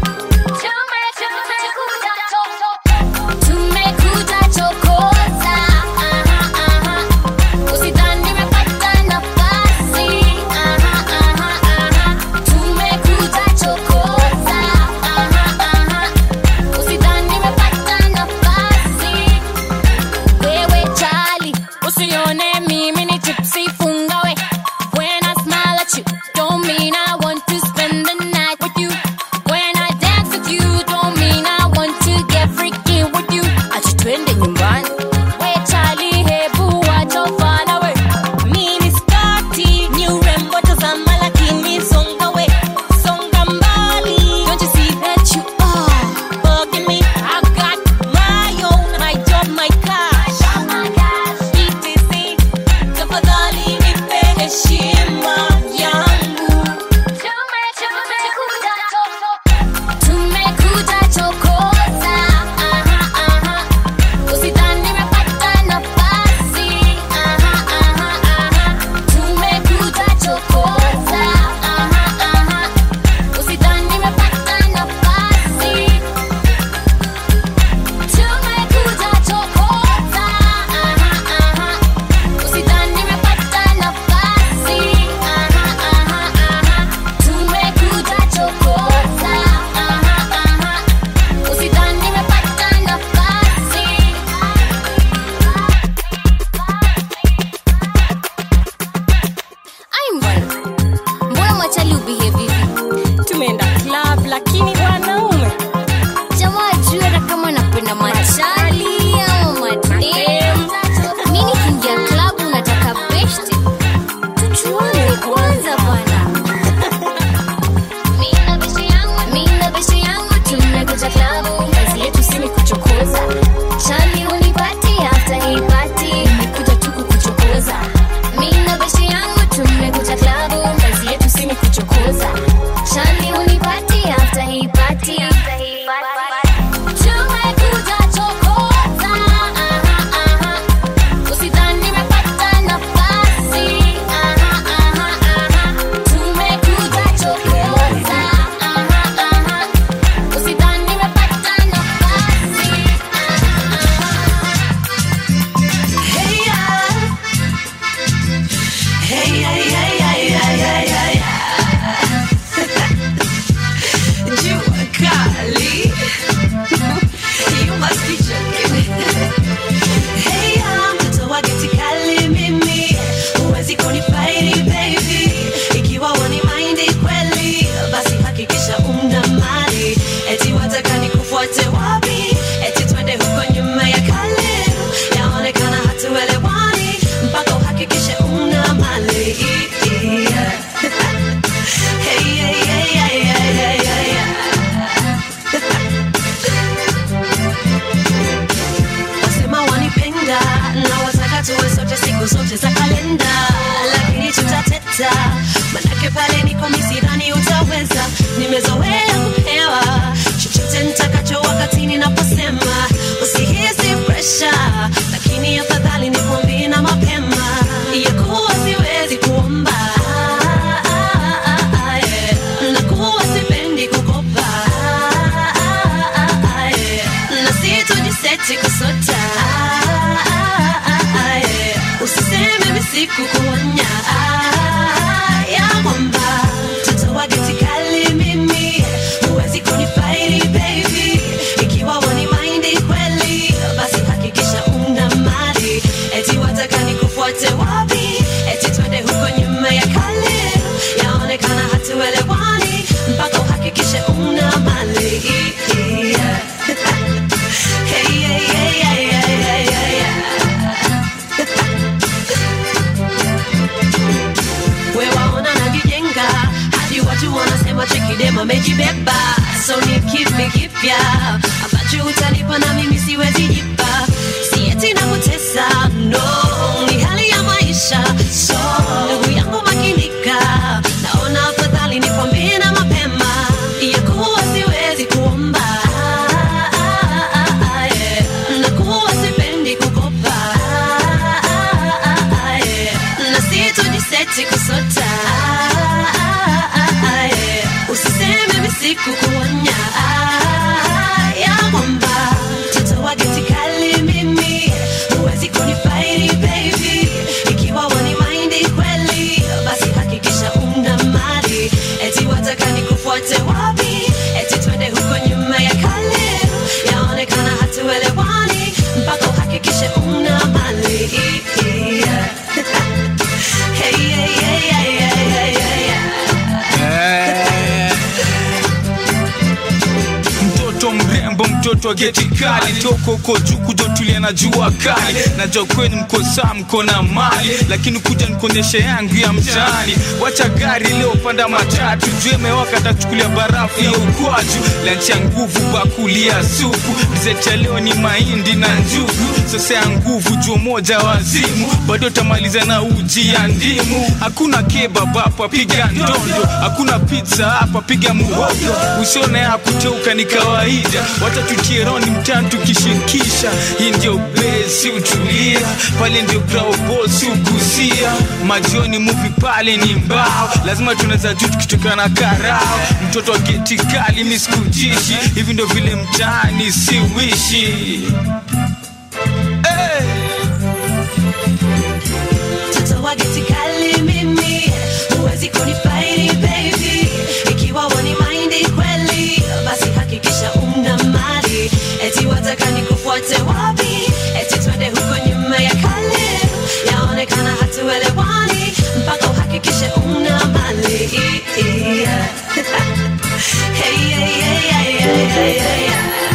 Tumekuja chokoza, aha, aha. Usidhani nimepata nafasi, aha, aha, aha. Tumekuja chokoza, aha, aha. Usidhani nimepata nafasi. Wewe chali, usione mimi ni tipsy, funga we. When I smile at you, don't mean I want to spend the night with you. When I dance with you, don't mean I want to get freaky with you. Acha twende nyumbani. We chali, hebu wacha ufala we. Mini skati, ni urembo tazama lakini songa we. Songa mbali. Don't you see that you are bugging me? I've got my own, I drive my car. E T C, tafadhali nipe heshima yangu. Tumekuja chokoza, aha, aha. Usidhani nimepata nafasi, aha, aha, aha. Tumekuja chokoza, aha, aha. Usidhani nimepata nafasi. Tumekuja chokoza, aha, aha. Usidhani nimepata nafasi, aha, aha, aha. Tumekuja chokoza, aha, aha. Usidhani nimepata nafasi. Ai mbwana, mbona mwachali ubehave hivi? Tumeenda club lakini wanaume jamaa juu hata kama napenda machali au madem. Mimi nikiingia club unataka best, tuchuane kwanza bwana. Mina beshi yangu, mina beshi yangu, tumekuja klabu, kazi yetu si ni kuchokoza. Chali unipati after hii party, nimekuja tu kukuchokoza. Mina beshi yangu, tumekuja klabu, kazi yetu si ni kuchokoza. Chali unipati after hii party, after hii party. Tumekuja chokoza, aha, aha. Usidhani nimepata nafasi, aha, aha, aha. Tumekuja chokoza, aha, aha. Usidhani nimepata nafasi, aha, aha. Hey ya, hey ya, ya, ya, ya, ya, ya, ya. Jua kali, you must be joking. Hey ya, mtoto wa geti kali mimi, huwezi kunifaidi baby. Ikiwa wani mind kweli, basi hakikisha una mali. Eti wataka nikufuate wapi? Eti twende huko nyuma ya kale. Yaonekana hatuelewani, mpaka uhakikishe una mali. Hey, hey, hey, hey, hey, hey, hey, hey. Wasema wanipenda na wataka tuwe sote siku zote za kalenda, lakini tutateta, manake pale niko misirani utaweza. Nimezoea kupewa chochote nita kipya ambacho utanipa na mimi siwezi jipa. Si eti nakutesa, no, ni hali ya maisha. So ndugu yangu makinika, naona afadhali nikwambie na mapema ya kuwa siwezi kuomba, na kuwa sipendi kukopa, na sitojiseti kusota. Usiseme misiku kuonya ya mwamba, mtoto wa geti kali mimi, huwezi kunifaidi baby. Ikiwa wani mind kweli, basi hakikisha una mali. Eti wataka nikufuate wapi? Eti twende huko nyuma ya kale, yaonekana hatuelewani, mpaka uhakikishe una mali. Hey, hey, hey, hey, hey, hey, hey. Mtoto mrembo, mtoto wa geti kali, toko uko juu kuja tulia na jua kali. Najua kwenu mko saa mko na mali, lakini kuja nikuonyeshe yangu ya mtaani. Wacha gari leo panda matatu, juu mewaka tachukulia barafu ya ukwaju. Lunch ya nguvu bakuli ya supu, dessert ya leo ni mahindi na njugu. Sasa ya nguvu juu moja wazimu, bado tamaliza na uji ya ndimu. Hakuna kebab hapa piga ndondo, hakuna pizza hapa piga muhogo. Usione ya kuteuka ni kawaida, wacha tutie roni mtani tukishirikisha. Hii ndio base utulia, pale ndio crowd boss ukusia. Majioni movie pale ni mbao, lazima tunaweza juu tukitoka na karao. Mtoto wa geti kali mimi sikujishi, hivi ndio vile mtaani siwishi. Mtoto wa geti kali mimi, huwezi kunifaidi baby. Ikiwa wani mind kweli, basi hakikisha una mali. Eti wataka nikufuate wapi? Eti twende huko nyuma ya kale, yaonekana hatuelewani, mpaka uhakikishe una mali. Hey, hey, hey, hey, hey, hey, hey.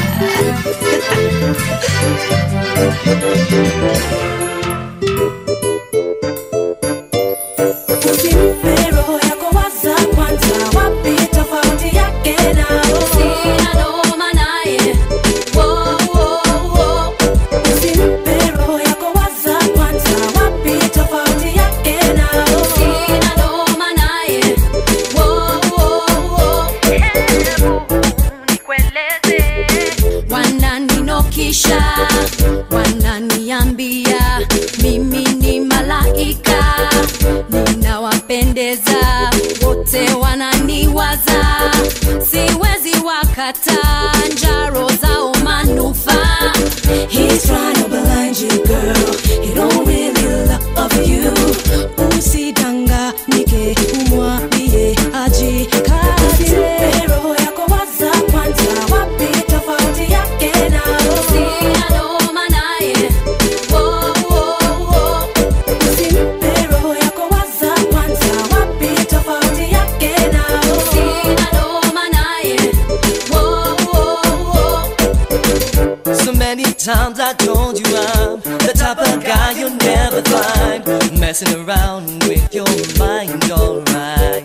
Usimpe roho yako waza kwanza, wapi tofauti yake nao? Sina noma naye, wo, wo, wo. Usimpe roho yako waza kwanza, wapi tofauti yake nao? Sina noma naye, wo, wo, wo. Nikueleze, wananinokisha, wananiambia mimi ni malaika, ninawapendeza, wote wananiwaza, siwezi wakata njaro zao manufaa. He's trying to blind you girl, he don't really love you. Usidanganyike, umwambie ajikate. Roho yako waza kwanza, wapi tofauti yake nao? Sina noma naye, wo, wo, wo. Usimpe roho yako waza kwanza, wapi tofauti yake nao? Sina noma naye, wo, wo, wo. So many times I told you I'm the type of guy you'll never find messing around with your mind, alright.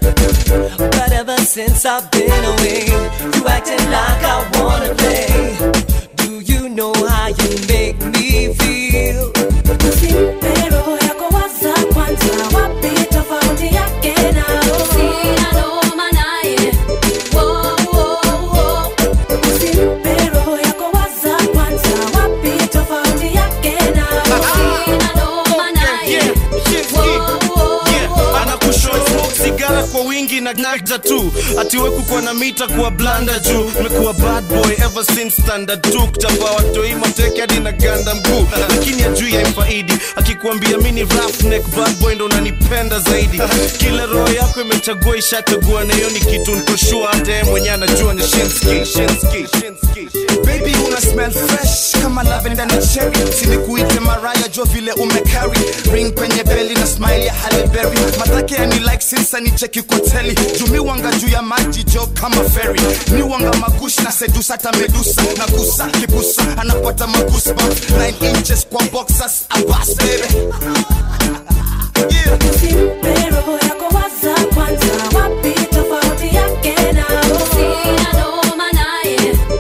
But ever since I've been away, you acting like I wanna play. Do you know how you make me feel? Usimpe roho yako waza kwanza, wapi tofauti yake nao? Sina noma naye, wo, wo, wo. Usimpe roho yako waza kwanza, wapi tofauti yake nao? Sina noma naye, wo, wo, wo. Anakushow smoke sigara kwa wingi na nagda tu, atiwe kukuwa na mita kuwa blanda juu. Mekuwa bad boy ever since standard two, kutapa watoi mateke hadi na ganda mguu. Lakini ajui ya mfaidi, akikuambia mini roughneck bad boy ndo unanipenda zaidi. Kila roho yako imechagua ishachagua, na hiyo ni kitu ntoshua, hata yeye mwenye anajua ni Shinski, Shinski, Shinski. Baby una smell fresh kama lavender na cherry, sinikuite Mariah jo vile umecarry ring kwenye belly na smile ya Halle Berry. Matake ya ni like since ni cheki koteli, jumi wanga juu ya maji jo kama ferry. Ni wanga magush na sedusa ta medusa, na kusa kibusa anapata magusa nine inches kwa boxers abas baby. Yeah. Usimpe roho yako waza kwanza, wapi tofauti yake nao? Sina noma naye,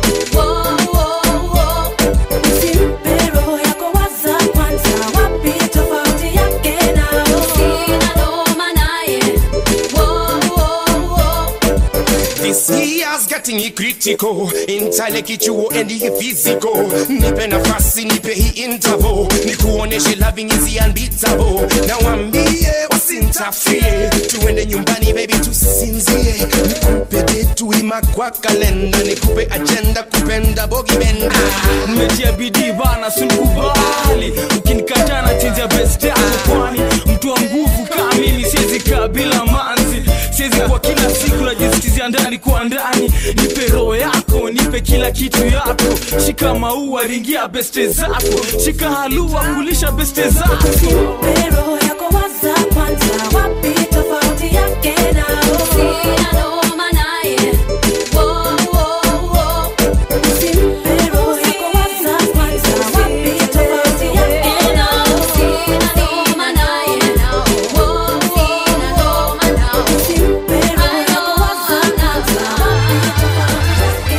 critical intale kichuo endi physical nipe nafasi nipe hii interval nikuoneshe loving is unbeatable na wambie wasintafie tuende nyumbani baby tusinzie nikupe detu ima kwa kalenda nikupe agenda kupenda bogi benda Mmetia bidii bana sunikubali ukinikata na tinja best yako kwani mtu wa nguvu kama mimi siwezi kabila manzi siwezi kwa kila siku najisikizia ndani kwa ndani nipe roho yako nipe kila kitu yako shika maua ringia beste zako shika halua kulisha beste zako nipe roho yako waza kwanza wapi tofauti yake nao sina noma naye oh oh oh nipe roho yako waza kwanza wapi tofauti yake nao sina noma naye nao oh sina noma nao nipe roho yako waza kwanza wapi tofauti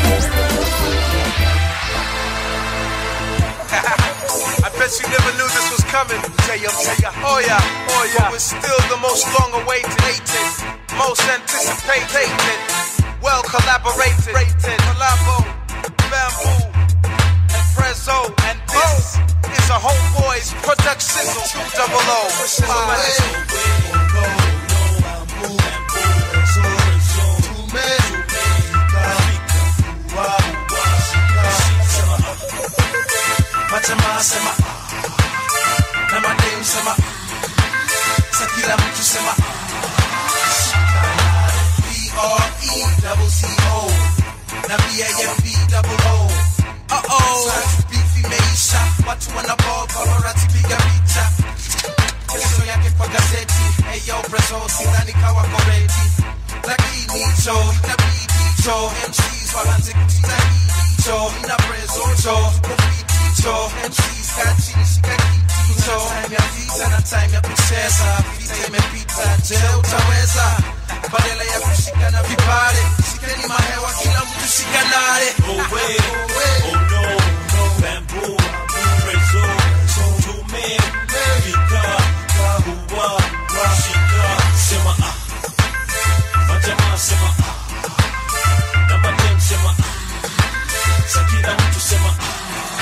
I bet you never knew this was coming. Tell ya, tell ya, oh yeah, oh yeah. But we're still the most long-awaited, most anticipated, well collaborated, collabo, Bamboo, and Prezzo, and this is a Homeboys production. Two double O. Jamaa sema na madem sema sakila mtu sema B R E double C O na B A M B double O uh-oh Sasa beefy meisha watu wanaball paparazzi piga picha kesho yake kwa gazeti Ayo Prezzo sidhani kawa koreti lakini cho inabidi cho M Cs waanze kutia hii cho ina Prezzo cho Cho, M Cs got chini shika kiti Cho, time ya vita na time ya kucheza Vita imepita, je utaweza Badala ya kushika na vipare Shikeni mahewa kila mtu shika nare Oh wait, oh no, no Bamboo, Prezzo, tume Vika, kahuwa, shika Sema ah Majamaa sema ah Na madem sema ah Sakila mtu sema ah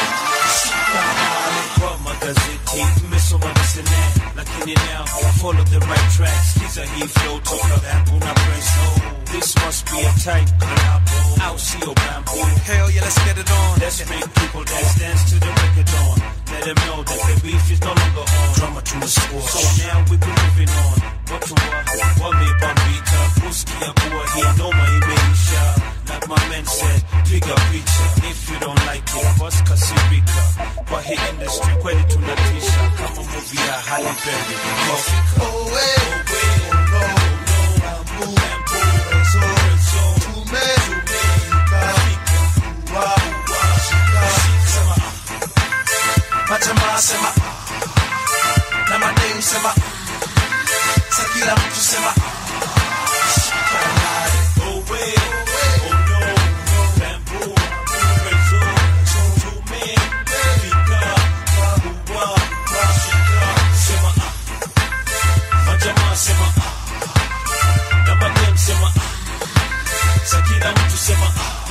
kwa magazeti mmesoma niseme lakini now follow the right tracks these are he flow toka Bamboo na Prezzo this must be a tight collabo I'll see your Bamboo hell yeah let's get it on let's make people dance dance to the record on let them know that the beef is no longer on drama to the score so now we be moving on what to what what me bambita uski ya kuwa hii noma imeisha like my man said piga picha if you don't like it bust kasirika kwa hii industry kweli tunatisha kama movie ya Halle Berry Kofika oh way oh way oh no no Bamboo Bamboo Prezzo Prezzo tume tume Vika wow wow shika sema Majamaa sema na madem sema sakila mtu sema shika nare oh way oh no no Bamboo Prezzo tume Vika wow wow shika sema Majamaa sema na madem sema sakila mtu sema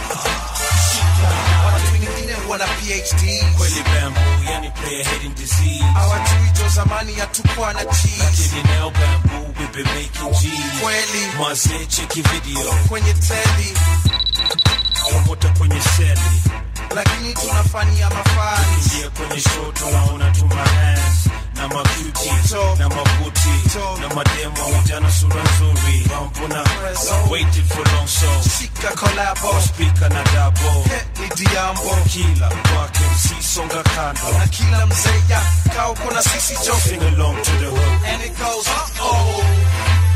watu wengine wana P H D kweli Bamboo yani player hating disease hawajui jo zamani hatukuwa na cheese lakini now Bamboo we been making G's kweli mazee cheki video kwenye teli promota kwenye seli lakini tunafanyia mafani ingia kwenye show tunaona tuma hands na macuti na mabuti na mademo ujana sura nzuri Bamboo na waited for long so shika collabo speaker na dabo ni diambo kila wake msi songa kando na kila mzeya kao kuna sisi jo sing along to the hook and it goes uh oh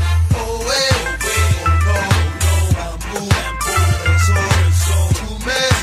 oh way oh way oh no no Bamboo Bamboo Prezzo Prezzo tume